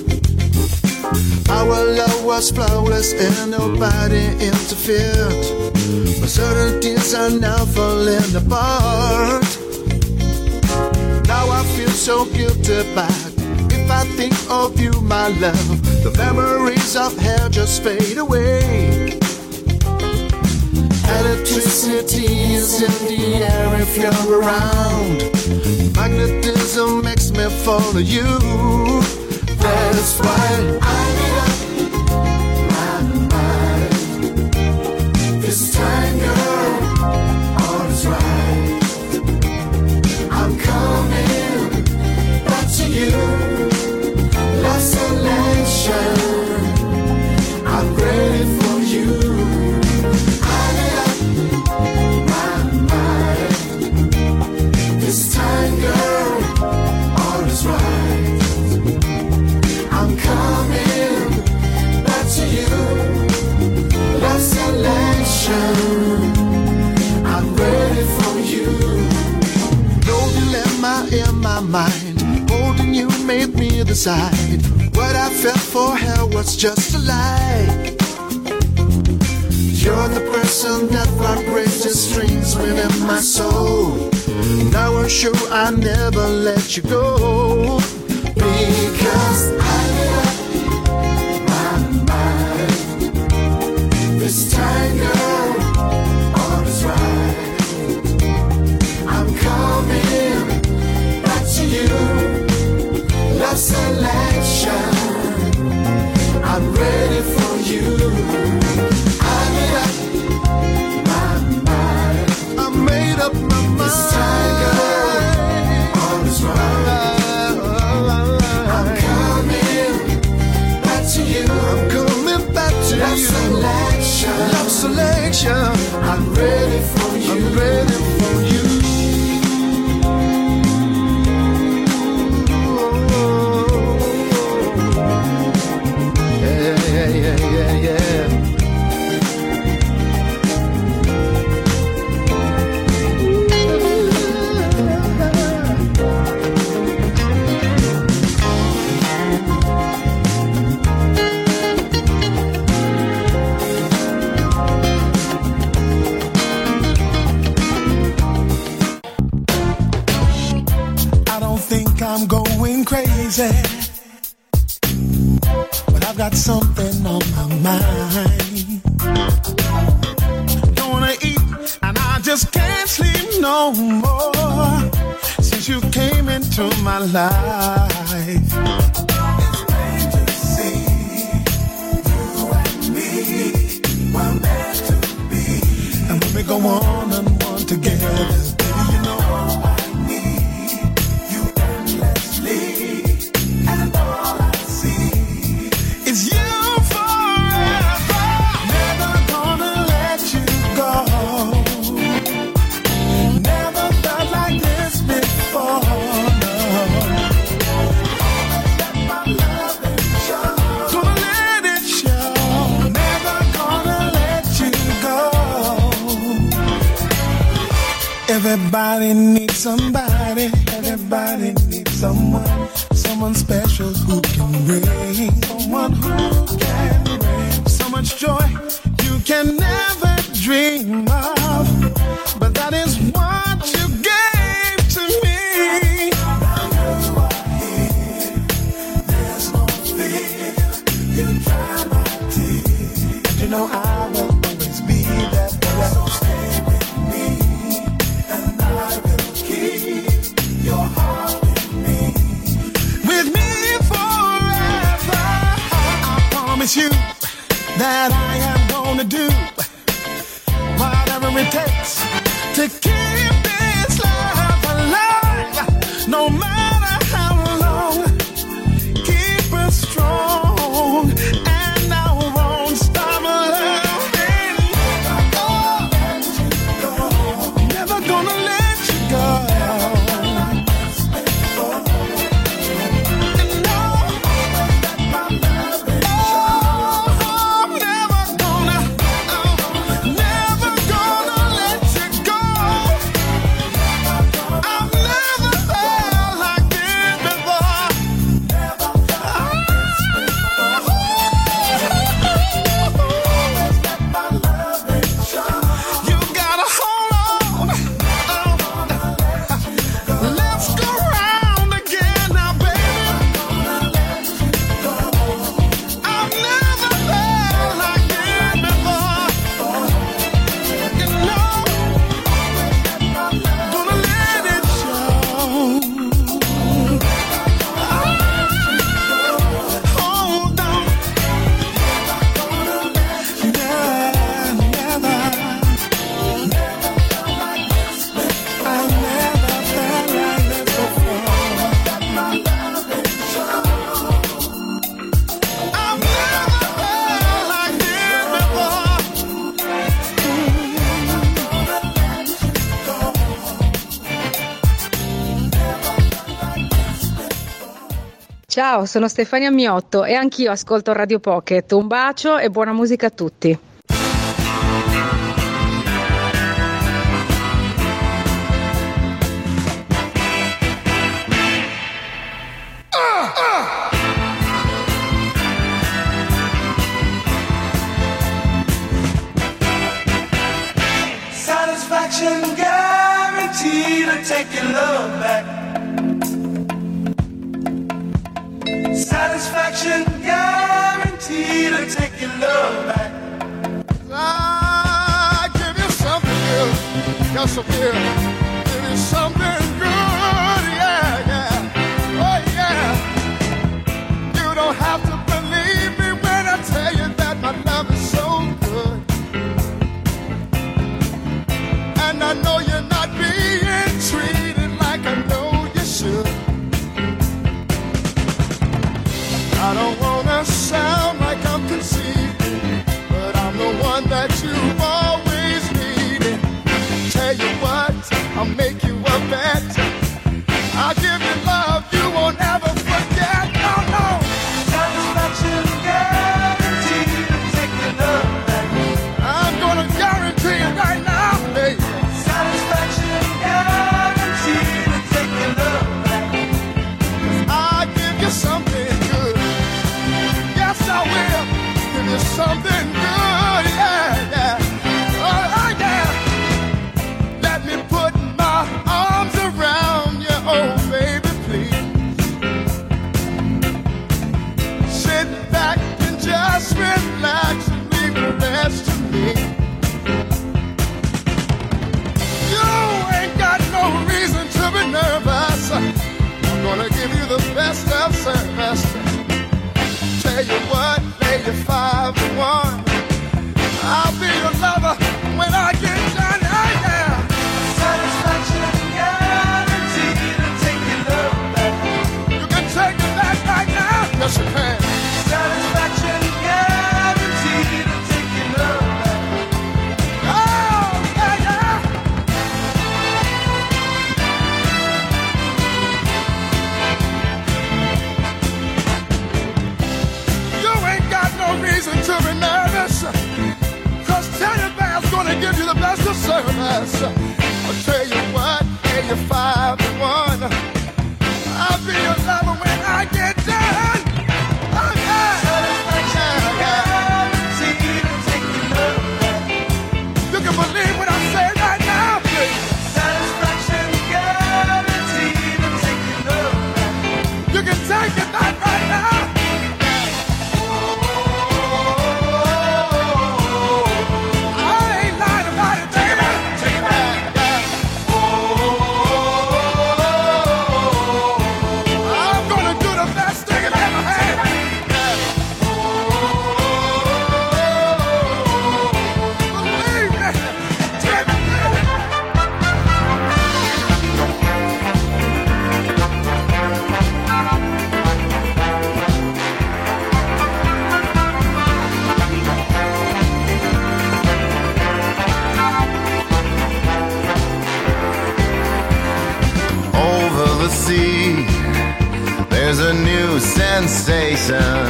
Our love was flawless and nobody interfered. But certain things are now falling apart. Now I feel so guilty back. If I think of you, my love, the memories of hell just fade away. Electricity is in the air if you're around. Magnetism makes me follow you. That's why I made up my mind. This time, girl, all is right. I'm coming back to you. Lost selection. I'm ready for you. I made up my mind. This time, girl, all is right. I'm coming back to you. Lost selection. I'm ready for you. No dilemma in my mind. Holding you made me decide. What I felt for her was just a lie. You're the person that vibrates the strings within my soul. Now I'm sure I'll never let you go. Because I made up my mind. This time, girl, all is right. I'm coming back to you. is right. I'm coming back to you. I'm coming back to love you. Selection. Love selection. I'm ready for you. I'm ready for you. Yeah, yeah, yeah, yeah, yeah. I'm going crazy, but I've got something on my mind. Don't wanna eat, and I just can't sleep no more since you came into my life. It's plain to see you and me were meant to be, and when we go on and on together, baby, you know I and all I see is you forever. Never gonna let you go. Never felt like this before. Let my love it show. Gonna let it show. Never gonna let you go. Everybody needs somebody. Everybody needs someone. Someone special who can bring, someone who can bring so much joy you can never dream of. But that is what you gave to me. Now you are here, there's no fear. You dry my tears, and you know I will always be there. So stay with me, and I will keep your heart. Promise you that I am gonna do whatever it takes to keep this love alive, no matter how long. Keep us strong, and I won't stop loving. Oh, never gonna let you go. Ciao, sono Stefania Miotto e anch'io ascolto Radio Pocket. Un bacio e buona musica a tutti. Satisfaction guaranteed to take your love back. Satisfaction guaranteed to take your love back. I give you something good, got some good. Give you something good, yeah, yeah, oh yeah. You don't have to believe me when I tell you that my love is so good. And I know you're not being treated like I know you should. the best of service. Tell you what, lay you five to one. I'll be your lover when I get done. Oh, yeah. Satisfaction guaranteed to take your love back. You can take it back right now. Yes, you can. Satisfaction guaranteed to take your love back. Oh, yeah, yeah. You ain't got no reason to be nervous, 'cause Teddy Bear's gonna give you the best of service. I'll tell you what, pay you five to one. I'll be your lover when I get done. Oh, yeah. Satisfaction guaranteed to take your love back. You can believe what I say right now, please. Satisfaction guaranteed to take your love back. You can take it back right now. I ain't lying about it. Take it back. Take it back. I'm gonna do the best thing I've ever had. Believe me. Take it back. Over the sea, there's a new sensation.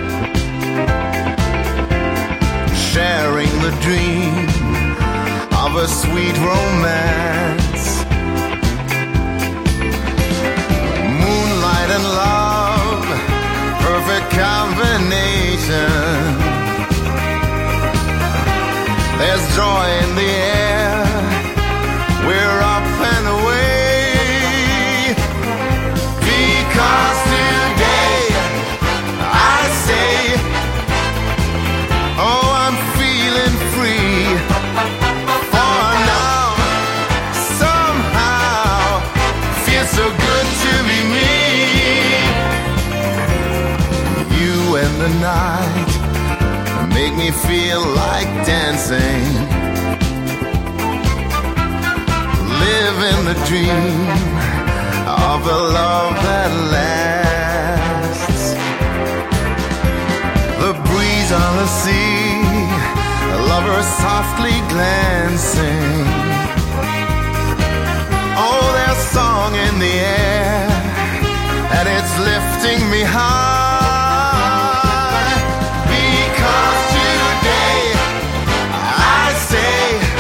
Sharing the dream of a sweet romance. Moonlight and love, perfect combination. There's joy in the air, we're up and away. Because today I say, oh, I'm feeling free. For now, somehow, feels so good to be me. You and the night make me feel like dancing. Living the dream of a love that lasts. The breeze on the sea, lovers softly glancing. Oh, there's song in the air, and it's lifting me high. Because today I say,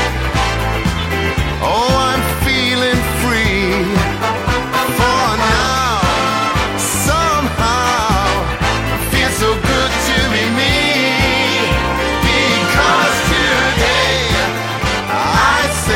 oh, I'm feeling free. For now, somehow, feels so good to be me. Because today I say,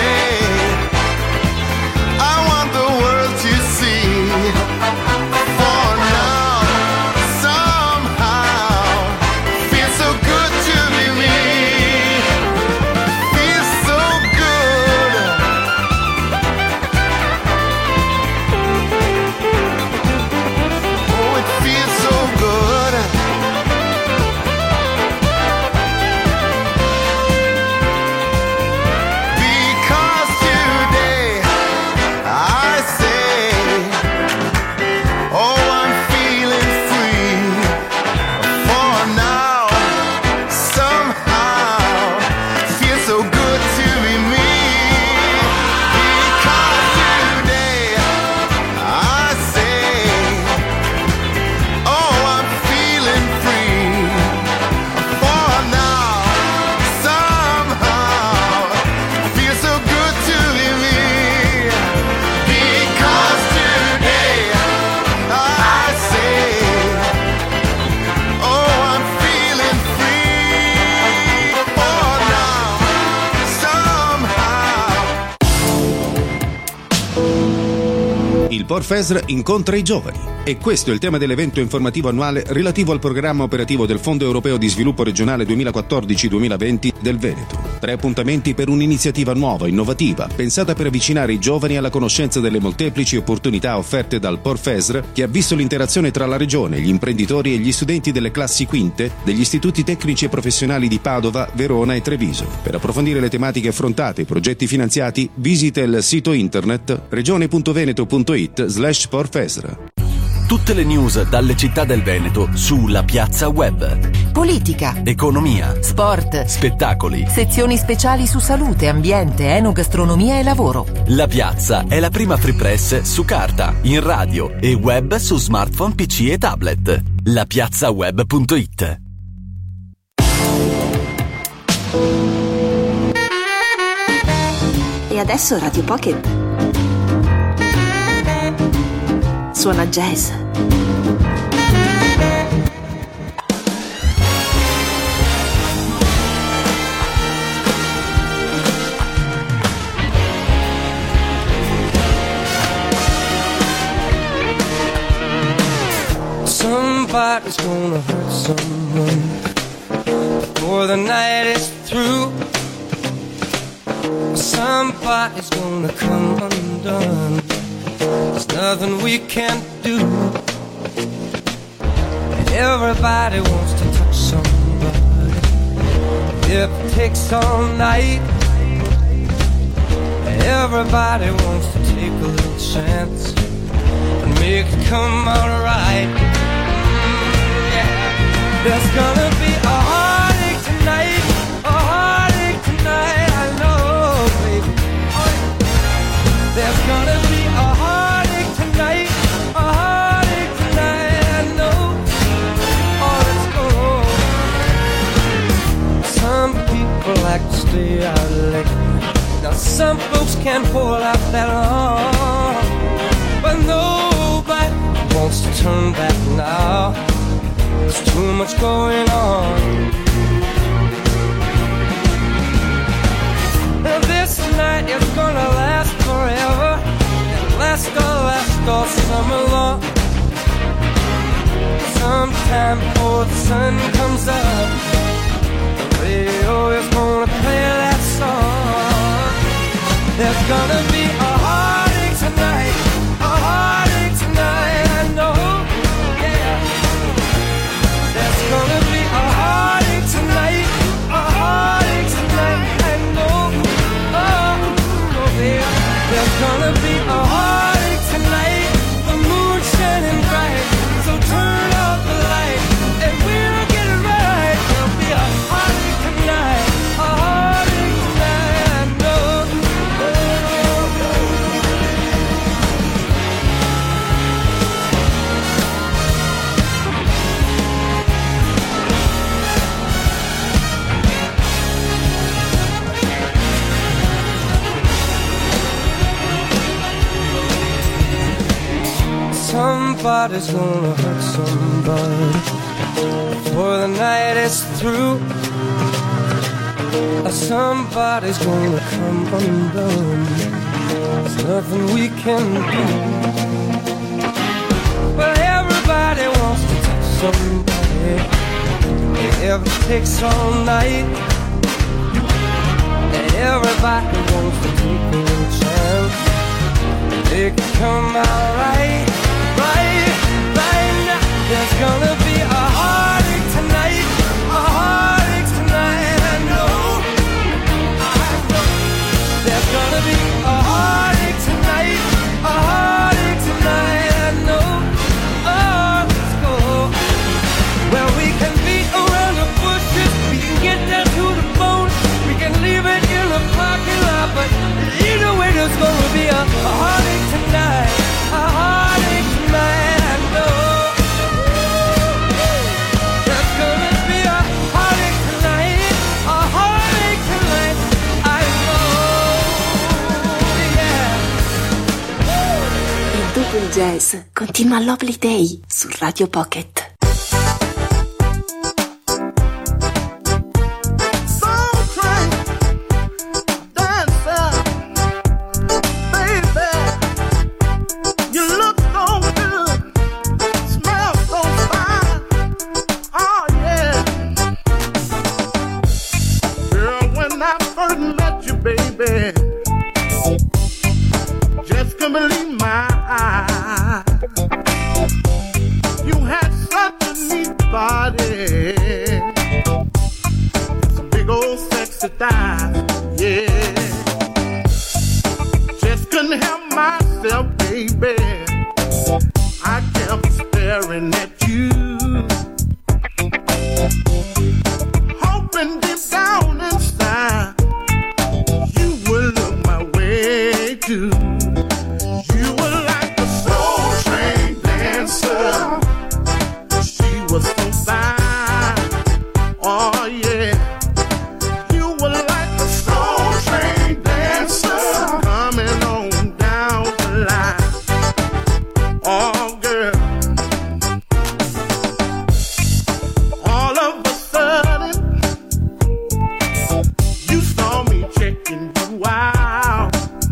Porfesr incontra i giovani. E questo è il tema dell'evento informativo annuale relativo al programma operativo del Fondo Europeo di Sviluppo Regionale duemilaquattordici duemilaventi del Veneto. Tre appuntamenti per un'iniziativa nuova, innovativa, pensata per avvicinare i giovani alla conoscenza delle molteplici opportunità offerte dal Porfesr, che ha visto l'interazione tra la regione, gli imprenditori e gli studenti delle classi quinte degli istituti tecnici e professionali di Padova, Verona e Treviso. Per approfondire le tematiche affrontate e i progetti finanziati, visita il sito internet regione.veneto.it slash Porfesr. Tutte le news dalle città del Veneto sulla piazza web. Politica, economia, sport, spettacoli, sezioni speciali su salute, ambiente, enogastronomia e lavoro. La piazza è la prima free press su carta, in radio e web su smartphone, P C e tablet. la piazza web punto it. E adesso Radio Pocket suona jazz. Somebody's gonna hurt someone before the night is through. Somebody's gonna come undone. There's nothing we can't do. Everybody wants to touch somebody. If it takes all night. Everybody wants to take a little chance and make it come out right. Mm, yeah. There's gonna be a heartache tonight, a heartache tonight, I know, baby. There's gonna be a heartache tonight, a heartache tonight, I know. Oh, let's go. Some people like to stay out late. Now some folks can't hold out that long, but nobody wants to turn back now. There's too much going on. Now this night is gonna last forever. It'll last all, last all summer long. Sometime before the sun comes up, the radio is gonna play that song. There's gonna be a heartache tonight, a heartache tonight, I know, yeah. There's gonna be a heartache tonight, a heartache tonight, I know, oh, oh yeah. There's gonna be a heartache tonight, the moon shining bright, so turn off the light, and we'll get it right. There'll be a heartache tonight, a heartache tonight, I know. Somebody's gonna hurt somebody before the night is through. Somebody's gonna come undone. There's nothing we can do. But everybody wants to touch somebody. If it takes all night, everybody wants to take a little chance. It can come out right. Right, right now, there's gonna be a heartache tonight, a heartache tonight, I know, I know. There's gonna be a heartache tonight, a heartache tonight, I know, oh, let's go. Well, we can beat around the bushes, we can get down to the bone, we can leave it in the parking lot, but either way there's gonna be a, a heartache tonight, a heartache tonight. Man, I know there's gonna be a heartache tonight, a heartache tonight, I know, yeah. E dopo il jazz continua Lovely Day su Radio Pocket. You look body. It's a big old sexy thigh, yeah. Just couldn't help myself, baby. I kept staring at you, hoping deep down inside you would look my way too. You were like a soul train dancer. She was so fine, oh yeah. You were like a soul train dancer, coming on down the line, oh girl. All of a sudden, you saw me checking you out.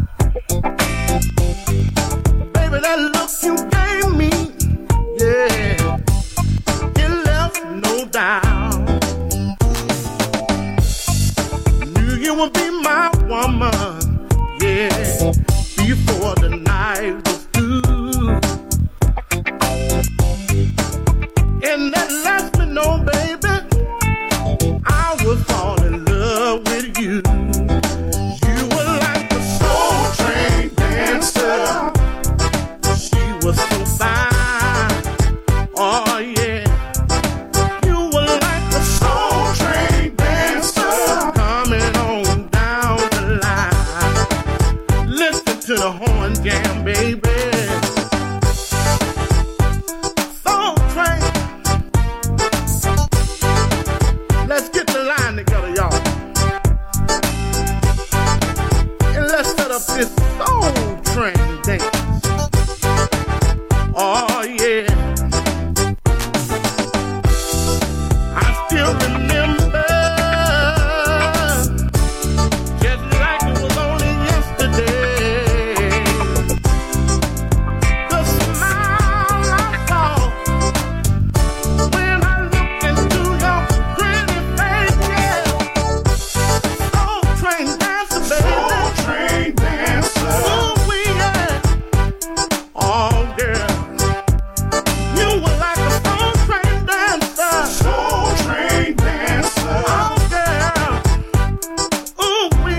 Baby, that look you gave me, yeah, it left no doubt. Knew you would be my woman, yeah, before the night was through. And that left me know, baby, I would fall in love with you. You were like a soul train dancer. She was so fine, oh yeah. You were like a soul train dancer, coming on down the line. Listen to the horn jam, baby. Soul train. Let's get the line together, y'all. And let's set up this soul train dance. Oh yeah. I still remember, just like it was only yesterday, the smile I saw when I looked into your pretty face, yeah. Soul train dancer, baby. Soul train dancer. Ooh, we yeah. Oh, girl. You were like a soul train dancer. Soul train dancer. Oh, girl. Ooh, we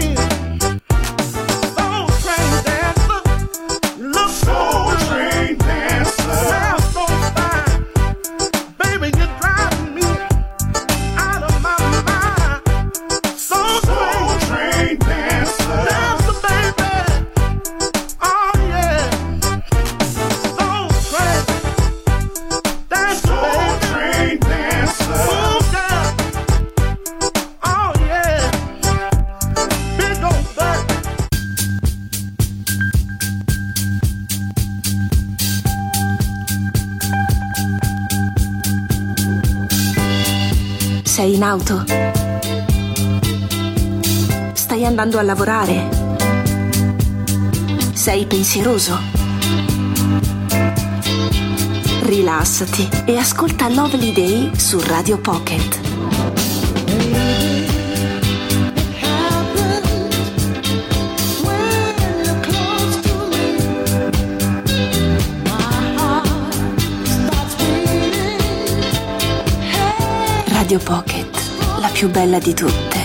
soul train dancer. Look soul train dancer. Smell so fine. Baby, you're driving me out of my mind. Soul train dancer. Dancer, baby. Oh, yeah. Soul train dancer, baby. Dancer. Ooh, girl. Oh, yeah. Big old butt. Sei in auto? Stai andando a lavorare? Sei pensieroso? Rilassati e ascolta Lovely Day su Radio Pocket. Radio Pocket, la più bella di tutte.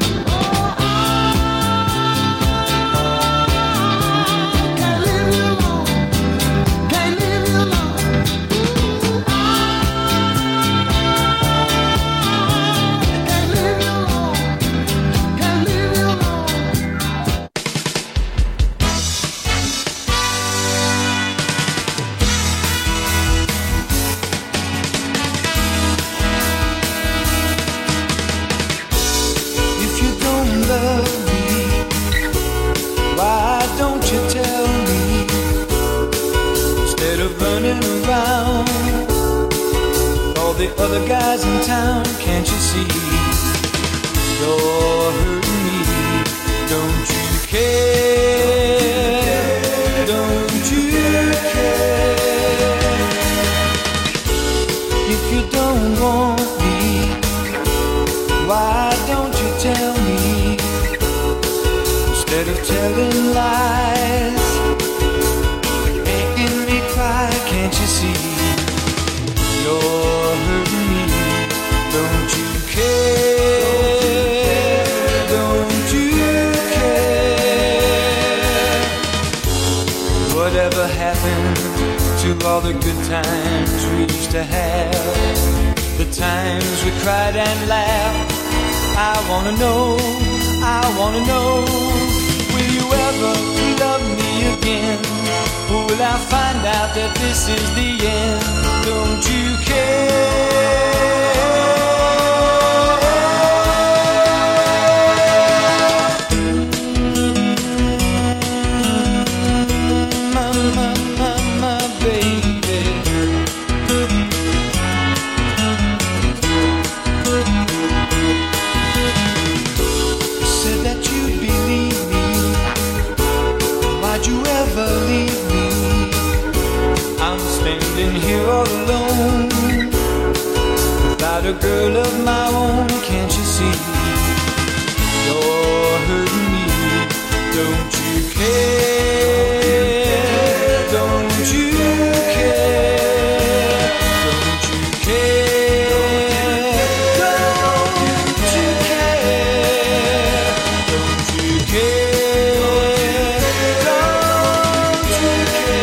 Other guys in town, can't you see? You're hurting me. Don't you care? Don't you care? If you don't want me, why don't you tell me? Instead of telling lies, making me cry, can't you see? You're hurting me. all the good times we used to have, the times we cried and laughed. I wanna know, I wanna know, will you ever love me again? Or will I find out that this is the end? Don't you care? Here all alone, without a girl of my own. Can't you see you're hurting me? Don't you care? Don't you care? Don't you care? Don't you care? Don't you care? Don't you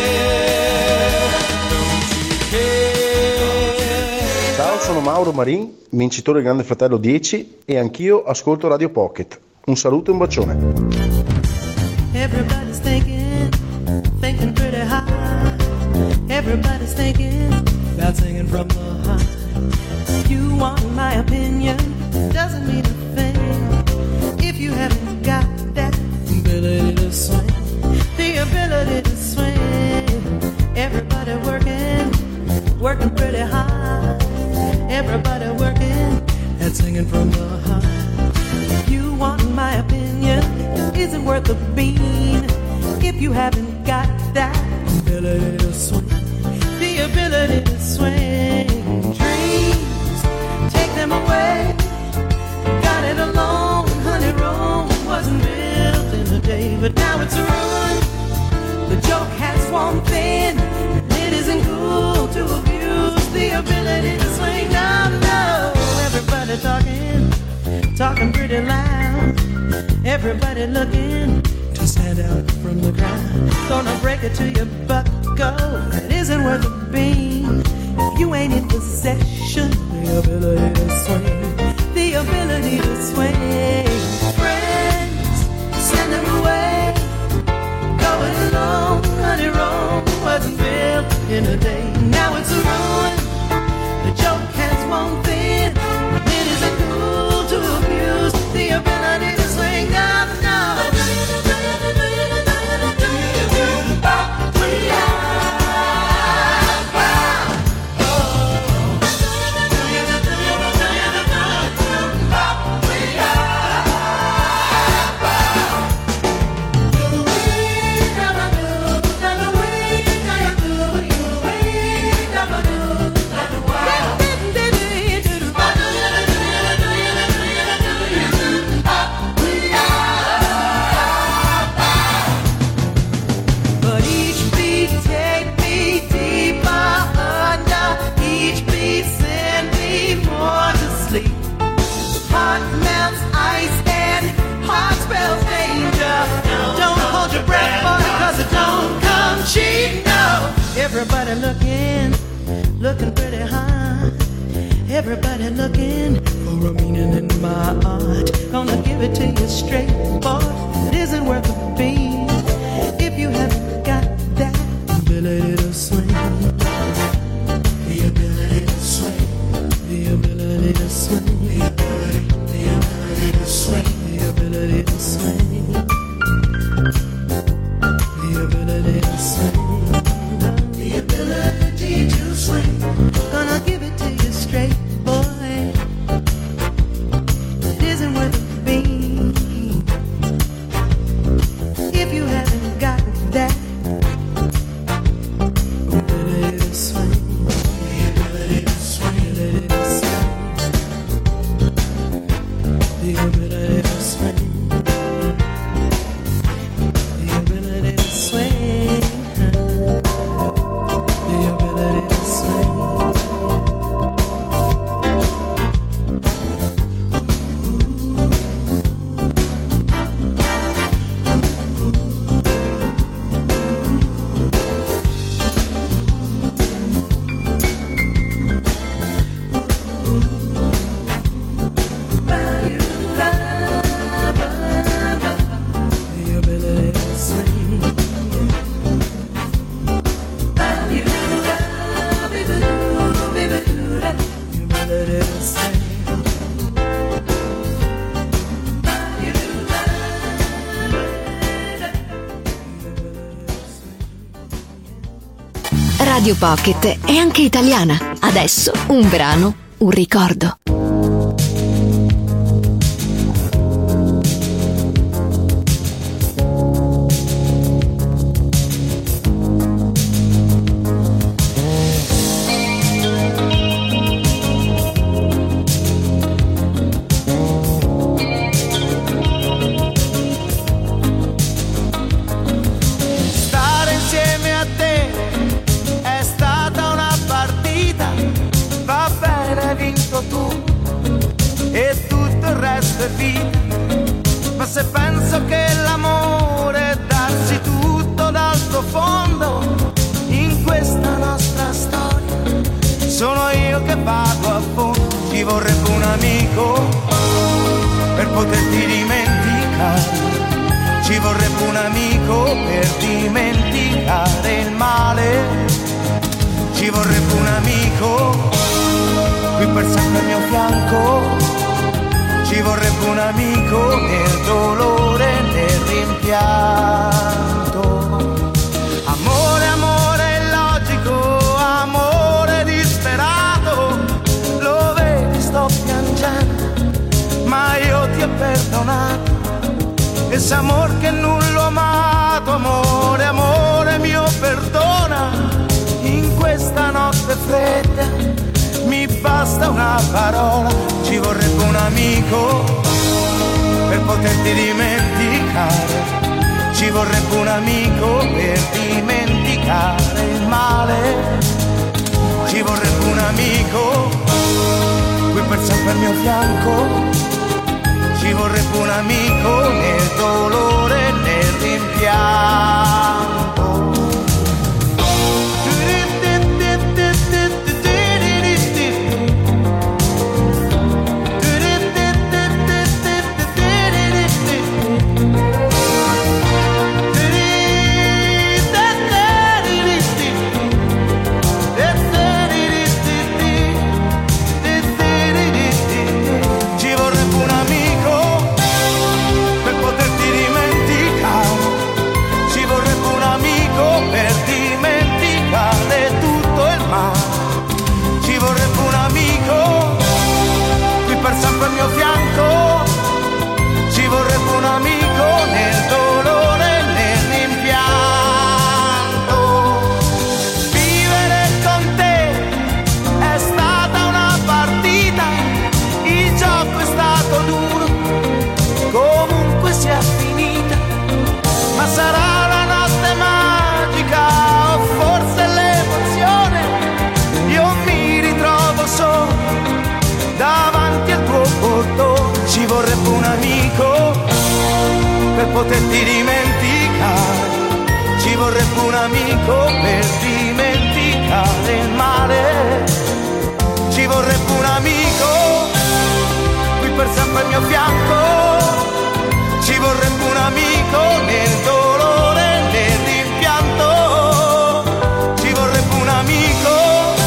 care? Ciao, sono Mauro Marin, vincitore del Grande Fratello dieci, e anch'io ascolto Radio Pocket. Un saluto e un bacione. Everybody's thinking, thinking pretty high. Everybody's thinking about singing from the heart. You want my opinion, doesn't mean a thing if you haven't got that ability to swing. The ability to swing. Everybody working, working pretty hard. Everybody working at singing from the heart. You want my opinion, isn't worth a bean if you haven't got that ability to swing. The ability to swing. Dreams, take them away. Got it alone, honey, Rome wasn't built in a day, but now it's a ruin. The joke has one thing, it isn't cool to abuse the ability to swing. No, no, everybody talking, talking pretty loud. Everybody looking to stand out from the crowd. Gonna break it to you, bucko, it isn't worth a bean if you ain't in possession. The ability to swing, the ability to swing. Friends, send them away. Going alone, honey, Rome wasn't built in a day. Now it's a ruin. The joke has one thing, it isn't cool to abuse the ability to swing. No, no. Everybody looking, looking pretty high. Everybody looking for a meaning in my art. Gonna give it to you straight, boy. It isn't worth a beat if you haven't got that ability to swing. The ability to swing. The ability to swing. The ability, the ability to swing. The ability to swing. The ability to swing. The ability to swing. Gonna give it to you straight, boy. It isn't worth a beat if you haven't got that Radio Pocket è anche italiana. Adesso un brano, un ricordo. Ma se penso che l'amore è darsi tutto dal profondo in questa nostra storia, sono io che vado a fondo. Ci vorrebbe un amico per poterti dimenticare, ci vorrebbe un amico per dimenticare il male, ci vorrebbe un amico qui per sempre al mio fianco. Ci vorrebbe un amico nel dolore, nel rimpianto. Amore, amore illogico, amore disperato. Lo vedi, sto piangendo, ma io ti ho perdonato. Ese amor che non l'ho amato, amore, amore mio, perdona. In questa notte fredda mi basta una parola. Ci vorrebbe un amico per poterti dimenticare, ci vorrebbe un amico per dimenticare il male, ci vorrebbe un amico qui per sempre al mio fianco, ci vorrebbe un amico nel dolore, nel rimpianto. Al mio fianco, ci vorrebbe un amico nel dolore, nel rimpianto. Vivere con te è stata una partita, il gioco è stato duro, comunque sia finita, ma sarà la notte magica o forse l'emozione, io mi ritrovo solo davanti al tuo portone. Ci vorrebbe un amico per poterti dimenticare, ci vorrebbe un amico per dimenticare il male, ci vorrebbe un amico qui per sempre al mio fianco, ci vorrebbe un amico nel dolore, nel rimpianto, ci vorrebbe un amico.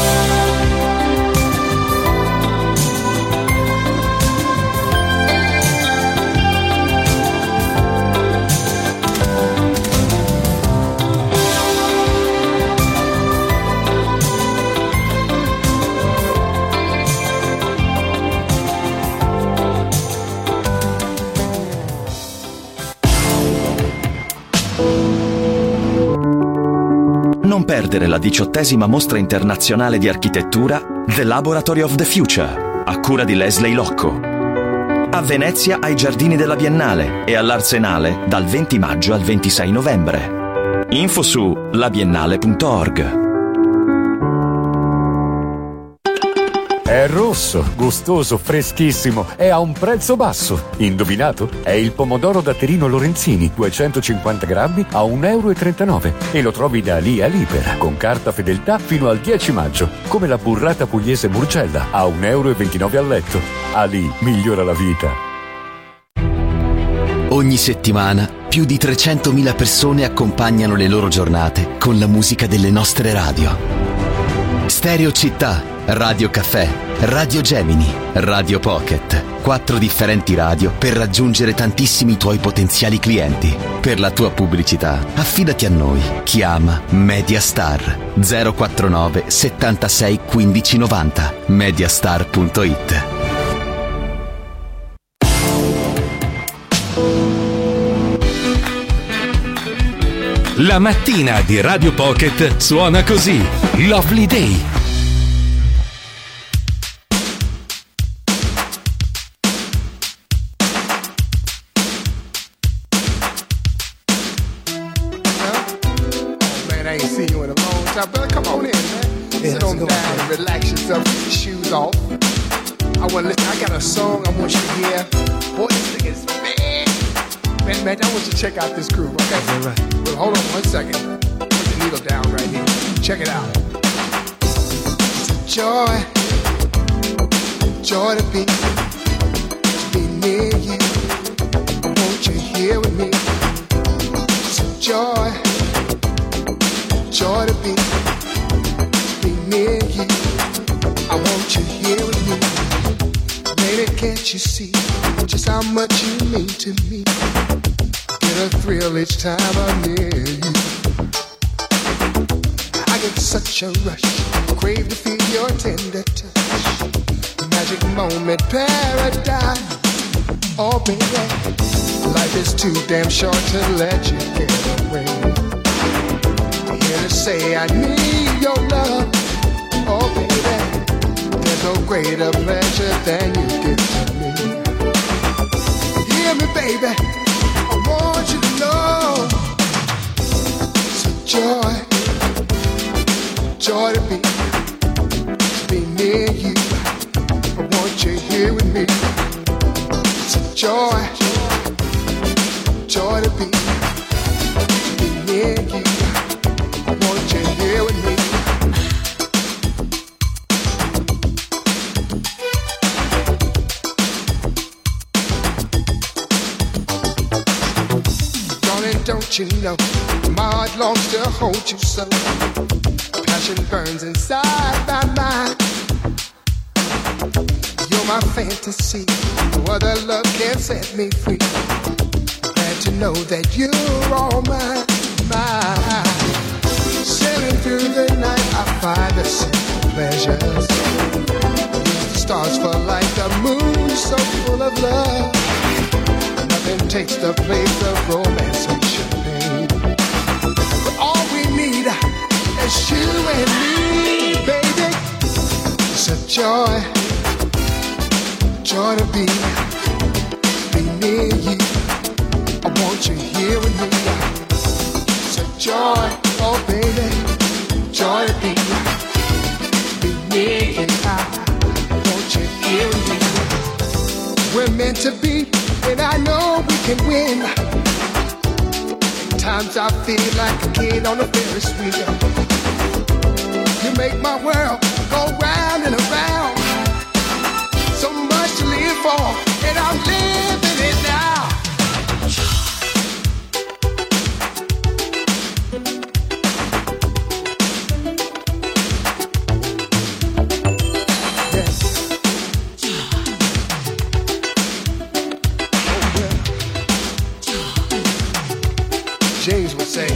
Non perdere la diciottesima mostra internazionale di architettura The Laboratory of the Future, a cura di Leslie Locco. A Venezia ai Giardini della Biennale e all'Arsenale dal venti maggio al ventisei novembre. Info su labiennale punto org. È rosso, gustoso, freschissimo e a un prezzo basso. Indovinato? È il pomodoro datterino Lorenzini, duecentocinquanta grammi a un euro e trentanove. E lo trovi da lì a Libera, con carta fedeltà fino al dieci maggio. Come la burrata pugliese Murgella, a un euro e ventinove al letto. Ali migliora la vita. Ogni settimana più di trecentomila persone accompagnano le loro giornate con la musica delle nostre radio. Stereo Città, Radio Caffè, Radio Gemini, Radio Pocket. Quattro differenti radio per raggiungere tantissimi tuoi potenziali clienti. Per la tua pubblicità, affidati a noi. Chiama Mediastar zero quarantanove settantasei quindici novanta. mediastar punto it. La mattina di Radio Pocket suona così. Lovely Day. Off. I want to listen. I got a song I want you to hear. Boy, this thing is man, man, man. I want you to check out this groove. Okay, right. Well, hold on one second. Put the needle down right here. Check it out. It's a joy, joy to be, to be near you. I want you here with me. It's a joy, joy to be, to be near you. I want you here with me. Baby, can't you see just how much you mean to me? Get a thrill each time I'm near you. I get such a rush, crave to feel your tender touch. Magic moment, paradise. Oh, baby, life is too damn short to let you get away. Here to say I need your love. Oh, baby, there's no greater pleasure than you give to me. Hear me, baby, I want you to know it's a joy, joy to be, to be near you. I want you here with me. It's a joy, joy to be, to be near you. I want you here with me. Don't you know my heart longs to hold you so? Passion burns inside my mind. You're my fantasy. No other love can set me free. Glad to know that you're all mine, mine. Sailing through the night, I find the simple pleasures. Use the stars for light, the moon so full of love. Nothing takes the place of romance and champagne. But all we need is you and me, baby. It's a joy, joy to be, be near you. I want you here with me. It's a joy, oh baby, joy to be, be near you. I want you here with me. We're meant to be. And I know we can win. At times I feel like a kid on a Ferris wheel. You make my world go round and around. So much to live for, and I'm living it now. James would say,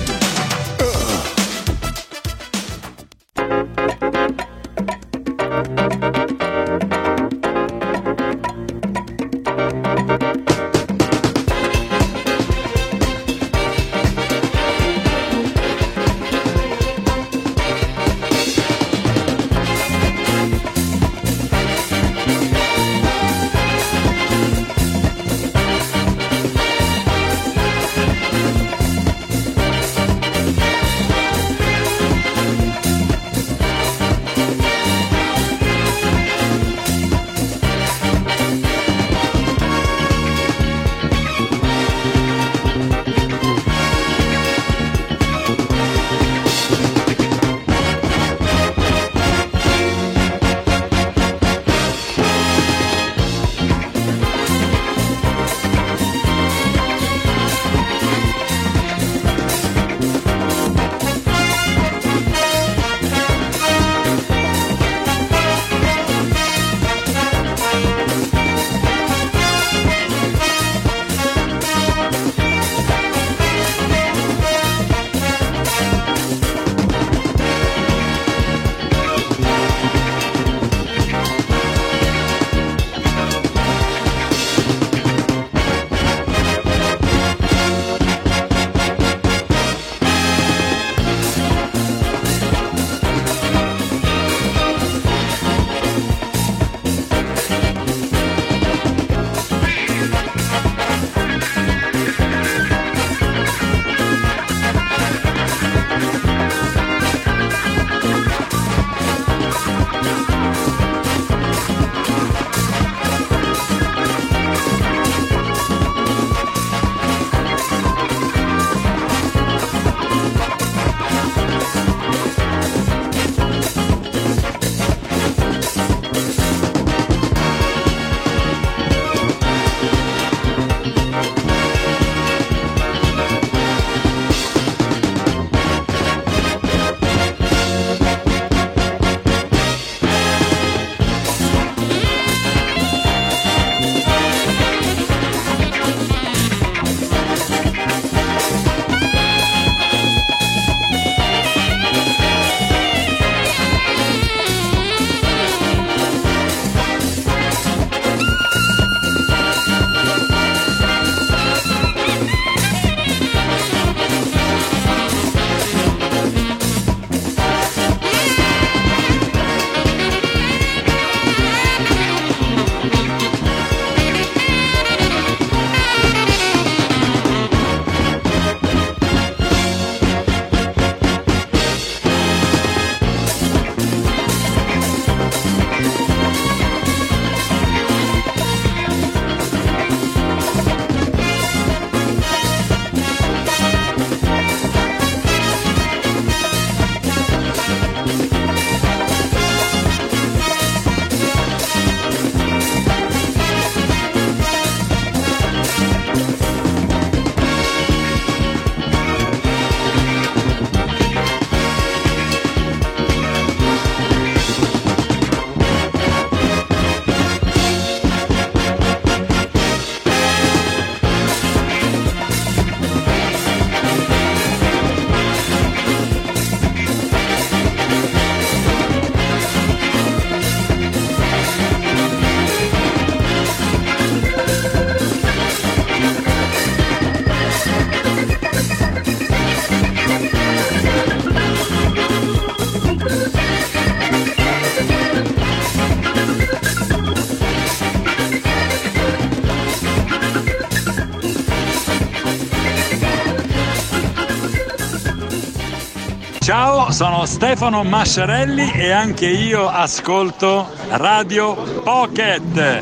Ciao, sono Stefano Masciarelli e anche io ascolto Radio Pocket.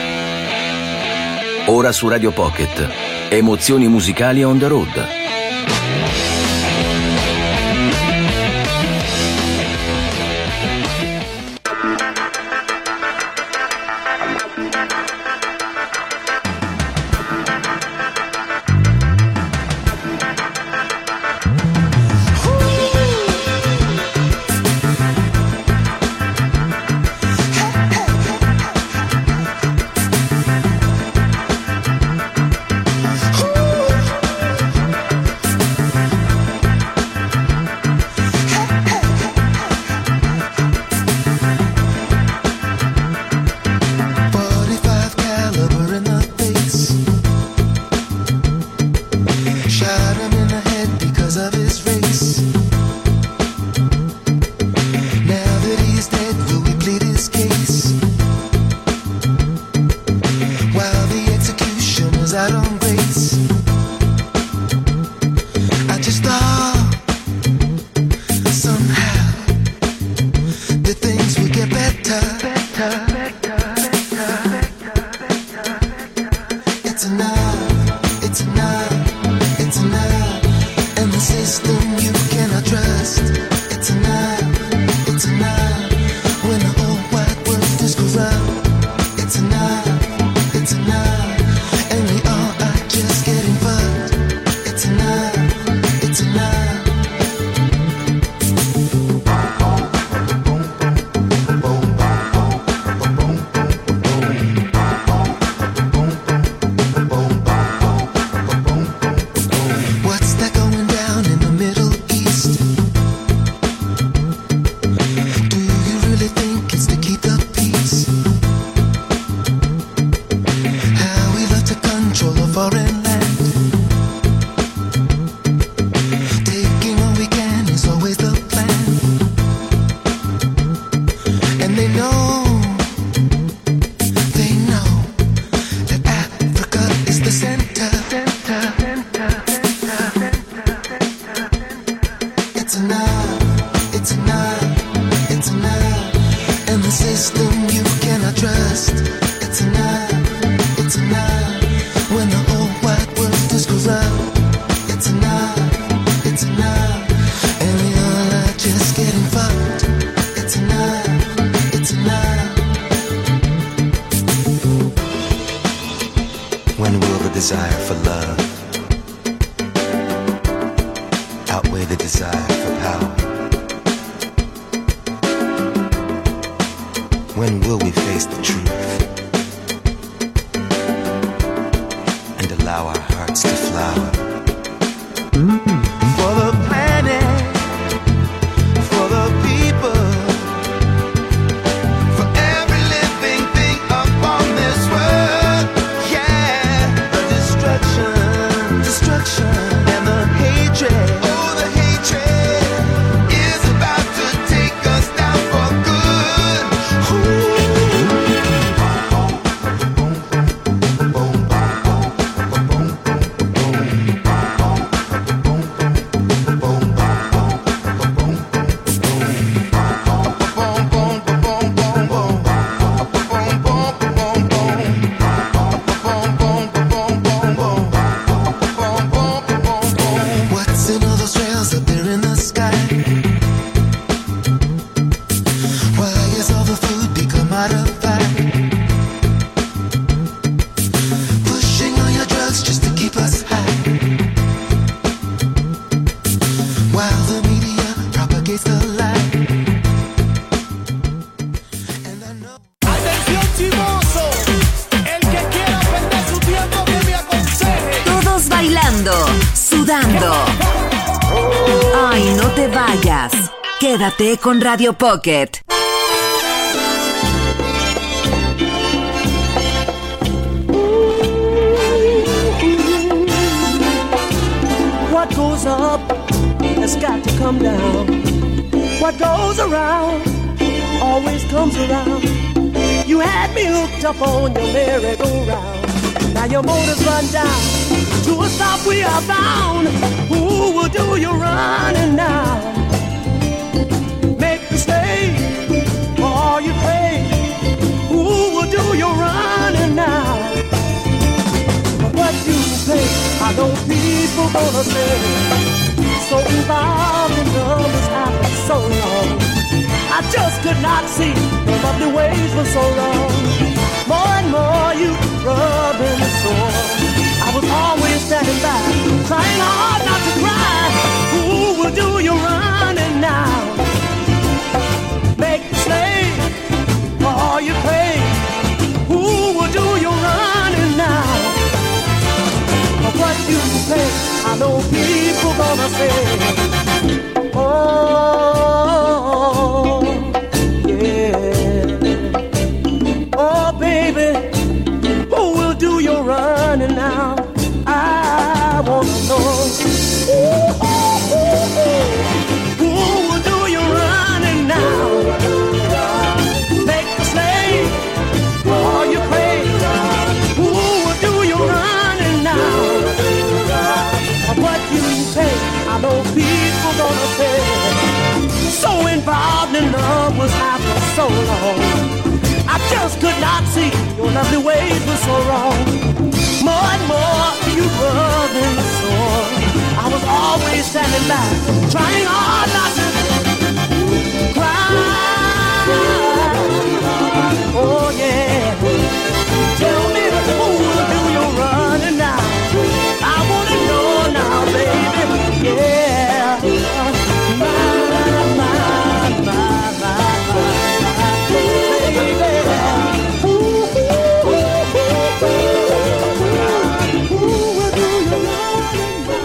Ora su Radio Pocket, emozioni musicali on the road. Ay, no te vayas. Quédate con Radio Pocket. What goes up has got to come down. What goes around always comes around. You had me hooked up on your merry-go-round. Now your motor's run down. To a stop we are bound. Who will do your running now? people gonna say? So involved in love was after so long. I just could not see your lovely ways for so long. More and more you rubbing the sore. I was always standing by, trying hard not to cry. Who will do your running now? Make the slave for all you pay. Who will do your running now? For what you pay, I know people gonna say, oh, yeah. Oh, baby, who will do your running now? I wanna know. Ooh, ooh, ooh, ooh. Who will do your running now? Make the slave for all you pay. Who will do your running now? For what you pay, I know people gonna say. So involved in love was after so long. I just could not see your lovely ways were so wrong. More and more you rubbing the sore. I was always standing back, trying hard not to cry. Oh yeah. Tell me who will do your running now? I wanna know now, baby. Yeah. My, my, my, my, my, baby. Ooh, ooh, ooh, ooh. Who will do your running now?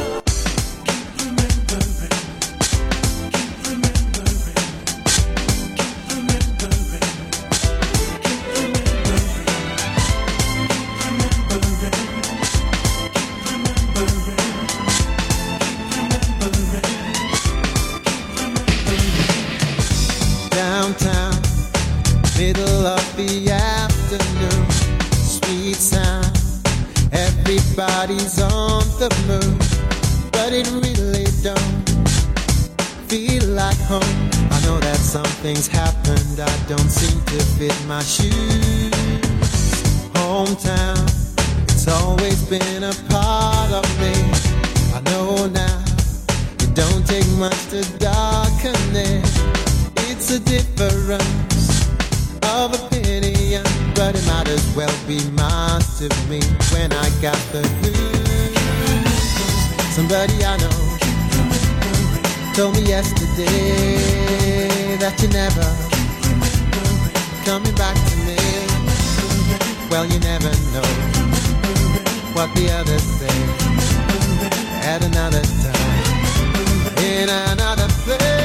Downtown, middle of the afternoon, sweet sound, everybody's on the move, but it really don't feel like home. I know that something's happened, I don't seem to fit my shoes. Hometown, it's always been a part of me. I know now, it don't take much to darken it. It's a difference of opinion, but it might as well be mine to me when I got the blues. Somebody I know told me yesterday that you're never coming back to me. Well, you never know what the others say at another time, in another place.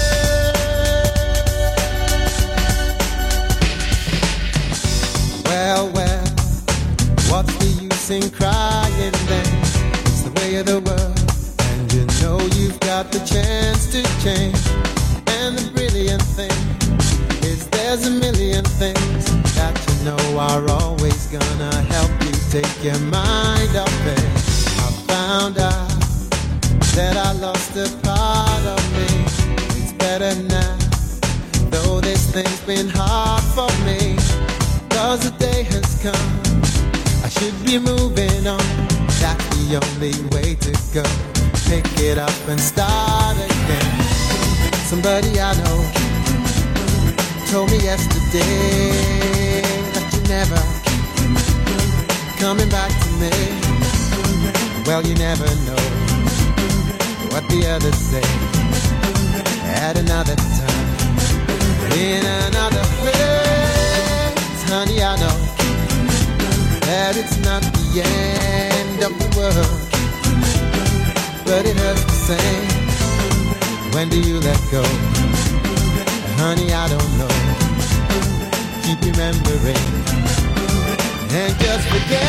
Well, well, what's the use in crying then? It's the way of the world, and you know you've got the chance to change. And the brilliant thing is there's a million things that you know are always gonna help you take your mind off it. I found out that I lost a part of me. It's better now, though this thing's been hard for me. Cause the day has come, I should be moving on. That's the only way to go. Pick it up and start again. Somebody I know told me yesterday that you're never coming back to me. Well, you never know what the others say at another time, in another place. Honey, I know that it's not the end of the world, but it hurts the same. When do you let go? Honey, I don't know. Keep remembering and just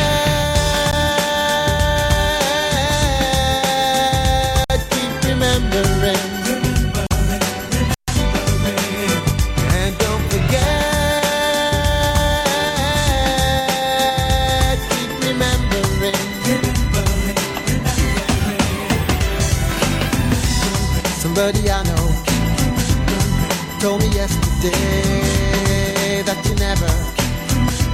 forget. Keep remembering. And don't forget. Keep remembering. Somebody I know told me yesterday that you're never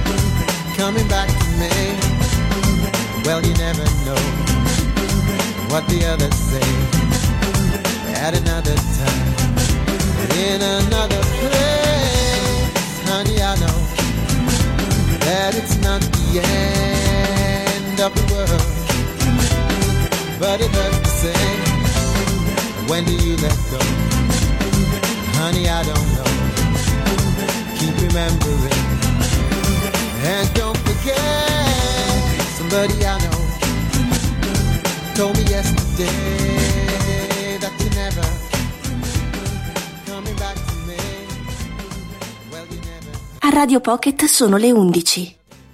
coming back to me. Well, you never know what the others say at another time, in another place. Honey, I know that it's not the end of the world, but it hurts to say, when do you let go? Honey, I don't know. Keep remembering, and don't forget, somebody I know told me yesterday that you never coming back to me. Well, you never. A Radio Pocket sono le undici.